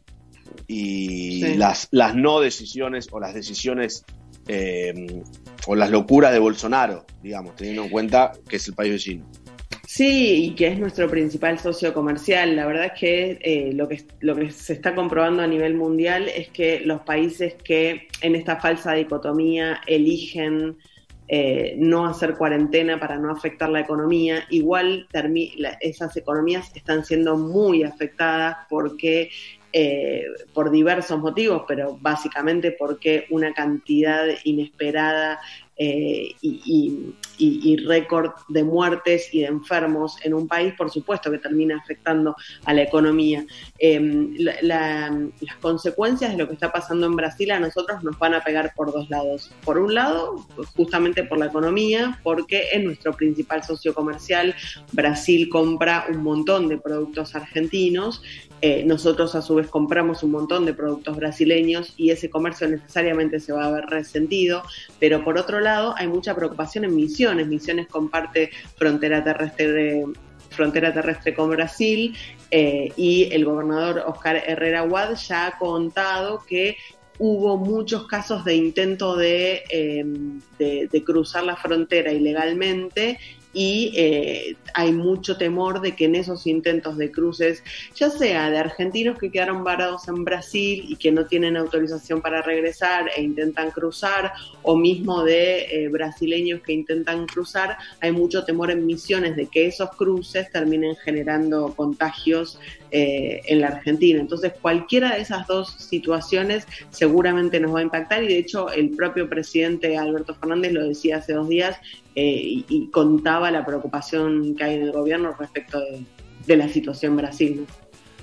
y Sí. las, las no decisiones o las decisiones eh, o las locuras de Bolsonaro, digamos, teniendo en cuenta que es el país vecino? Sí, y que es nuestro principal socio comercial. La verdad es que, eh, lo que lo que se está comprobando a nivel mundial es que los países que en esta falsa dicotomía eligen eh, no hacer cuarentena para no afectar la economía, igual termi- la, esas economías están siendo muy afectadas porque eh, por diversos motivos, pero básicamente porque una cantidad inesperada eh, y, y, y, y récord de muertes y de enfermos en un país, por supuesto que termina afectando a la economía. Eh, la, la, las consecuencias de lo que está pasando en Brasil a nosotros nos van a pegar por dos lados. Por un lado, justamente por la economía, porque es nuestro principal socio comercial. Brasil compra un montón de productos argentinos, eh, nosotros a su vez compramos un montón de productos brasileños y ese comercio necesariamente se va a ver resentido, pero por otro lado hay mucha preocupación en Misiones. Misiones comparte frontera terrestre de, frontera terrestre con Brasil eh, y el gobernador Oscar Herrera Wad ya ha contado que hubo muchos casos de intento de, eh, de, de cruzar la frontera ilegalmente y eh, hay mucho temor de que en esos intentos de cruces, ya sea de argentinos que quedaron varados en Brasil y que no tienen autorización para regresar e intentan cruzar, o mismo de eh, brasileños que intentan cruzar, hay mucho temor en Misiones de que esos cruces terminen generando contagios eh, en la Argentina. Entonces, cualquiera de esas dos situaciones seguramente nos va a impactar, y de hecho el propio presidente Alberto Fernández lo decía hace dos días, Eh, y, y contaba la preocupación que hay en el gobierno respecto de, de la situación en Brasil, ¿no?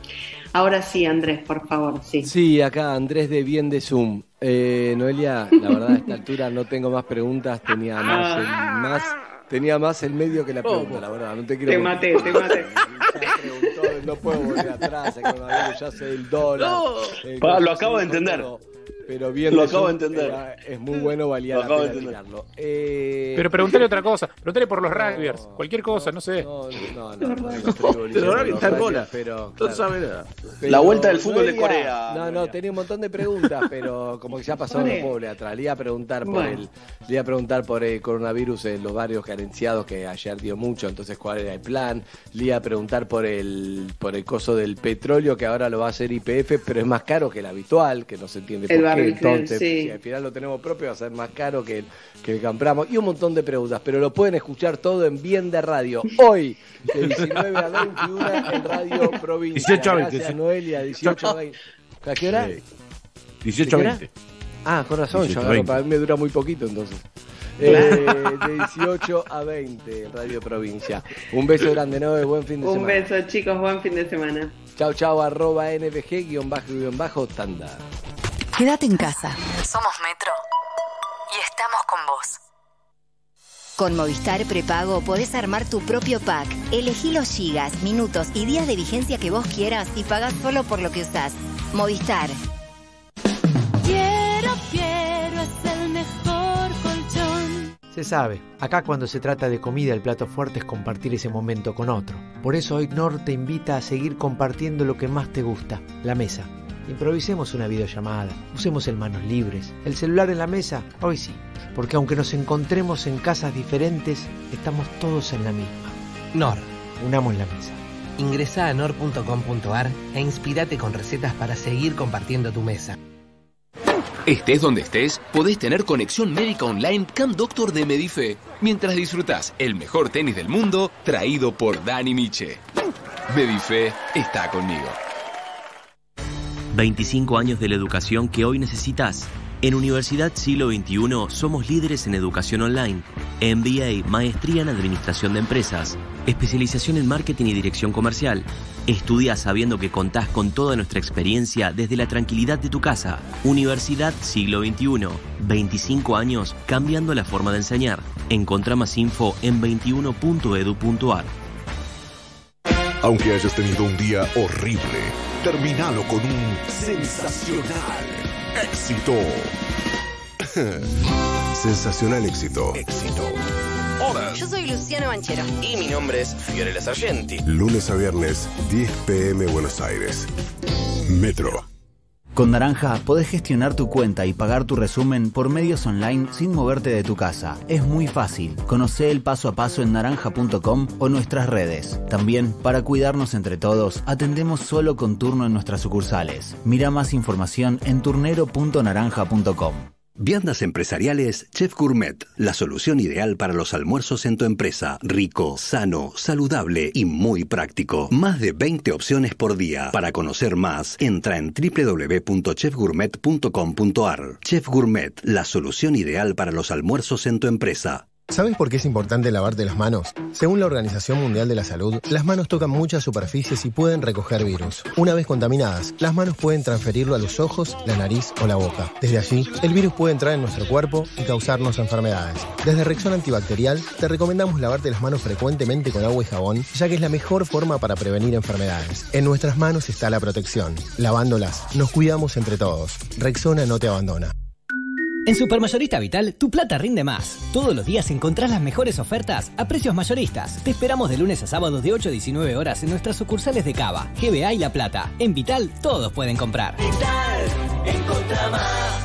Ahora sí, Andrés, por favor, sí. Sí, acá Andrés de Bien de Zoom. Eh, Noelia, la verdad a esta altura no tengo más preguntas, tenía más el, más, tenía más el medio que la pregunta, la verdad. No te quiero Te maté, te maté. Ya preguntó, no puedo volver atrás, ya sé el dólar. No. el Pa, lo coso, acabo de sí, entender. Pero, pero Bien Lo de acabo de Zoom entender. era- es muy bueno, valía Lo la acabo de pena entender. tirarlo. Eh, Pero preguntale otra cosa, preguntale por los rugbyers, cualquier cosa, no sé. No, no, no, no, no estoy Pero ahora los está en rugbyers, bola. pero, No claro. sabe nada. Pero La vuelta del fútbol de Noelia- Corea, No, no, tenía un montón de preguntas, pero como que ya pasó Corea. lo pobre atrás. Le iba a preguntar por Bueno. el, le iba a preguntar por el coronavirus en los barrios carenciados, que ayer dio mucho, entonces cuál era el plan. Le iba a preguntar por el, por el coso del petróleo, que ahora lo va a hacer Y P F, pero es más caro que el habitual, que no se entiende El por qué. barril, Entonces, sí. si al final lo tenemos propio, va a ser más caro que el que el que compramos. Y un montón de preguntas, pero lo pueden escuchar todo en Bien de Radio. Hoy, de diecinueve a veintiuno en Radio Provincia. dieciocho a veinte, Gracias, sí. Noelia, dieciocho a veinte. ¿A qué hora? Sí. dieciocho a ¿De qué hora? veinte. Ah, con razón, dieciocho yo a agarro, veinte. para mí me dura muy poquito entonces. Eh, de dieciocho a veinte en Radio Provincia. Un beso grande, ¿no? Buen fin de Un semana. beso, chicos, buen fin de semana. Chau, chau, arroba N V G, guión bajo, guión bajo, tanda. Quédate en casa. Somos Metro y estamos con vos. Con Movistar Prepago podés armar tu propio pack. Elegí los gigas, minutos y días de vigencia que vos quieras y pagás solo por lo que usás. Movistar. Quiero, quiero, es el mejor colchón. Se sabe, acá cuando se trata de comida el plato fuerte es compartir ese momento con otro. Por eso hoy Knorr te invita a seguir compartiendo lo que más te gusta, la mesa. Improvisemos una videollamada, usemos el manos libres, el celular en la mesa, hoy sí, porque aunque nos encontremos en casas diferentes, estamos todos en la misma. Knorr. Unamos la mesa. Ingresá a knorr punto com punto ar e inspirate con recetas para seguir compartiendo tu mesa. Estés donde estés, podés tener conexión médica online Cam Doctor de Medife, mientras disfrutás el mejor tenis del mundo, traído por Dani Miche. Medife está conmigo. veinticinco años de la educación que hoy necesitas. En Universidad Siglo veintiuno somos líderes en educación online, M B A, maestría en administración de empresas, especialización en marketing y dirección comercial. Estudia sabiendo que contás con toda nuestra experiencia desde la tranquilidad de tu casa. Universidad Siglo veintiuno, veinticinco años cambiando la forma de enseñar. Encontrá más info en veintiuno punto edu punto ar. Aunque hayas tenido un día horrible, terminalo con un sensacional éxito. Sensacional éxito. Éxito. Hola. Yo soy Luciano Banchero. Y mi nombre es Fiorella Sargenti. Lunes a viernes, diez pm Buenos Aires. Metro. Con Naranja podés gestionar tu cuenta y pagar tu resumen por medios online sin moverte de tu casa. Es muy fácil. Conocé el paso a paso en naranja punto com o nuestras redes. También, para cuidarnos entre todos, atendemos solo con turno en nuestras sucursales. Mira más información en turnero punto naranja punto com. Viandas empresariales Chef Gourmet, la solución ideal para los almuerzos en tu empresa. Rico, sano, saludable y muy práctico. Más de veinte opciones por día. Para conocer más, entra en doble u doble u doble u punto chef gourmet punto com punto ar. Chef Gourmet, la solución ideal para los almuerzos en tu empresa. ¿Sabes por qué es importante lavarte las manos? Según la Organización Mundial de la Salud, las manos tocan muchas superficies y pueden recoger virus. Una vez contaminadas, las manos pueden transferirlo a los ojos, la nariz o la boca. Desde allí, el virus puede entrar en nuestro cuerpo y causarnos enfermedades. Desde Rexona Antibacterial, te recomendamos lavarte las manos frecuentemente con agua y jabón, ya que es la mejor forma para prevenir enfermedades. En nuestras manos está la protección. Lavándolas, nos cuidamos entre todos. Rexona no te abandona. En Supermayorista Vital, tu plata rinde más. Todos los días encontrás las mejores ofertas a precios mayoristas. Te esperamos de lunes a sábado de ocho a diecinueve horas en nuestras sucursales de Cava, G B A y La Plata. En Vital, todos pueden comprar. Vital, encontrá más.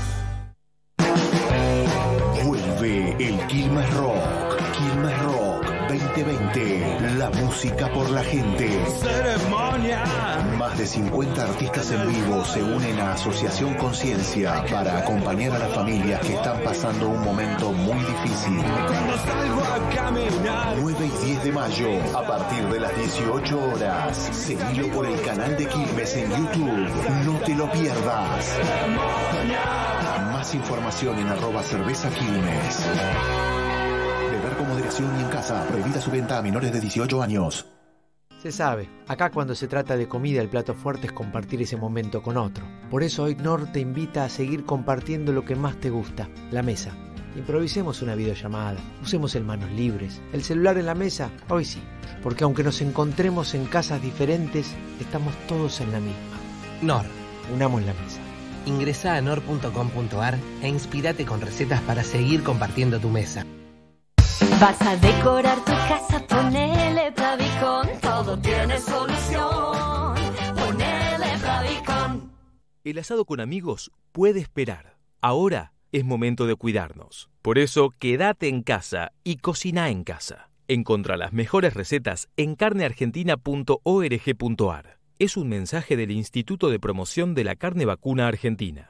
Vuelve el Quilmes Rock. Quilmes Rock veinte veinte. La música por la gente. Ceremonia. Más de cincuenta artistas en vivo se unen a Asociación Conciencia para acompañar a las familias que están pasando un momento muy difícil. Cuando salgo a caminar. nueve y diez de mayo, a partir de las dieciocho horas. Seguilo por el canal de Quilmes en YouTube. No te lo pierdas. Más información en arroba cerveza Quilmes. Beber con moderación y en casa. Prohibida su venta a menores de dieciocho años. Se sabe, acá cuando se trata de comida el plato fuerte es compartir ese momento con otro. Por eso hoy Nor te invita a seguir compartiendo lo que más te gusta, la mesa. Improvisemos una videollamada, usemos el manos libres, el celular en la mesa, hoy sí. Porque aunque nos encontremos en casas diferentes, estamos todos en la misma. Nor. Unamos la mesa. Ingresá a nor punto com punto ar e inspirate con recetas para seguir compartiendo tu mesa. Vas a decorar tu casa, ponele Pavicon, todo tiene solución. Ponele Pavicon. El asado con amigos puede esperar. Ahora es momento de cuidarnos. Por eso, quédate en casa y cocina en casa. Encontrá las mejores recetas en carne argentina punto org punto ar. Es un mensaje del Instituto de Promoción de la Carne Vacuna Argentina.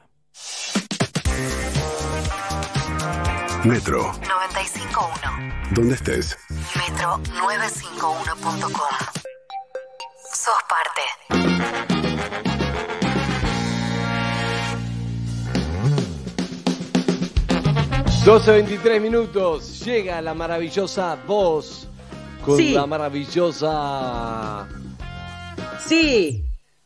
Metro. noventa y cinco punto uno. ¿Dónde estés? Metro novecientos cincuenta y uno punto com. Sos parte. doce veintitrés minutos. Llega la maravillosa voz con Sí. la maravillosa... Sí.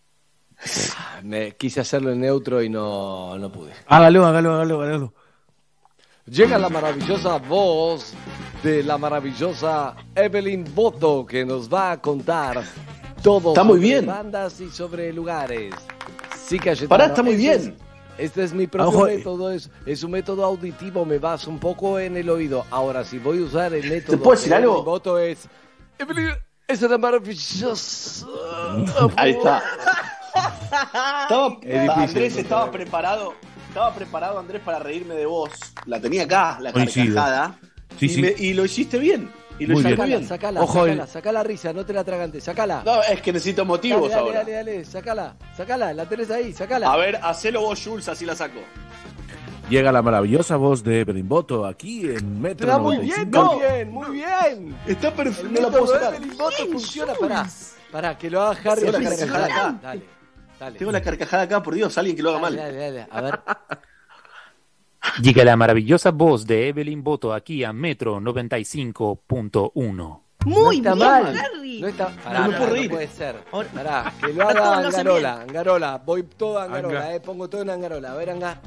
Me quise hacerlo en neutro y no, no pude. Hágalo, hágalo, hágalo, hágalo. Llega la maravillosa voz de la maravillosa Evelyn Boto, que nos va a contar todo Está muy sobre bien. bandas y sobre lugares. Sí, Cayetano. Pará, está muy Este bien. es- Este es mi propio Ojo. método, es, es un método auditivo, me vas un poco en el oído. Ahora, si voy a usar el método puedo decir de algo? Evelyn Boto es... Evelyn, es una maravillosa... Ahí está. Estaba, Es difícil, Andrés ¿no? estaba preparado, estaba preparado Andrés para reírme de vos. La tenía acá, la Coincido. carcajada. Sí, y, sí. me- y lo hiciste bien. Y lo Muy hiciste bien. Sacala, bien. sacala, Ojo, sacala, el- sacala risa, no te la tragantes, sacala. No, es que necesito motivos dale, dale, ahora. dale, dale, sacala, sacala, la tenés ahí, sacala. A ver, hacelo vos, Jules, así la saco. Llega la maravillosa voz de Evelyn Boto aquí en Metro Está muy bien, noventa y cinco. muy bien, muy bien. Está El perfecto. No la método puedo de sacar. Evelyn Boto funciona, pará, pará, que lo haga Harry. Tengo la así, carcajada sacala. acá. Dale, dale. Tengo la carcajada acá, por Dios, alguien que lo haga Dale, mal. dale, dale, a ver. Llega la maravillosa voz de Evelyn Boto aquí a Metro noventa y cinco punto uno. Muy no está bien, mal. Harry. No está, pará, No me pará, puedo no reír. puede ser. Ahora- Pará, que lo A todos haga lo hacen Angarola, Angarola, voy todo a Angarola, Anga. eh, pongo todo en Angarola, a ver, Anga.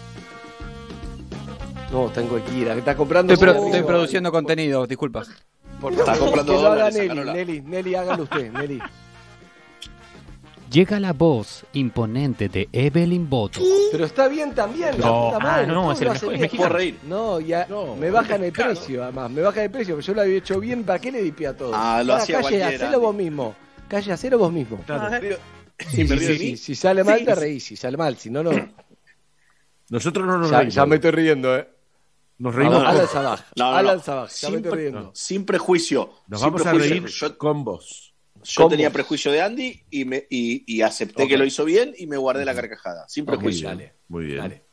No, está en cualquiera, está comprando. Estoy, pro- cigarrillos. estoy produciendo contenido, disculpas. Por Está favor, comprando que lo haga dólares, Nelly, Angarola. Nelly, Nelly, hágalo usted, Nelly. Llega la voz imponente de Evelyn Boto. Pero está bien también, la No, puta ah, madre. no, todo es el lo mejor- hace es bien. mexicano. Puedo reír. No, ya No, me bajan el mexicano. precio, además, me bajan el precio, yo lo había hecho bien, ¿para qué le dipé a todo? Ah, lo Pará, hacía calle, cualquiera, hacelo Andy. vos mismo. Calle, hacelo vos mismo. Pero- Sí, ¿Me sí, río de sí, mí? si sale mal Sí, te sí. reís, si sale mal, si no, no. Nosotros no nos Ya, reímos. ya me estoy riendo, eh. Nos Vamos, reímos. Alan con- Sabaj, No, no, Alan no. Sabaj, ya me Sin, estoy pre- riendo. sin prejuicio. Nos sin vamos a prejuicio. reír Yo, con vos. yo con tenía vos. prejuicio de Andy y, me, y, y acepté Ok. que lo hizo bien y me guardé la carcajada. Sin Ok, prejuicio. dale, Muy bien. dale.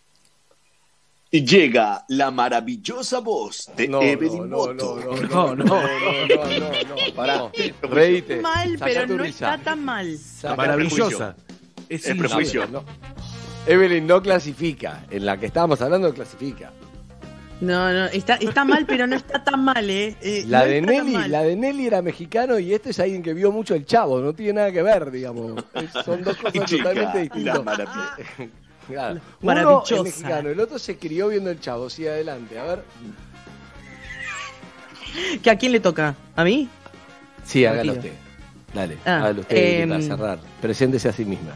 Y llega la maravillosa voz de No, Evelyn no, Boto. no, no, no, no, no, no, no, no, Pará. no. Reíte. Mal, Saca pero tu no risa. está tan mal. La Saca- maravillosa. Es, Es in- prejuicio. No. Evelyn no clasifica. En la que estábamos hablando clasifica. No, no, está, está mal, pero no está tan mal, ¿eh? Eh, La no de está tan Nelly, mal. la de Nelly era mexicano y este es alguien que vio mucho el Chavo, no tiene nada que ver, digamos. Es- Son dos cosas Chica, totalmente la distintas. maravilla. Claro. Uno Maravillosa. es mexicano, el otro se crió viendo el Chavo. Sí, adelante, a ver. ¿Que a quién le toca? ¿A mí? Sí, hágalo Partido. usted. Dale, Ah, hágalo usted em, para cerrar. Preséntese a sí misma.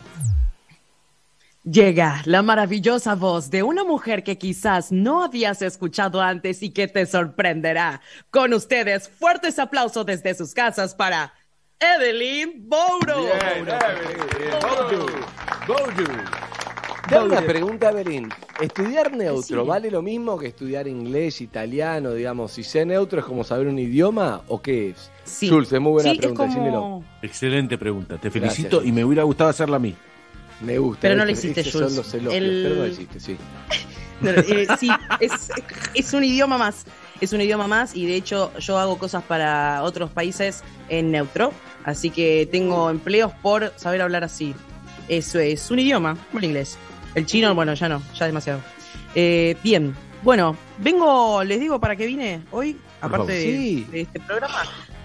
Llega la maravillosa voz de una mujer que quizás no habías escuchado antes y que te sorprenderá. Con ustedes, fuertes aplausos desde sus casas para Evelyn Bouro. Te hago una pregunta, Evelyn. ¿Estudiar neutro Sí. vale lo mismo que estudiar inglés, italiano, digamos? Si sé neutro, ¿es como saber un idioma o qué es? Sí. Jules, es muy buena Sí, es pregunta, como- decímelo. Excelente pregunta. Te Gracias, felicito Jules. y me hubiera gustado hacerla a mí. Me gusta. Pero no lo ¿viste? hiciste, Esos Jules. son los elogios, El- pero no lo hiciste, sí. No, eh, sí, es, es un idioma más. Es un idioma más y de hecho yo hago cosas para otros países en neutro. Así que tengo empleos por saber hablar así. Eso es un idioma, como el inglés. El chino, bueno, ya no, ya demasiado. Eh, bien, bueno, vengo, les digo para qué vine hoy, aparte de, Sí. de este programa.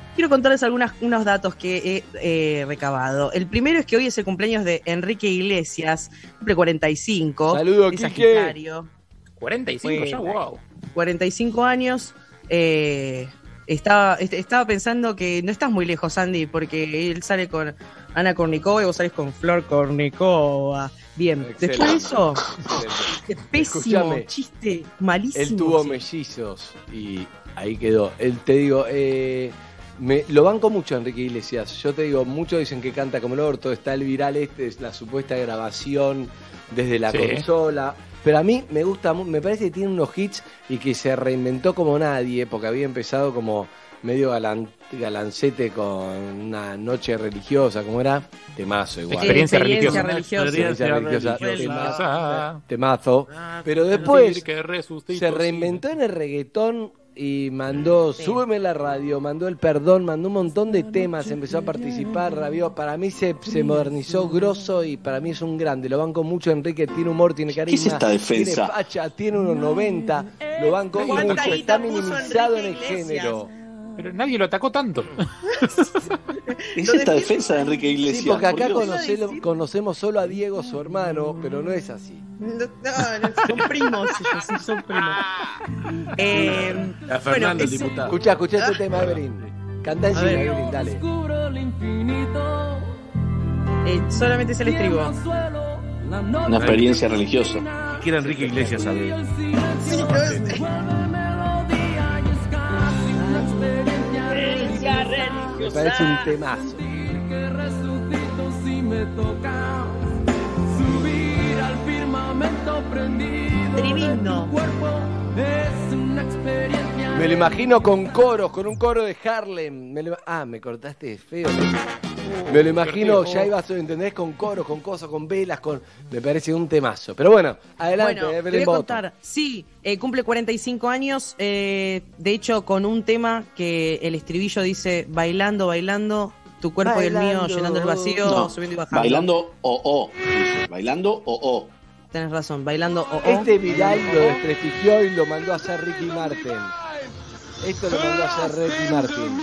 quiero contarles algunos unos datos que he eh, recabado. El primero es que hoy es el cumpleaños de Enrique Iglesias, cumple cuarenta y cinco. Saludos, es Quique. Sagitario. cuarenta y cinco ya, wow. cuarenta y cinco años. Eh, estaba, est- estaba pensando que no estás muy lejos, Andy, porque él sale con Ana Kournikova y vos salís con Flor Kournikova. Bien, Excelente. después de eso, qué pésimo Escuchame, chiste, malísimo. Él tuvo sí. mellizos y ahí quedó. Él, te digo, eh, me, lo banco mucho a Enrique Iglesias. Yo te digo, muchos dicen que canta como el orto. Está el viral este, es la supuesta grabación desde la Sí. consola. Pero a mí me gusta, mu- me parece que tiene unos hits y que se reinventó como nadie, porque había empezado como medio galan, galancete con una noche religiosa, ¿cómo era? Temazo igual. Experiencia Experiencia religiosa. religiosa. Experiencia religiosa. religiosa. Tema- Temazo. Pero Decir después que resucitó, se reinventó en el reggaetón y mandó Súbeme la radio, mandó El Perdón, mandó un montón de temas, empezó a participar, rabió. Para mí se, se modernizó grosso y para mí es un grande. Lo banco mucho, Enrique, tiene humor, tiene carisma. ¿Qué es esta defensa? Tiene facha, tiene unos noventa. Lo banco ¿Cuánta mucho, guita está puso minimizado en el Enrique Iglesias? género. Pero nadie lo atacó tanto. ¿Es esta defensa de Enrique Iglesias? Sí, porque acá Por Dios. conocelo- conocemos solo a Diego, su hermano, pero no es así. No, no, no, son primos, ellos, sí, son primos. Eh, A Fernando, bueno, el ese- diputado. Escucha, escucha este tema, Evelyn. Canta A encima, ver. Evelyn, dale. eh, solamente es el estribo. Una experiencia religiosa. Que era Enrique Iglesias, sabe. Me parece un temazo. Tremendo. Me lo imagino con coros, con un coro de Harlem. Me lo- ah, me cortaste feo. Me lo imagino, ya ibas, ¿entendés? Con coros, con cosas, con velas, con. Me parece un temazo. Pero bueno, adelante, Bueno, te Evelyn voy a Boto. contar. Sí, eh, cumple cuarenta y cinco años. eh, de hecho, con un tema que el estribillo dice: bailando, bailando, tu cuerpo y el mío, Bailando. llenando el vacío, No, subiendo y bajando. bailando o o. dice, Bailando o o. Tenés razón, bailando. Oh, oh. Este viral lo desprestigió y lo mandó a hacer Ricky Martin. Esto lo mandó a hacer Ricky Martin.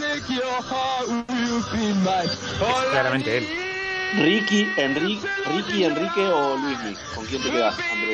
Es claramente él. Ricky, Enrique, Ricky, Enrique o Luismi. ¿Con quién te quedas, Andrés?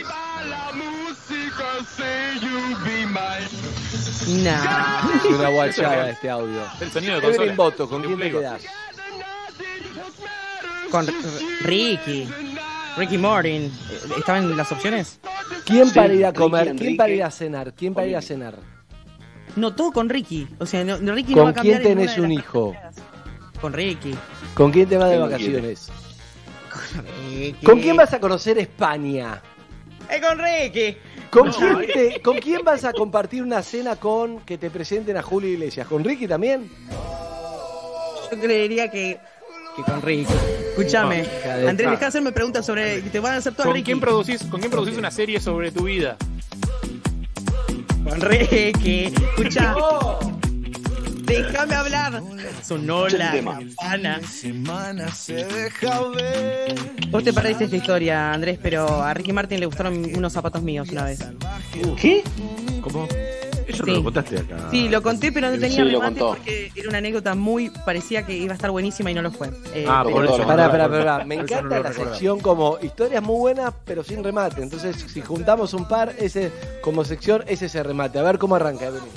Nah. Es una guachada este audio. El sonido de Evelyn consola. Boto, ¿con De quién te Playboy. quedás? Con R- Ricky. Ricky Martin. Eh, ¿Estaban en las opciones? ¿Quién Sí, para ir a Ricky, comer? ¿Quién Enrique. para ir a cenar? ¿Quién para ir a cenar? No, todo con Ricky. O sea, no, no, Ricky no va ¿Con a cambiar quién en tenés ninguna de un las hijo? personas. Con Ricky. ¿Con quién te vas de ¿Quién lo vacaciones? Ricky. ¿Con quién vas a conocer España? ¡Eh, con Ricky! ¿Con, No, quién eh. te- ¿Con quién vas a compartir una cena con que te presenten a Julio Iglesias? ¿Con Ricky también? Yo creería que, que con Ricky. Escúchame, No, hija de- Andrés, deja de hacerme preguntas sobre. Te van a hacer todas ¿Con Ricky. quién producís, con quién producís una serie sobre tu vida? Con Ricky. Escucha. Déjame hablar. Sonó Escucha la el tema. campana. Vos te perdiste esta historia, Andrés, pero a Ricky Martin le gustaron unos zapatos míos una vez. ¿Qué? ¿Cómo? Eso Sí. no lo contaste acá. Sí, lo conté, pero no tenía Sí, lo remate contó. porque era una anécdota muy. Parecía que iba a estar buenísima y no lo fue. Eh, Ah, pero- por eso. Pará, pará, pará. Me Eso no encanta lo la recordaba. sección como historias muy buenas, pero sin remate. Entonces, si juntamos un par, ese como sección, ese se remate. A ver cómo arranca, Evelyn.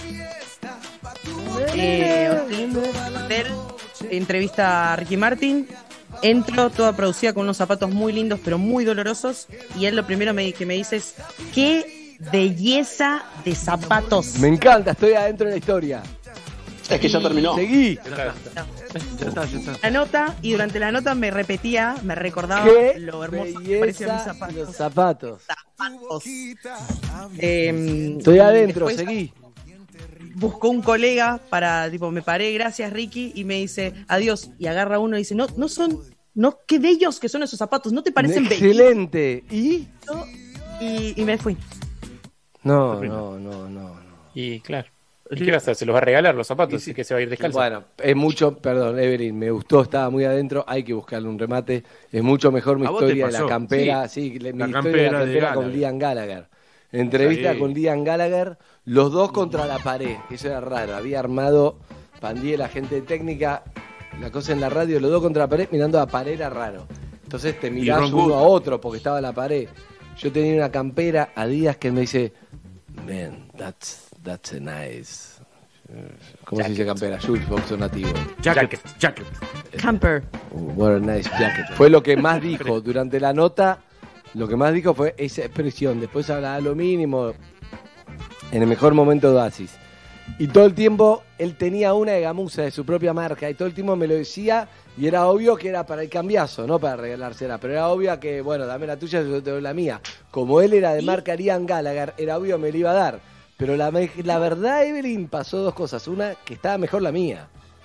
Eh, hotel, entrevista a Ricky Martin. Entro toda producida con unos zapatos muy lindos, pero muy dolorosos. Y él lo primero me, que me dice es: ¡qué belleza de zapatos! Me encanta, estoy adentro de la historia. Es que ya terminó. Seguí. Ya está, ya está. La nota, y durante la nota me repetía, me recordaba Qué lo hermoso que parecían mis belleza zapatos. los zapatos. Zapatos. Eh, Estoy y adentro, después seguí. buscó un colega para, tipo, me paré, gracias Ricky, y me dice, adiós, y agarra uno y dice, no, no son, no, qué bellos que son esos zapatos, ¿no te parecen bellos? Excelente. ¿Y? Y, y me fui. No, no, no, no. no. Y claro. ¿Y qué vas a hacer? ¿Se los va a regalar los zapatos? ¿Y que se va a ir descalzo? Bueno, es mucho, perdón, Evelyn, me gustó, estaba muy adentro, hay que buscarle un remate. Es mucho mejor mi ¿A vos te historia de la pasó? campera, sí, le- mi La historia de campera la de campera con Gallagher. Liam Gallagher. Entrevista Sí. con Liam Gallagher, los dos contra la pared, eso era raro, había armado Pandí, la gente de técnica, la cosa en la radio, los dos contra la pared, mirando a la pared era raro. Entonces te mirás Ron uno Wood. a otro porque estaba en la pared. Yo tenía una campera Adidas que me dice, man, that's, that's a nice... ¿Cómo se dice campera? Jules, boxer nativo. Jacket, jacket. Camper. What a nice jacket. Fue lo que más dijo durante la nota. Lo que más dijo fue esa expresión. Después hablaba lo mínimo. En el mejor momento de Oasis. Y todo el tiempo él tenía una de gamuza de su propia marca. Y todo el tiempo me lo decía. Y era obvio que era para el cambiazo, no para regalársela. Pero era obvio que, bueno, dame la tuya, yo te doy la mía. Como él era de marca Liam Gallagher, era obvio que me la iba a dar. Pero la, la verdad, Evelyn, pasó dos cosas. Una, que estaba mejor la mía.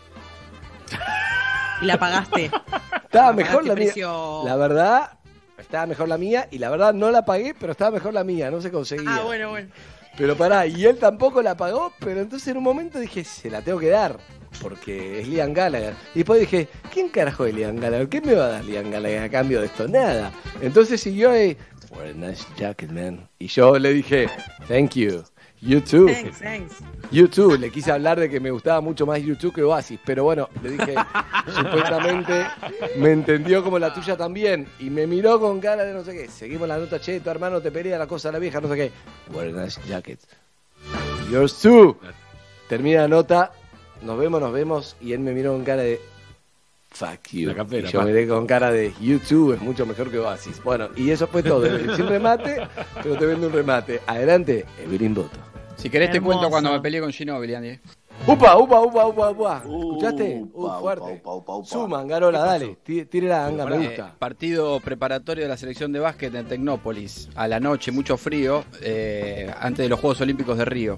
Y la pagaste. Estaba La mejor pagaste la mía. precio- La verdad, estaba mejor la mía. Y la verdad, no la pagué, pero estaba mejor la mía. No se conseguía. Ah, bueno, bueno. Pero pará, y él tampoco la pagó. Pero entonces en un momento dije, se la tengo que dar. Porque es Liam Gallagher. Y después dije, ¿quién carajo es Liam Gallagher? ¿Qué me va a dar Liam Gallagher a cambio de esto? Nada. Entonces siguió ahí, what a nice jacket, man. Y yo le dije, thank you. You too. Thanks, thanks. You too. Le quise hablar de que me gustaba mucho más You too que Oasis. Pero bueno, le dije, supuestamente me entendió como la tuya también. Y me miró con cara de no sé qué. Seguimos la nota, che, tu hermano te pelea la cosa a la vieja, no sé qué. What a nice jacket. Yours too. Termina la nota. Nos vemos, nos vemos. Y él me miró con cara de fuck you. La campera, y yo pa. miré con cara de You too es mucho mejor que Oasis. Bueno, y eso fue todo. Sin remate, pero te vendo un remate. Adelante, Evelyn Boto. Si querés te Hermoso. cuento cuando me peleé con Ginóbili, Andy. Upa, upa, upa, upa, upa. ¿Escuchaste? Uh, fuerte. Suma, Angarola, dale. Tí- Tire la anga, me Eh, gusta. partido preparatorio de la selección de básquet en Tecnópolis. A la noche, mucho frío, eh, antes de los Juegos Olímpicos de Río.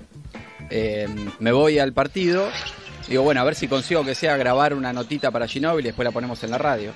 Eh, me voy al partido. Digo, bueno, a ver si consigo que sea grabar una notita para Ginóbili y después la ponemos en la radio.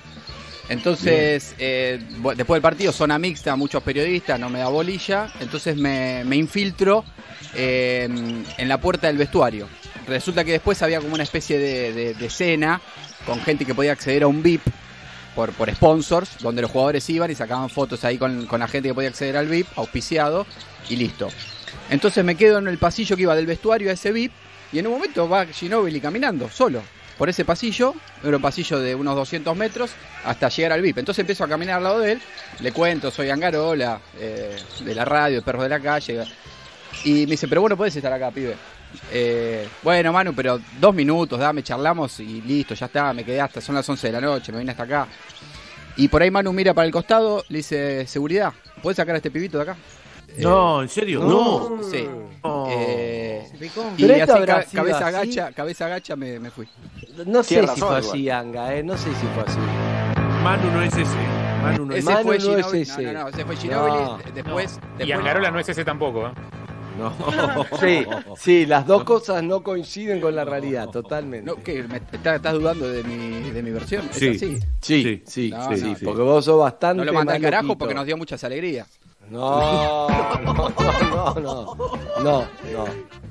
Entonces, eh, bu- después del partido, zona mixta, muchos periodistas, no me da bolilla. Entonces me, me infiltro eh, en la puerta del vestuario. Resulta que después había como una especie de, de, de cena con gente que podía acceder a un V I P por, por sponsors, donde los jugadores iban y sacaban fotos ahí con, con la gente que podía acceder al V I P, auspiciado, y listo. Entonces me quedo en el pasillo que iba del vestuario a ese V I P, y en un momento va Ginóbili caminando, solo, por ese pasillo, era un pasillo de unos doscientos metros, hasta llegar al V I P. Entonces empiezo a caminar al lado de él, le cuento, soy Angarola, eh, de la radio, de Perros de la Calle, y me dice, pero bueno, podés estar acá, pibe. Eh, bueno, Manu, pero dos minutos, dame, charlamos y listo, ya está, me quedé hasta, son las once de la noche, me vine hasta acá. Y por ahí Manu mira para el costado, le dice, seguridad, ¿podés sacar a este pibito de acá? No, ¿en serio? No. Sí. No. Eh, ¿Se picó? y Pero así, esto habrá ca- sido cabeza así. agacha, cabeza agacha, me, me fui. No sé Tiene si razón, fue igual. así, Anga, eh. No sé si fue así. Manu no es ese. Manu no es Ese Manu fue no es Ginóbili. ese. No, no, no, ese fue Ginóbili. No. Después, Y después Angarola no es ese tampoco, ¿eh? No. Sí, sí, las dos cosas no coinciden con la realidad, totalmente. no, ¿qué? ¿Me estás, estás dudando de mi, de mi versión? ¿Es Sí. así? Sí, sí, No, sí, no, sí, porque vos sos bastante No lo mandé al más carajo loquito. porque nos dio muchas alegrías. No, no, no, no, no, no.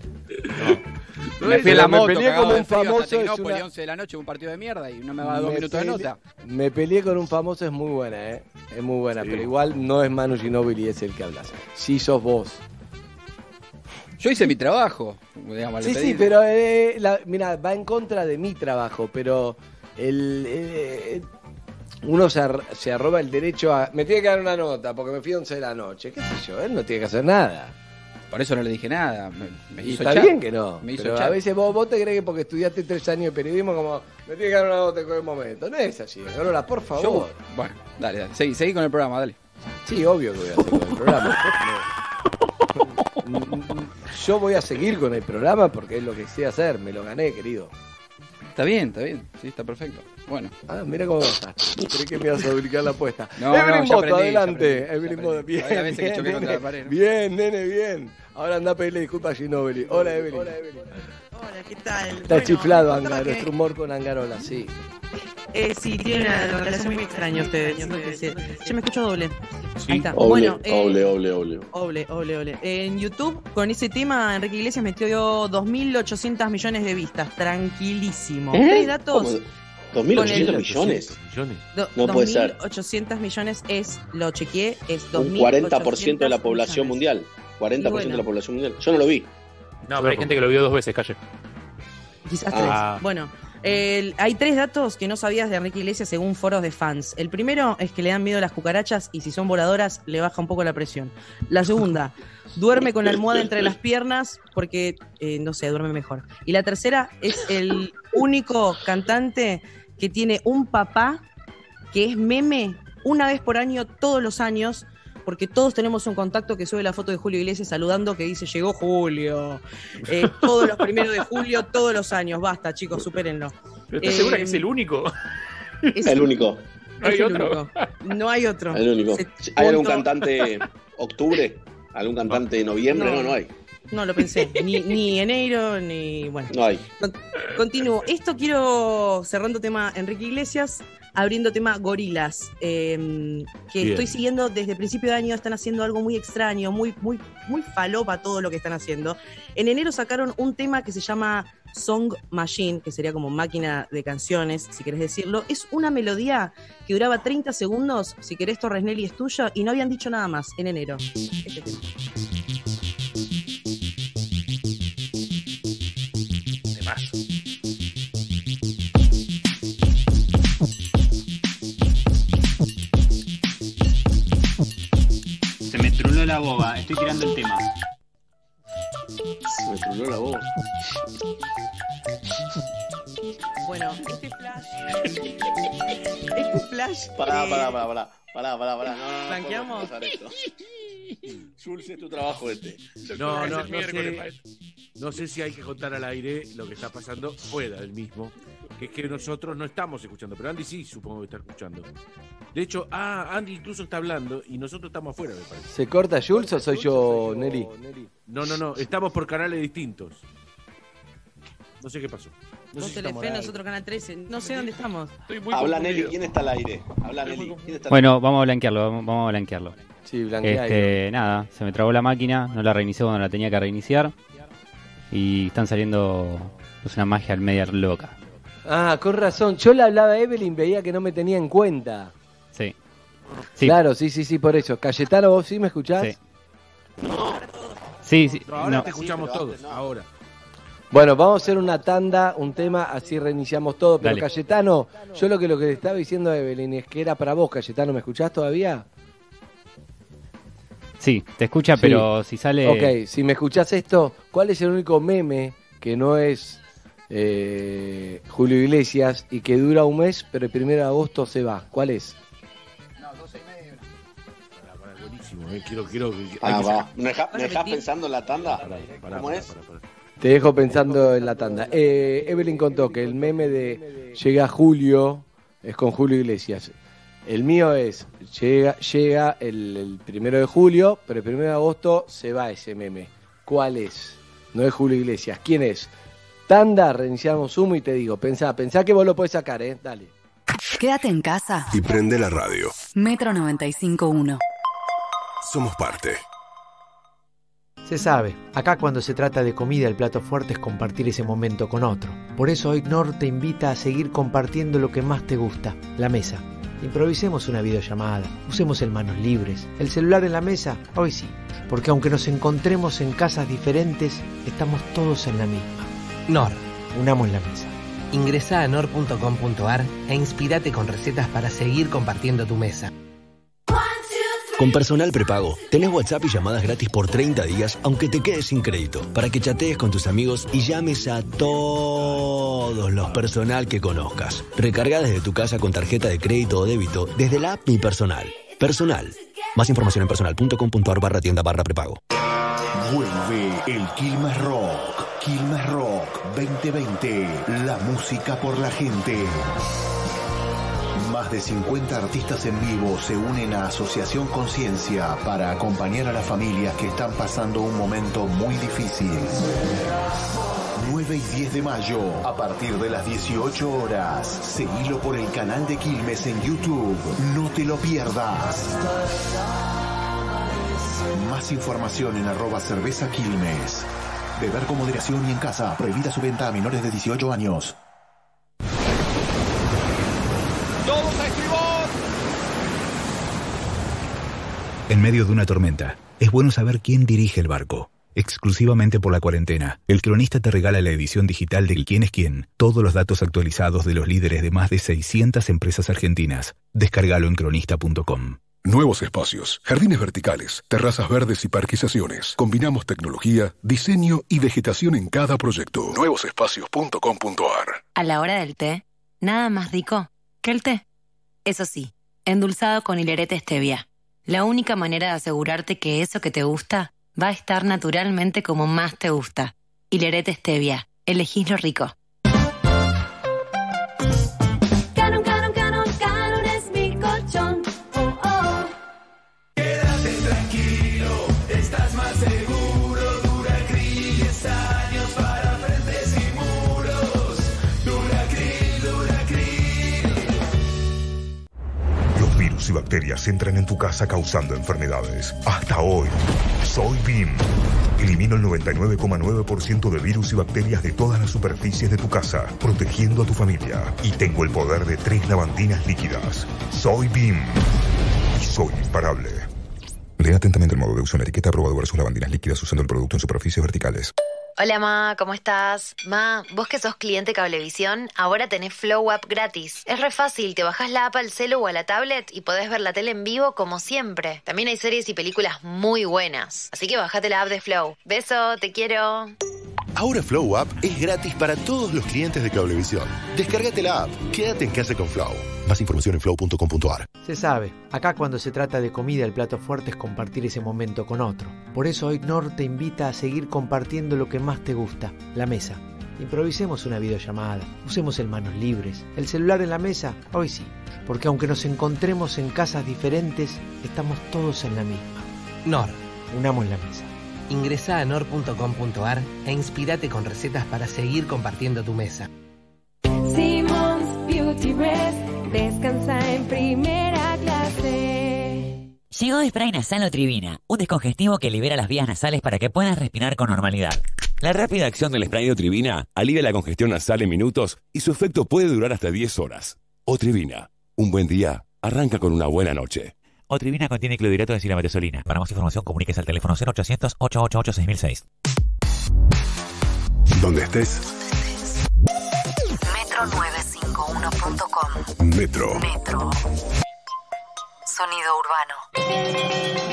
Me fui en la Me moto, peleé cagado con de un frío famoso, hasta es Tecnópolis, una- once de la noche, un partido de mierda y no me va a dar dos Me minutos de pele- nota. Me peleé con un famoso, es muy buena, ¿eh? Es muy buena, Sí. pero igual no es Manu Ginóbili, es el que hablas. Sí sos vos. Yo hice mi trabajo, digamos, le Sí, pedí. sí, pero eh, la- mira, va en contra de mi trabajo, pero el, eh, uno se, ar- se arroba el derecho a... Me tiene que dar una nota porque me fui a once de la noche, qué sé yo, él no tiene que hacer nada. Por eso no le dije nada. Me, me Y hizo está echar. bien que no, Me hizo pero echar. a veces vos, vos te crees que porque estudiaste tres años de periodismo como me tiene que dar una nota en cualquier momento. No es así, Carola, por favor. Yo- bueno, dale, dale. Seguí, seguí con el programa, dale. Sí, obvio que voy a hacer con el programa. No. Yo voy a seguir con el programa porque es lo que sé hacer, me lo gané, querido. Está bien, está bien. Sí, está perfecto. Bueno. Ah, mira cómo estás. Creí que me ibas a ubicar la apuesta. No, Evelyn no, ya Boto, aprendí, ya adelante. aprendí, ya Evelyn Boto, aprendí. bien. Hay veces que bien, choqué contra nene. la pared, ¿no? Bien, nene, bien. Ahora anda a pedirle disculpas a Ginóbili. Hola, Evelyn. Hola, ¿qué tal? Está Bueno, chiflado, me Anga, contaba que- nuestro humor con Angarola, sí. Eh, sí, tiene una relación muy extraña ustedes. siento que se- Yo me escucho doble. Sí. Ahí está. Oble, bueno, eh, oble, oble, oble. Oble, oble, oble. En YouTube, con ese tema, Enrique Iglesias metió dos mil ochocientos millones de vistas. Tranquilísimo. ¿Eh? Tres datos. ¿Cómo? ¿dos mil ochocientos Con el- millones? millones. Do- No puede ser. dos mil ochocientos millones es, lo chequeé, es dos Un mil cuarenta por ciento de la ochocientos población millones. mundial. cuarenta por ciento Y bueno. de la población mundial. Yo no lo vi. No, pero hay gente que lo vio dos veces, calle. Quizás Ah. tres. Bueno, eh, hay tres datos que no sabías de Enrique Iglesias según foros de fans. El primero es que le dan miedo las cucarachas y si son voladoras le baja un poco la presión. La segunda, duerme con la almohada entre las piernas porque, eh, no sé, duerme mejor. Y la tercera, es el único cantante que tiene un papá que es meme una vez por año, todos los años, porque todos tenemos un contacto que sube la foto de Julio Iglesias saludando que dice, llegó Julio. Eh, todos los primeros de julio, todos los años. Basta, chicos, supérenlo. ¿Pero estás Eh, segura que es el único? Es El único. ¿No hay es el otro? único. No hay otro. El único. Se- ¿Hay algún punto. cantante octubre? ¿Algún cantante de noviembre? No. No, no hay. No lo pensé. Ni, ni enero, ni. Bueno. No hay. Con- Continúo. Esto quiero, cerrando tema Enrique Iglesias, abriendo tema Gorilas, eh, que Bien. estoy siguiendo desde principio de año. Están haciendo algo muy extraño, muy, muy, muy falopa todo lo que están haciendo. En enero sacaron un tema que se llama Song Machine, que sería como máquina de canciones, si querés decirlo. Es una melodía que duraba treinta segundos. Si querés, Torres Nelly es tuya, y no habían dicho nada más en enero. Este tema. Temazo. Se me truló la boba, estoy tirando el tema. Se me truló la voz. Bueno, este flash. Este flash. Pará, eh, pará, pará, pará. Pará, pará, pará. No, no, no ¿Blanqueamos? podemos pasar esto. Jules, es tu trabajo este. No, no, Es no miércoles, sé, maestro. no sé si hay que contar al aire lo que está pasando fuera del mismo, que es que nosotros no estamos escuchando, pero Andy sí supongo que está escuchando. De hecho, ah, Andy incluso está hablando y nosotros estamos afuera, me parece. ¿Se corta Jules o soy yo, Nelly? No, no, no, estamos por canales distintos. No sé qué pasó. No Vos sé si estamos Telefe, al aire. nosotros Canal trece. No sé dónde estamos. Estoy muy Habla confundido. Nelly, ¿quién está al aire? Habla Nelly, ¿quién está al Bueno, vamos a blanquearlo, vamos, vamos a blanquearlo. Sí, blanquea. Este, nada, se me trabó la máquina, no la reinicié cuando la tenía que reiniciar. Y están saliendo pues, una magia al media loca. Ah, con razón. Yo le hablaba a Evelyn, veía que no me tenía en cuenta. Sí. Sí. Claro, sí, sí, sí, por eso. Cayetano, ¿vos sí me escuchás? Sí. Sí, sí. No, ahora no. te escuchamos todos, ahora. Bueno, vamos a hacer una tanda, un tema, así reiniciamos todo. Pero Dale. Cayetano, yo lo que, lo que le estaba diciendo a Evelyn es que era para vos, Cayetano. ¿Me escuchás todavía? Sí, te escucha, Sí. pero si sale... Ok, si me escuchás esto, ¿cuál es el único meme que no es eh, Julio Iglesias y que dura un mes, pero el primero de agosto se va? ¿Cuál es? Pará, pará, buenísimo, eh, quiero, quiero, hay Ah, que va. sacar- ¿Me dejás, me dejás pensando en la tanda? Pará, pará, ¿Cómo pará, es? pará, pará. Te dejo pensando en la tanda. Eh, Evelyn contó que el meme de llega Julio es con Julio Iglesias. El mío es llega, llega el, el primero de julio, pero el primero de agosto se va ese meme. ¿Cuál es? No es Julio Iglesias. ¿Quién es? Tanda, reiniciamos Zoom y te digo, pensá, pensá que vos lo podés sacar, ¿eh? Dale. Quédate en casa. Y prende la radio. Metro noventa y cinco punto uno. Somos parte. Se sabe, acá cuando se trata de comida el plato fuerte es compartir ese momento con otro. Por eso hoy Nor te invita a seguir compartiendo lo que más te gusta, la mesa. Improvisemos una videollamada, usemos el manos libres, el celular en la mesa, hoy sí, porque aunque nos encontremos en casas diferentes, estamos todos en la misma. Nor. Unamos la mesa. Ingresá a nor punto com punto ar e inspirate con recetas para seguir compartiendo tu mesa. Con Personal Prepago, tenés WhatsApp y llamadas gratis por treinta días, aunque te quedes sin crédito, para que chatees con tus amigos y llames a todos los personal que conozcas. Recarga desde tu casa con tarjeta de crédito o débito desde la app Mi Personal. Personal. Más información en personal punto com punto ar barra tienda barra prepago. Vuelve el Quilmes Rock. Quilmes Rock veinte veinte. La música por la gente. Más de cincuenta artistas en vivo se unen a Asociación Conciencia para acompañar a las familias que están pasando un momento muy difícil. nueve y diez de mayo, a partir de las dieciocho horas. Seguilo por el canal de Quilmes en YouTube. No te lo pierdas. Más información en arroba cerveza Quilmes. Beber con moderación y en casa. Prohibida su venta a menores de dieciocho años. ¡Todos a estribor! En medio de una tormenta, es bueno saber quién dirige el barco. exclusivamente por la cuarentena. El Cronista te regala la edición digital del Quién es Quién, todos los datos actualizados de los líderes de más de seiscientas empresas argentinas. Descárgalo en cronista punto com. Nuevos espacios, jardines verticales, terrazas verdes y parquizaciones. Combinamos tecnología, diseño y vegetación en cada proyecto. nuevos espacios punto com punto a r. A la hora del té, nada más rico que el té. Eso sí, endulzado con hilerete stevia. La única manera de asegurarte que eso que te gusta va a estar naturalmente como más te gusta. Hilerete stevia. Elegís lo rico. Canon, Canon, Canon, Canon es mi colchón. Oh, oh. Quédate tranquilo, estás más seguro. Duracril, diez años para frentes y muros. Duracril, Duracril. Los virus y bacterias entran en tu casa causando enfermedades. Hasta hoy, soy B I M. Elimino el noventa y nueve coma nueve por ciento de virus y bacterias de todas las superficies de tu casa, protegiendo a tu familia. Y tengo el poder de tres lavandinas líquidas. Soy B I M. Y soy imparable. Lea atentamente el modo de uso en la etiqueta. Aprobado versus lavandinas líquidas usando el producto en superficies verticales. Hola, Ma, ¿cómo estás? Ma, vos que sos cliente Cablevisión, ahora tenés Flow App gratis. Es re fácil, te bajás la app al celu o a la tablet y podés ver la tele en vivo como siempre. También hay series y películas muy buenas. Así que bajate la app de Flow. Beso, te quiero. Ahora Flow App es gratis para todos los clientes de Cablevisión. Descárgate la app. Quédate en casa con Flow. Más información en flow punto com punto a r. Se sabe, acá cuando se trata de comida el plato fuerte es compartir ese momento con otro. Por eso hoy Nor te invita a seguir compartiendo lo que más te gusta, la mesa. Improvisemos una videollamada, usemos el manos libres, el celular en la mesa, hoy sí. Porque aunque nos encontremos en casas diferentes, estamos todos en la misma. Nor. Unamos la mesa. Ingresá a nor punto com punto a r e inspirate con recetas para seguir compartiendo tu mesa. Simon's Beauty Rest, descansa en primera clase. Llegó Spray Nasal Otrivina, un descongestivo que libera las vías nasales para que puedas respirar con normalidad. La rápida acción del spray de Otrivina alivia la congestión nasal en minutos y su efecto puede durar hasta diez horas. Otrivina, un buen día arranca con una buena noche. Otrivina contiene clorhidrato de silamatesolina. Para más información, comuníquese al teléfono cero ochocientos, ochocientos ochenta y ocho, seis mil seis. Donde estés. metro novecientos cincuenta y uno punto com. Metro. Metro. Sonido urbano.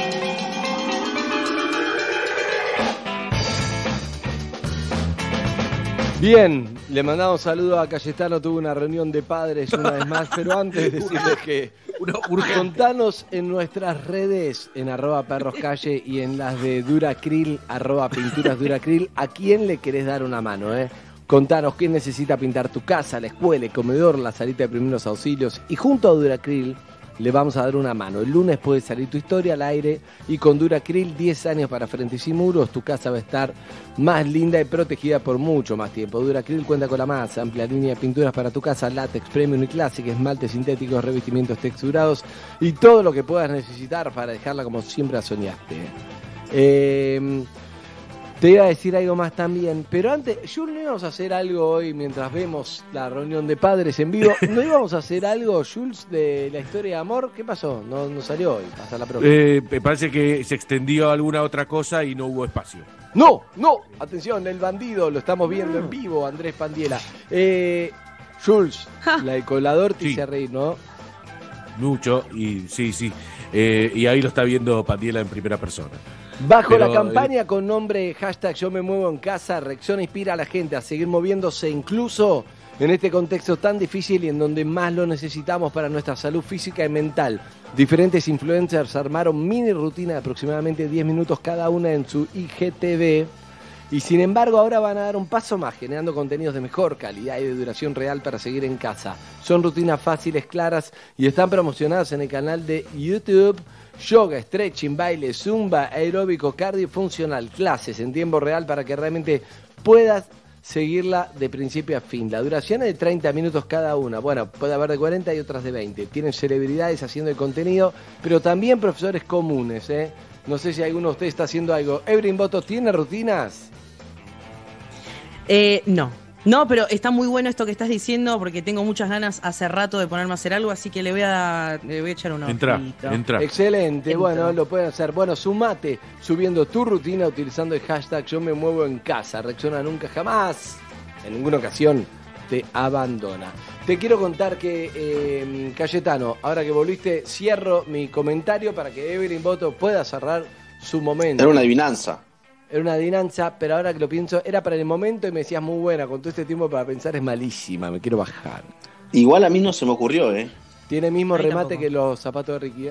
Bien, le mandamos saludos a Cayetano, tuvo una reunión de padres una vez más, pero antes decirles que contanos en nuestras redes, en arroba perroscalle y en las de Duracril, arroba pinturas Duracril, a quién le querés dar una mano, ¿eh? Contanos quién necesita pintar tu casa, la escuela, el comedor, la salita de primeros auxilios, y junto a Duracril le vamos a dar una mano. El lunes puede salir tu historia al aire y con Duracril, diez años para frentes y muros, tu casa va a estar más linda y protegida por mucho más tiempo. Duracril cuenta con la más amplia línea de pinturas para tu casa, látex, premium y clásica, esmaltes sintéticos, revestimientos texturados y todo lo que puedas necesitar para dejarla como siempre soñaste. Eh... Te iba a decir algo más también, pero antes, Jules, ¿no íbamos a hacer algo hoy mientras vemos la reunión de padres en vivo? ¿No íbamos a hacer algo, Jules, de la historia de amor? ¿Qué pasó? No, no salió hoy, hasta la próxima. Eh, me parece que se extendió alguna otra cosa y no hubo espacio. ¡No! ¡No! Atención, el bandido, lo estamos viendo en vivo, Andrés Pandiela. Eh, Jules, la de colador te Sí. hice reír, ¿no? Mucho, y sí, sí. Eh, y ahí lo está viendo Pandiela en primera persona. Bajo Pero, la campaña con nombre hashtag Yo me muevo en casa, Rexona inspira a la gente a seguir moviéndose incluso en este contexto tan difícil y en donde más lo necesitamos para nuestra salud física y mental. Diferentes influencers armaron mini rutina de aproximadamente diez minutos cada una en su I G T V y sin embargo ahora van a dar un paso más generando contenidos de mejor calidad y de duración real para seguir en casa. Son rutinas fáciles, claras y están promocionadas en el canal de YouTube. Yoga, stretching, baile, zumba, aeróbico, cardio funcional, clases en tiempo real para que realmente puedas seguirla de principio a fin. La duración es de treinta minutos cada una. Bueno, puede haber de cuarenta y otras de veinte. Tienen celebridades haciendo el contenido, pero también profesores comunes, ¿eh? No sé si alguno de ustedes está haciendo algo. Ebrin Boto, ¿tiene rutinas? Eh, no. No, pero está muy bueno esto que estás diciendo porque tengo muchas ganas hace rato de ponerme a hacer algo, así que le voy a, le voy a echar una Entra, ojito. entra. Excelente, Entro. bueno, lo pueden hacer. Bueno, sumate subiendo tu rutina utilizando el hashtag Yo me muevo en casa. Rexona nunca jamás, en ninguna ocasión, te abandona. Te quiero contar que, eh, Cayetano, ahora que volviste, cierro mi comentario para que Evelyn Boto pueda cerrar su momento. Era una adivinanza. Era una adivinanza, pero ahora que lo pienso, era para el momento y me decías muy buena. Con todo este tiempo para pensar es malísima, me quiero bajar. Igual a mí no se me ocurrió, ¿eh? Tiene el mismo Ahí remate tampoco. que los zapatos de Ricky. ¿eh?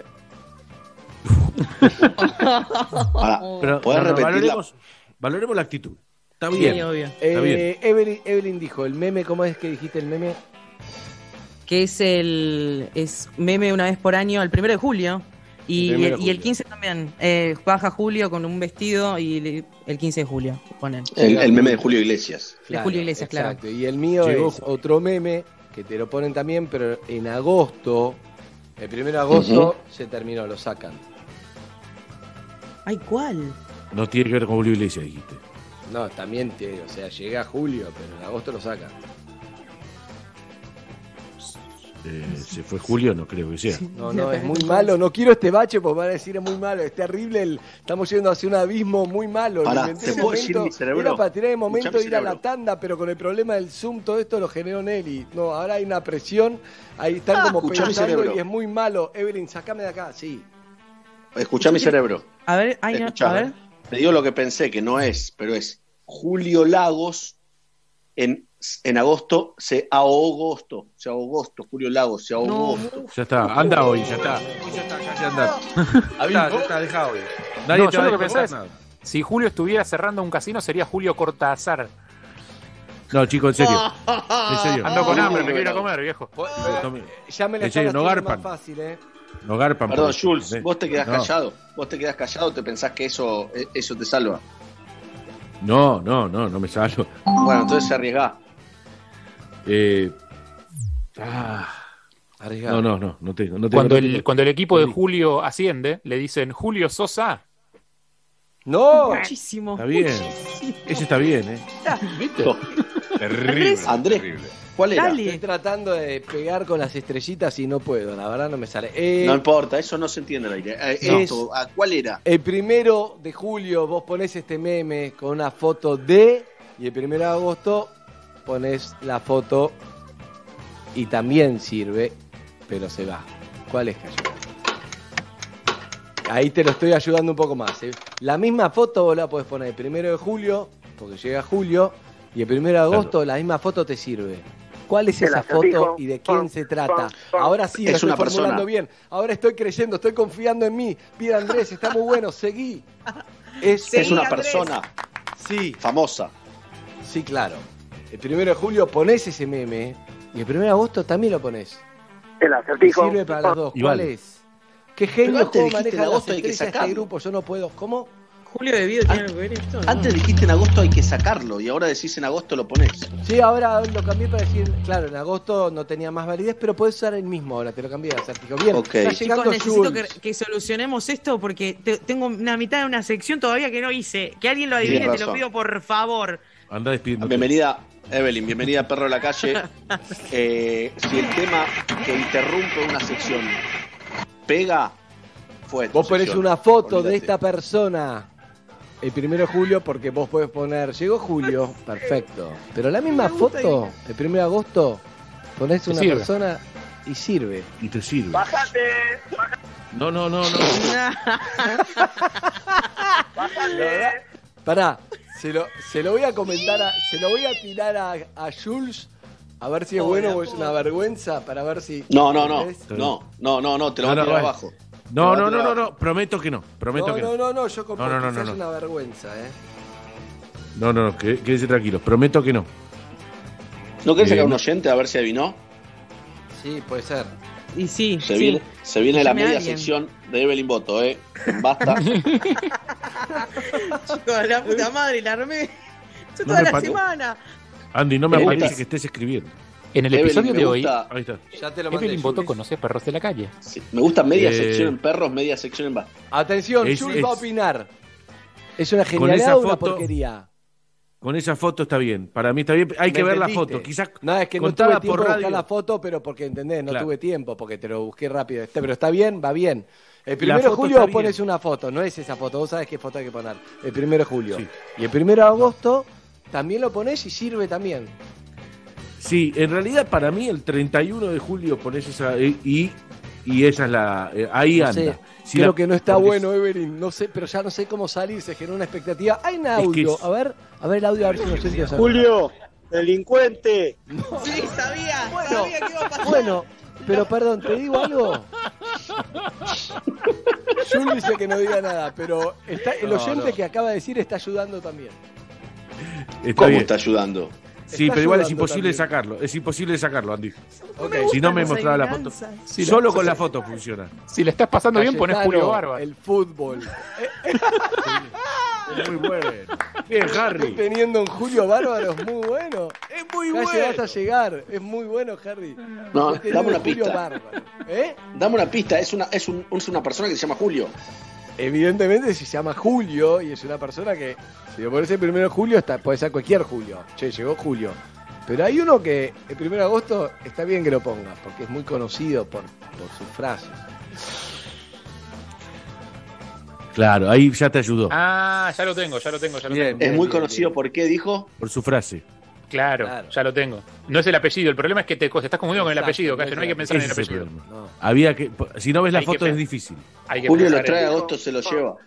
Ahora, Pero ¿podés no, no, repetir la- valoremos, valoremos la actitud. Está Sí, bien. obvio. Está Eh, bien. Evelyn, Evelyn dijo, el meme, ¿cómo es que dijiste el meme? Que es el es meme una vez por año, el primero de julio. Y El el, primero de y el julio. quince también. Eh, baja Julio con un vestido y le- el quince de julio ponen. El, el meme de Julio Iglesias. De Julio Iglesias, claro. Exacto. Y el mío Llegó- es otro meme que te lo ponen también, pero en agosto, el primero de agosto, Ujú. se terminó, lo sacan. Ay, ¿cuál? No tiene que ver con Julio Iglesias, dijiste. No, también, te, o sea, llega julio, pero en agosto lo sacan. Eh, ¿Se fue Julio? No creo que sea. No, no, es muy malo. No quiero este bache porque van a decir es muy malo, es terrible. El, estamos yendo hacia un abismo muy malo. Lo Pará, inventé ¿te en puedo el decir momento, mi cerebro? Era para tirar el momento Escuchá de mi ir a la cerebro. tanda, pero con el problema del Zoom, todo esto lo generó Nelly. No, ahora hay una presión. Ahí están Ah, como escuchá mi pensando cerebro. y es muy malo. Evelyn, sacame de acá, sí. Escuchá mi cerebro. A ver, ay, no, Escuchá, a ver. Te digo lo que pensé, que no es, pero es Julio Lagos en, en agosto se agosto, se agosto, Julio Lagos se agosto. Ya está, anda hoy, ya está. Hoy ya está, ya anda. Ya está, ya está, deja hoy. Nadie No, te yo va a lo que descontar pensaba es, nada. si Julio estuviera cerrando un casino sería Julio Cortázar. No, chico, en serio. En serio. Ando con No, hambre, no, me quiero ir a no. comer, viejo. Ya me la En serio, están no haciendo garpan. más fácil, ¿eh? No garpan. Perdón, por eso, Jules, ¿entendés? vos te quedás No. callado. Vos te quedás callado, te pensás que eso, eso te salva. No, no, no, no me salgo. Bueno, entonces se arriesgá. Eh, ah, Arriesgado. no, no, no, no tengo. No tengo Cuando no el, tengo. cuando el equipo de Julio asciende, le dicen Julio Sosa. ¡No! Muchísimo. Está bien. Ese está bien, ¿eh? ¿Viste? Terrible. Andrés, ¿cuál era? Dale. Estoy tratando de pegar con las estrellitas y no puedo, la verdad no me sale. Eh, No importa, eso no se entiende al aire. Eh, No. esto, ¿a ¿cuál era? El primero de julio vos ponés este meme con una foto de, y el primero de agosto ponés la foto y también sirve, pero se va. ¿Cuál es, Cayo? Ahí te lo estoy ayudando un poco más. ¿eh? La misma foto vos la podés poner el primero de julio, porque llega julio, y el primero de agosto la misma foto te sirve. ¿Cuál es El esa acertijo. foto y de quién se trata? Ahora sí, lo Es estoy una formulando persona. bien. Ahora estoy creyendo, estoy confiando en mí. Bien, Andrés, está muy bueno, seguí. Es, Es una persona Sí, famosa. sí, claro. El primero de julio ponés ese meme y el primero de agosto también lo ponés. El Y acertijo. sirve para las dos. Y ¿Cuál vale. es? ¿Qué genio Pero antes cómo dijiste maneja en las agosto hay que estrellas este sacarlo. grupo? Yo no puedo. ¿Cómo? Julio de Vido tiene algo que ver esto. ¿no? Antes dijiste en agosto hay que sacarlo y ahora decís en agosto lo ponés. Sí, ahora lo cambié para decir, claro, en agosto no tenía más validez, pero podés usar el mismo ahora, te lo cambié de acertijo. Bien, Ok. está Chicos, llegando necesito que, Jules. que solucionemos esto porque te- tengo una mitad de una sección todavía que no hice. Que alguien lo adivine, Tienes te lo razón. pido por favor. Anda despidiendo. Bienvenida, Evelyn, bienvenida Perro de la Calle. Eh, si el tema que interrumpe una sección pega, fue tu Vos ponés sección. una foto Olvídate. de esta persona el primero de julio porque vos podés poner, llegó julio, perfecto. Pero la misma foto, el primero de agosto, ponés Te una sirve. persona y sirve. Y te sirve. Bájate. No, no, no, no. Bájate. Pará, se lo, se lo voy a comentar, a- se lo voy a tirar a, a Jules, a ver si es bueno o es una vergüenza, para ver si... No, no, no, ¿Ves? no, no, no, no, te lo No, voy a no, tirar bueno. abajo. No, Te lo no, voy a no, tirar no, no, prometo que no, prometo No, que no, no. no, no, yo como No, no, no, quizás no, es no. una vergüenza, ¿eh? No, no, no, qué- quédese tranquilo, prometo que no. ¿No querés Eh, sacar un no. oyente a ver si adivinó? Sí, puede ser. Y sí, Se sí. viene, se viene la Llame a media alguien. sección de Evelyn Boto, ¿eh? Basta. Chicos, la puta madre, la armé. Yo No toda me la pare- semana. Andy, no me Me aparece gusta. que estés escribiendo. En el Evelyn, episodio me de hoy, gusta- Ahí está. Ya te lo mandé, Evelyn Boto Jules. conoce perros de la calle. sí, me gusta media Eh. sección en perros, media sección en basta. Atención, Es- Jules es- va a opinar. ¿Es una Con genialidad esa o una foto- porquería? Con esa foto está bien. Para mí está bien. Hay que ver la foto. Quizás no, es que no tuve tiempo de buscar la foto, pero porque entendés, no Claro. tuve tiempo, porque te lo busqué rápido. Este, pero está bien, va bien. El primero de foto julio está vos pones bien. una foto, no es esa foto, vos sabés qué foto hay que poner. El primero de julio. Y el primero de agosto también lo pones y sirve también. Sí, en realidad para mí el treinta y uno de julio pones esa eh, y, y esa es la... eh, ahí No anda. sé, Si creo la- que no está porque bueno, Evelyn, no sé, pero ya no sé cómo salir, se generó una expectativa. Hay un que audio, es- a ver, a ver el audio, a ver si nos entiende. Julio, delincuente. Sí, sabía, Bueno, sabía que iba a pasar. Bueno, pero perdón, ¿te digo algo? Jun dice que no diga nada, pero está, el No, oyente no. que acaba de decir está ayudando también. Está ¿Cómo bien. está ayudando? Sí, Está pero igual es ayudando imposible también. sacarlo. Es imposible sacarlo, Andy. Ok. Si no me las mostraba la foto. adivinanzas. Si la- Solo con la foto funciona. Si le estás pasando bien, pones Cayetano, Julio Bárbaro. El fútbol. Es muy bueno. Bien, Harry. Teniendo un Julio Bárbaro es muy bueno. Es muy Ya bueno. llegaste a llegar. Es muy bueno, Harry. No, Teniendo dame una un Julio pista. Bárbaro. ¿Eh? Dame una pista, es una, es, un- es una persona que se llama Julio. Evidentemente si se llama Julio y es una persona que, si lo pones el primero de julio, está, puede ser cualquier Julio. Che, llegó Julio. Pero hay uno que el primero de agosto está bien que lo pongas, porque es muy conocido por, por sus frases. Claro, ahí ya te ayudó. Ah, ya lo tengo, ya lo tengo, ya lo Bien, tengo. Es muy conocido, ¿por qué dijo? Por su frase. Claro, Claro. ya lo tengo. No es el apellido, el problema es que te, te estás confundiendo con el Exacto, apellido, no es Cacho, no hay el que pensar en el Ese es el apellido. problema. No. Había que, si no ves la Hay que foto pe- es difícil. Hay que Julio lo pensar trae en- a agosto, se lo lleva.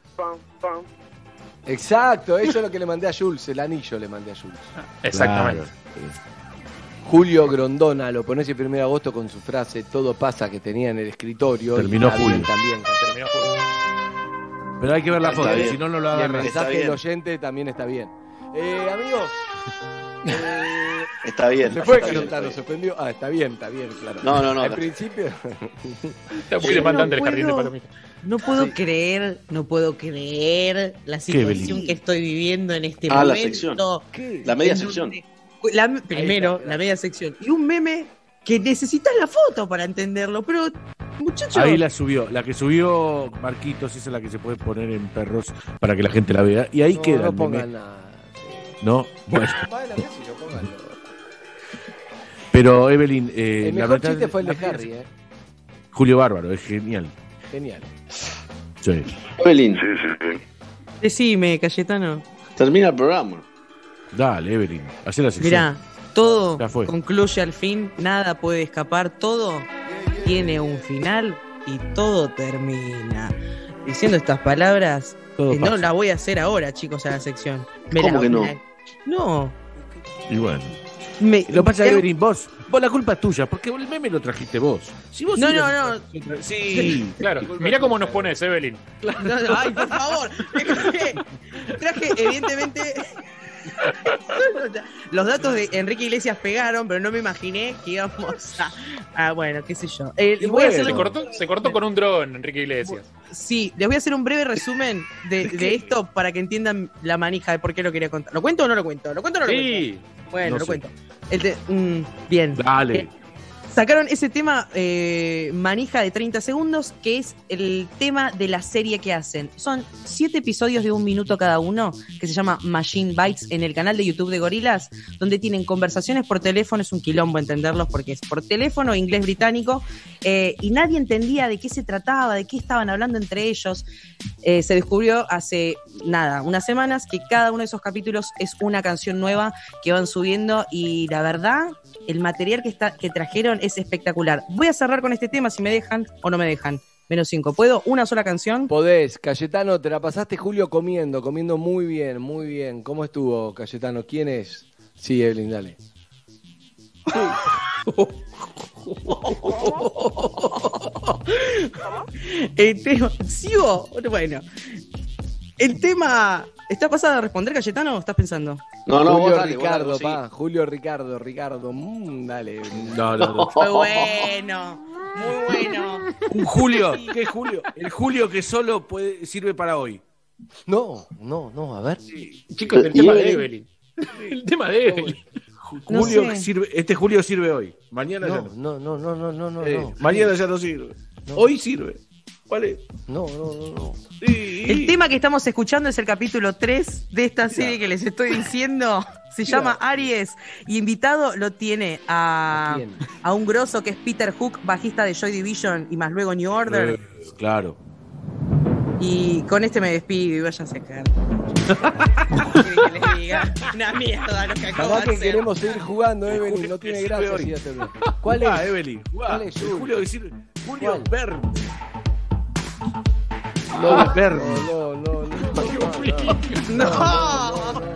Exacto, eso es lo que le mandé a Jules, el anillo le mandé a Jules. Exactamente. Julio Grondona, lo pones el primero de agosto con su frase Todo pasa que tenía en el escritorio. y Terminó está bien Julio. también. Terminó Julio. Pero hay que ver la Está foto, bien. si no, no lo Y el agarras. Está mensaje bien. del oyente también está bien. Eh, amigos, eh, Está bien. se fue está bien, Cayetano, está se ofendió. Ah, está bien, está bien, claro. No, no, no. Al principio. Está muy Yo demandante no el jardín de puedo- palomitas. No puedo Sí. creer, no puedo creer la ¿Qué, situación Belín? que estoy viviendo en este Ah, la momento. sección. ¿Qué? La media En sección. donde- La, primero, está, la media sección. Y un meme que necesitas la foto para entenderlo. Pero, muchachos, Ahí la subió. La que subió Marquitos, esa es la que se puede poner en perros para que la gente la vea. Y ahí No, queda no el pongan meme. nada. No, bueno. Bueno, qué sé yo, pónganlo. Pero Evelyn, eh, El la mejor verdad- chiste fue el de la- Harry, ¿eh? Julio Bárbaro, es genial. Genial. Sí. Evelyn, decime, Cayetano. termina el programa. Dale, Evelyn, hacé la sección. Mirá, todo Ya fue. concluye al fin, nada puede escapar, todo tiene un final y todo termina. Diciendo estas palabras, Todo eh, no pasa. la voy a hacer ahora, chicos, a la sección. Me ¿Cómo la- que no? me la- No. Y bueno. Me, Lo que pasa es me- que Evelyn, vos, vos la culpa es tuya, porque el meme lo trajiste vos. Si vos No, sí no, lo- no. Sí, Claro, mirá cómo nos pones, Evelyn. No, no, ay, por favor. Traje, traje, evidentemente. Los datos de Enrique Iglesias pegaron, pero no me imaginé que íbamos a. a, bueno, qué sé yo. Eh, Y voy a bueno. hacer Se un- cortó, se cortó con un dron, Enrique Iglesias. Sí, les voy a hacer un breve resumen de, de esto para que entiendan la manija de por qué lo quería contar. ¿Lo cuento o no lo cuento? ¿Lo cuento o no lo Sí. cuento? Bueno, No lo sé. cuento. El te- mm, bien. Dale. Eh, sacaron ese tema eh, manija de treinta segundos, que es el tema de la serie que hacen. Son siete episodios de un minuto cada uno, que se llama Machine Bites, en el canal de YouTube de Gorilas, donde tienen conversaciones por teléfono. Es un quilombo entenderlos porque es por teléfono, inglés británico, eh, y nadie entendía de qué se trataba, de qué estaban hablando entre ellos. Eh, se descubrió hace, nada, unas semanas, que cada uno de esos capítulos es una canción nueva que van subiendo, y la verdad, el material que, está, que trajeron es espectacular. Voy a cerrar con este tema, si me dejan o no me dejan. Menos cinco. ¿Puedo? ¿Una sola canción? Podés, Cayetano, te la pasaste, Julio, comiendo, comiendo muy bien, muy bien. ¿Cómo estuvo, Cayetano? ¿Quién es? Sí, Evelyn, dale. El tema. ¿Sigo? Bueno. El tema. ¿Estás pasada a responder, Cayetano, o estás pensando? No, no, Julio vos dale, vos Ricardo, dale, vos pa. Julio Ricardo, Ricardo. Mm, dale. No, no, no. Muy bueno. Muy bueno. Un Julio, ¿qué Julio? El Julio que solo puede, sirve para hoy. No, no, no, a ver. Chicos, el Y tema de Evelyn. Evelyn. El tema de Evelyn. No Julio sé. que sirve, este Julio sirve hoy. Mañana ya No, no. no, no, no, no, no, Eh, no. mañana ya no sirve. No. Hoy sirve. ¿Cuál es? No, no, no, no. El tema que estamos escuchando es el capítulo tres de esta serie que les estoy diciendo. Se llama Aries. Y invitado lo tiene a, ¿A a un grosso que es Peter Hook, bajista de Joy Division y más luego New Order. Eh, claro. Y con este me despido y váyanse a caer. ¿Qué quieren que les diga? Una mierda lo que acabo Capaz de que hacer. queremos seguir jugando, Evelyn. No tiene gracia si ya te veo. ¿Cuál es? Ah, Evelyn. ¿Cuál es? Julio, decir, Julio ¿Cuál? Verne. No, Ah, Verne. no, no, no. No. no, no, no.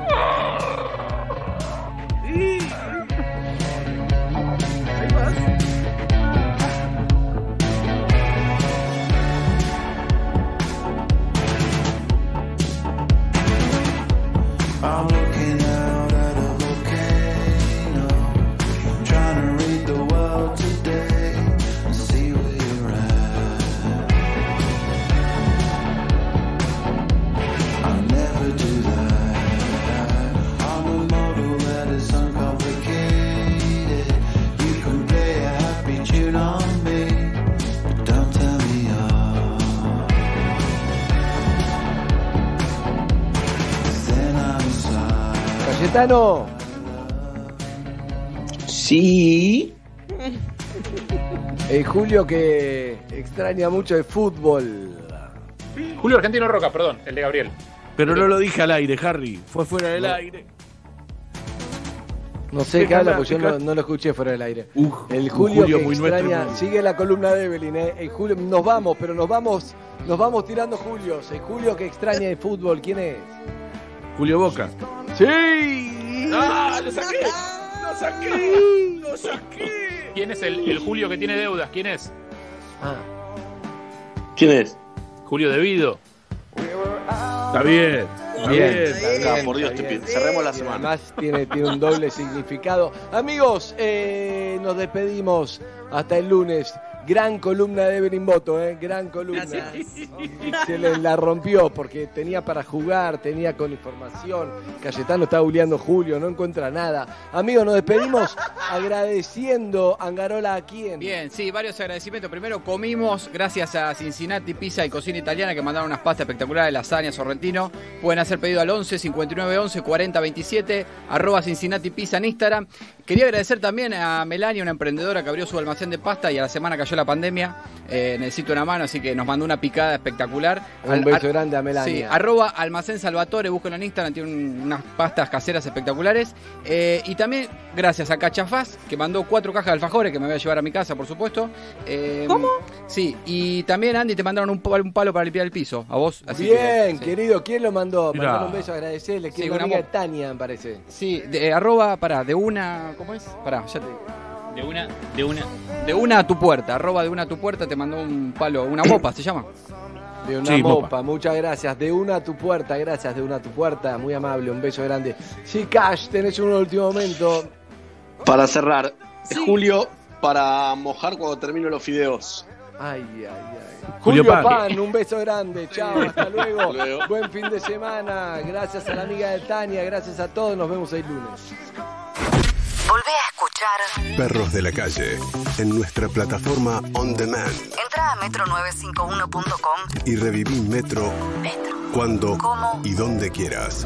I'm looking out at a volcano, trying to read the world today and see where you're at. I'll never do that. I'm a model that is uncomplicated. You can play a happy tune on me, but don't tell me off. Then I'm Cayetano. Sí. El Julio que extraña mucho el fútbol. Julio Argentino Roca, perdón, el de Gabriel. Pero no lo dije al aire, Harry. Fue fuera del No. aire. No sé qué habla, porque yo no, no lo escuché fuera del aire. el Julio, Julio que muy extraña, nuestro. sigue la columna de Evelyn, ¿eh? El Julio, nos vamos, pero nos vamos, nos vamos tirando Julios. El Julio que extraña el fútbol, ¿quién es? Julio Boca. ¡Sí! ¡Ah! ¡Lo saqué! ¡Lo saqué! ¡Lo saqué! ¿Quién es el, el Julio que tiene deudas? ¿Quién es? Ah. ¿Quién es? Julio Devido. Está bien. Está Bien, bien. está bien, Ah, por Dios, está te bien. pido. Cerremos la Y semana. además tiene, tiene un doble significado. Amigos, eh, nos despedimos hasta el lunes. Gran columna de Evelyn Boto, ¿eh? Gran columna. Se le la rompió porque tenía para jugar, tenía con información. Cayetano está buleando Julio, no encuentra nada. Amigos, nos despedimos agradeciendo Angarola a quién. Bien, sí, varios agradecimientos. Primero, comimos gracias a Cincinnati Pizza y Cocina Italiana que mandaron unas pastas espectaculares, lasaña, sorrentino. Pueden hacer pedido al once cincuenta y nueve once cuarenta veintisiete, arroba Cincinnati Pizza en Instagram. Quería agradecer también a Melania, una emprendedora que abrió su almacén de pasta y a la semana cayó la pandemia. Eh, necesito una mano, así que nos mandó una picada espectacular. Un Al- beso ar- grande a Melania. Sí, arroba Almacén Salvatore, búsquenlo en Instagram, tiene un- unas pastas caseras espectaculares. Eh, y también gracias a Cachafaz, que mandó cuatro cajas de alfajores que me voy a llevar a mi casa, por supuesto. Eh, ¿Cómo? Sí, y también Andy te mandaron un, pa- un palo para limpiar el piso, a vos. Así Bien, que, sí. querido, ¿quién lo mandó? Mirá. Mandar un beso, agradecerle. Que Sí, es una una amiga mo- de Tania, me parece. Sí, de, eh, arroba, pará, de una, ¿cómo es? Pará, ya te digo. De una, de una. De una a tu puerta, arroba de una a tu puerta, te mandó un palo, una mopa se llama. De una Sí, mopa. mopa. muchas gracias. De una a tu puerta, gracias, de una a tu puerta. Muy amable, un beso grande. Sí, Cash, tenés un último momento. Para cerrar, Julio, para mojar cuando termino los fideos. Ay, ay, ay. Julio Julio Pan. Pan, un beso grande. Chao, hasta luego. Hasta luego. Buen fin de semana. Gracias a la amiga de Tania, gracias a todos. Nos vemos el lunes. Volvé a escuchar. Perros de la calle, en nuestra plataforma On Demand. Entra a metro novecientos cincuenta y uno punto com. Y reviví Metro, Metro. cuando ¿Cómo? y donde quieras.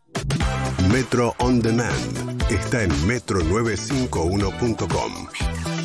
Metro On Demand está en metro novecientos cincuenta y uno punto com.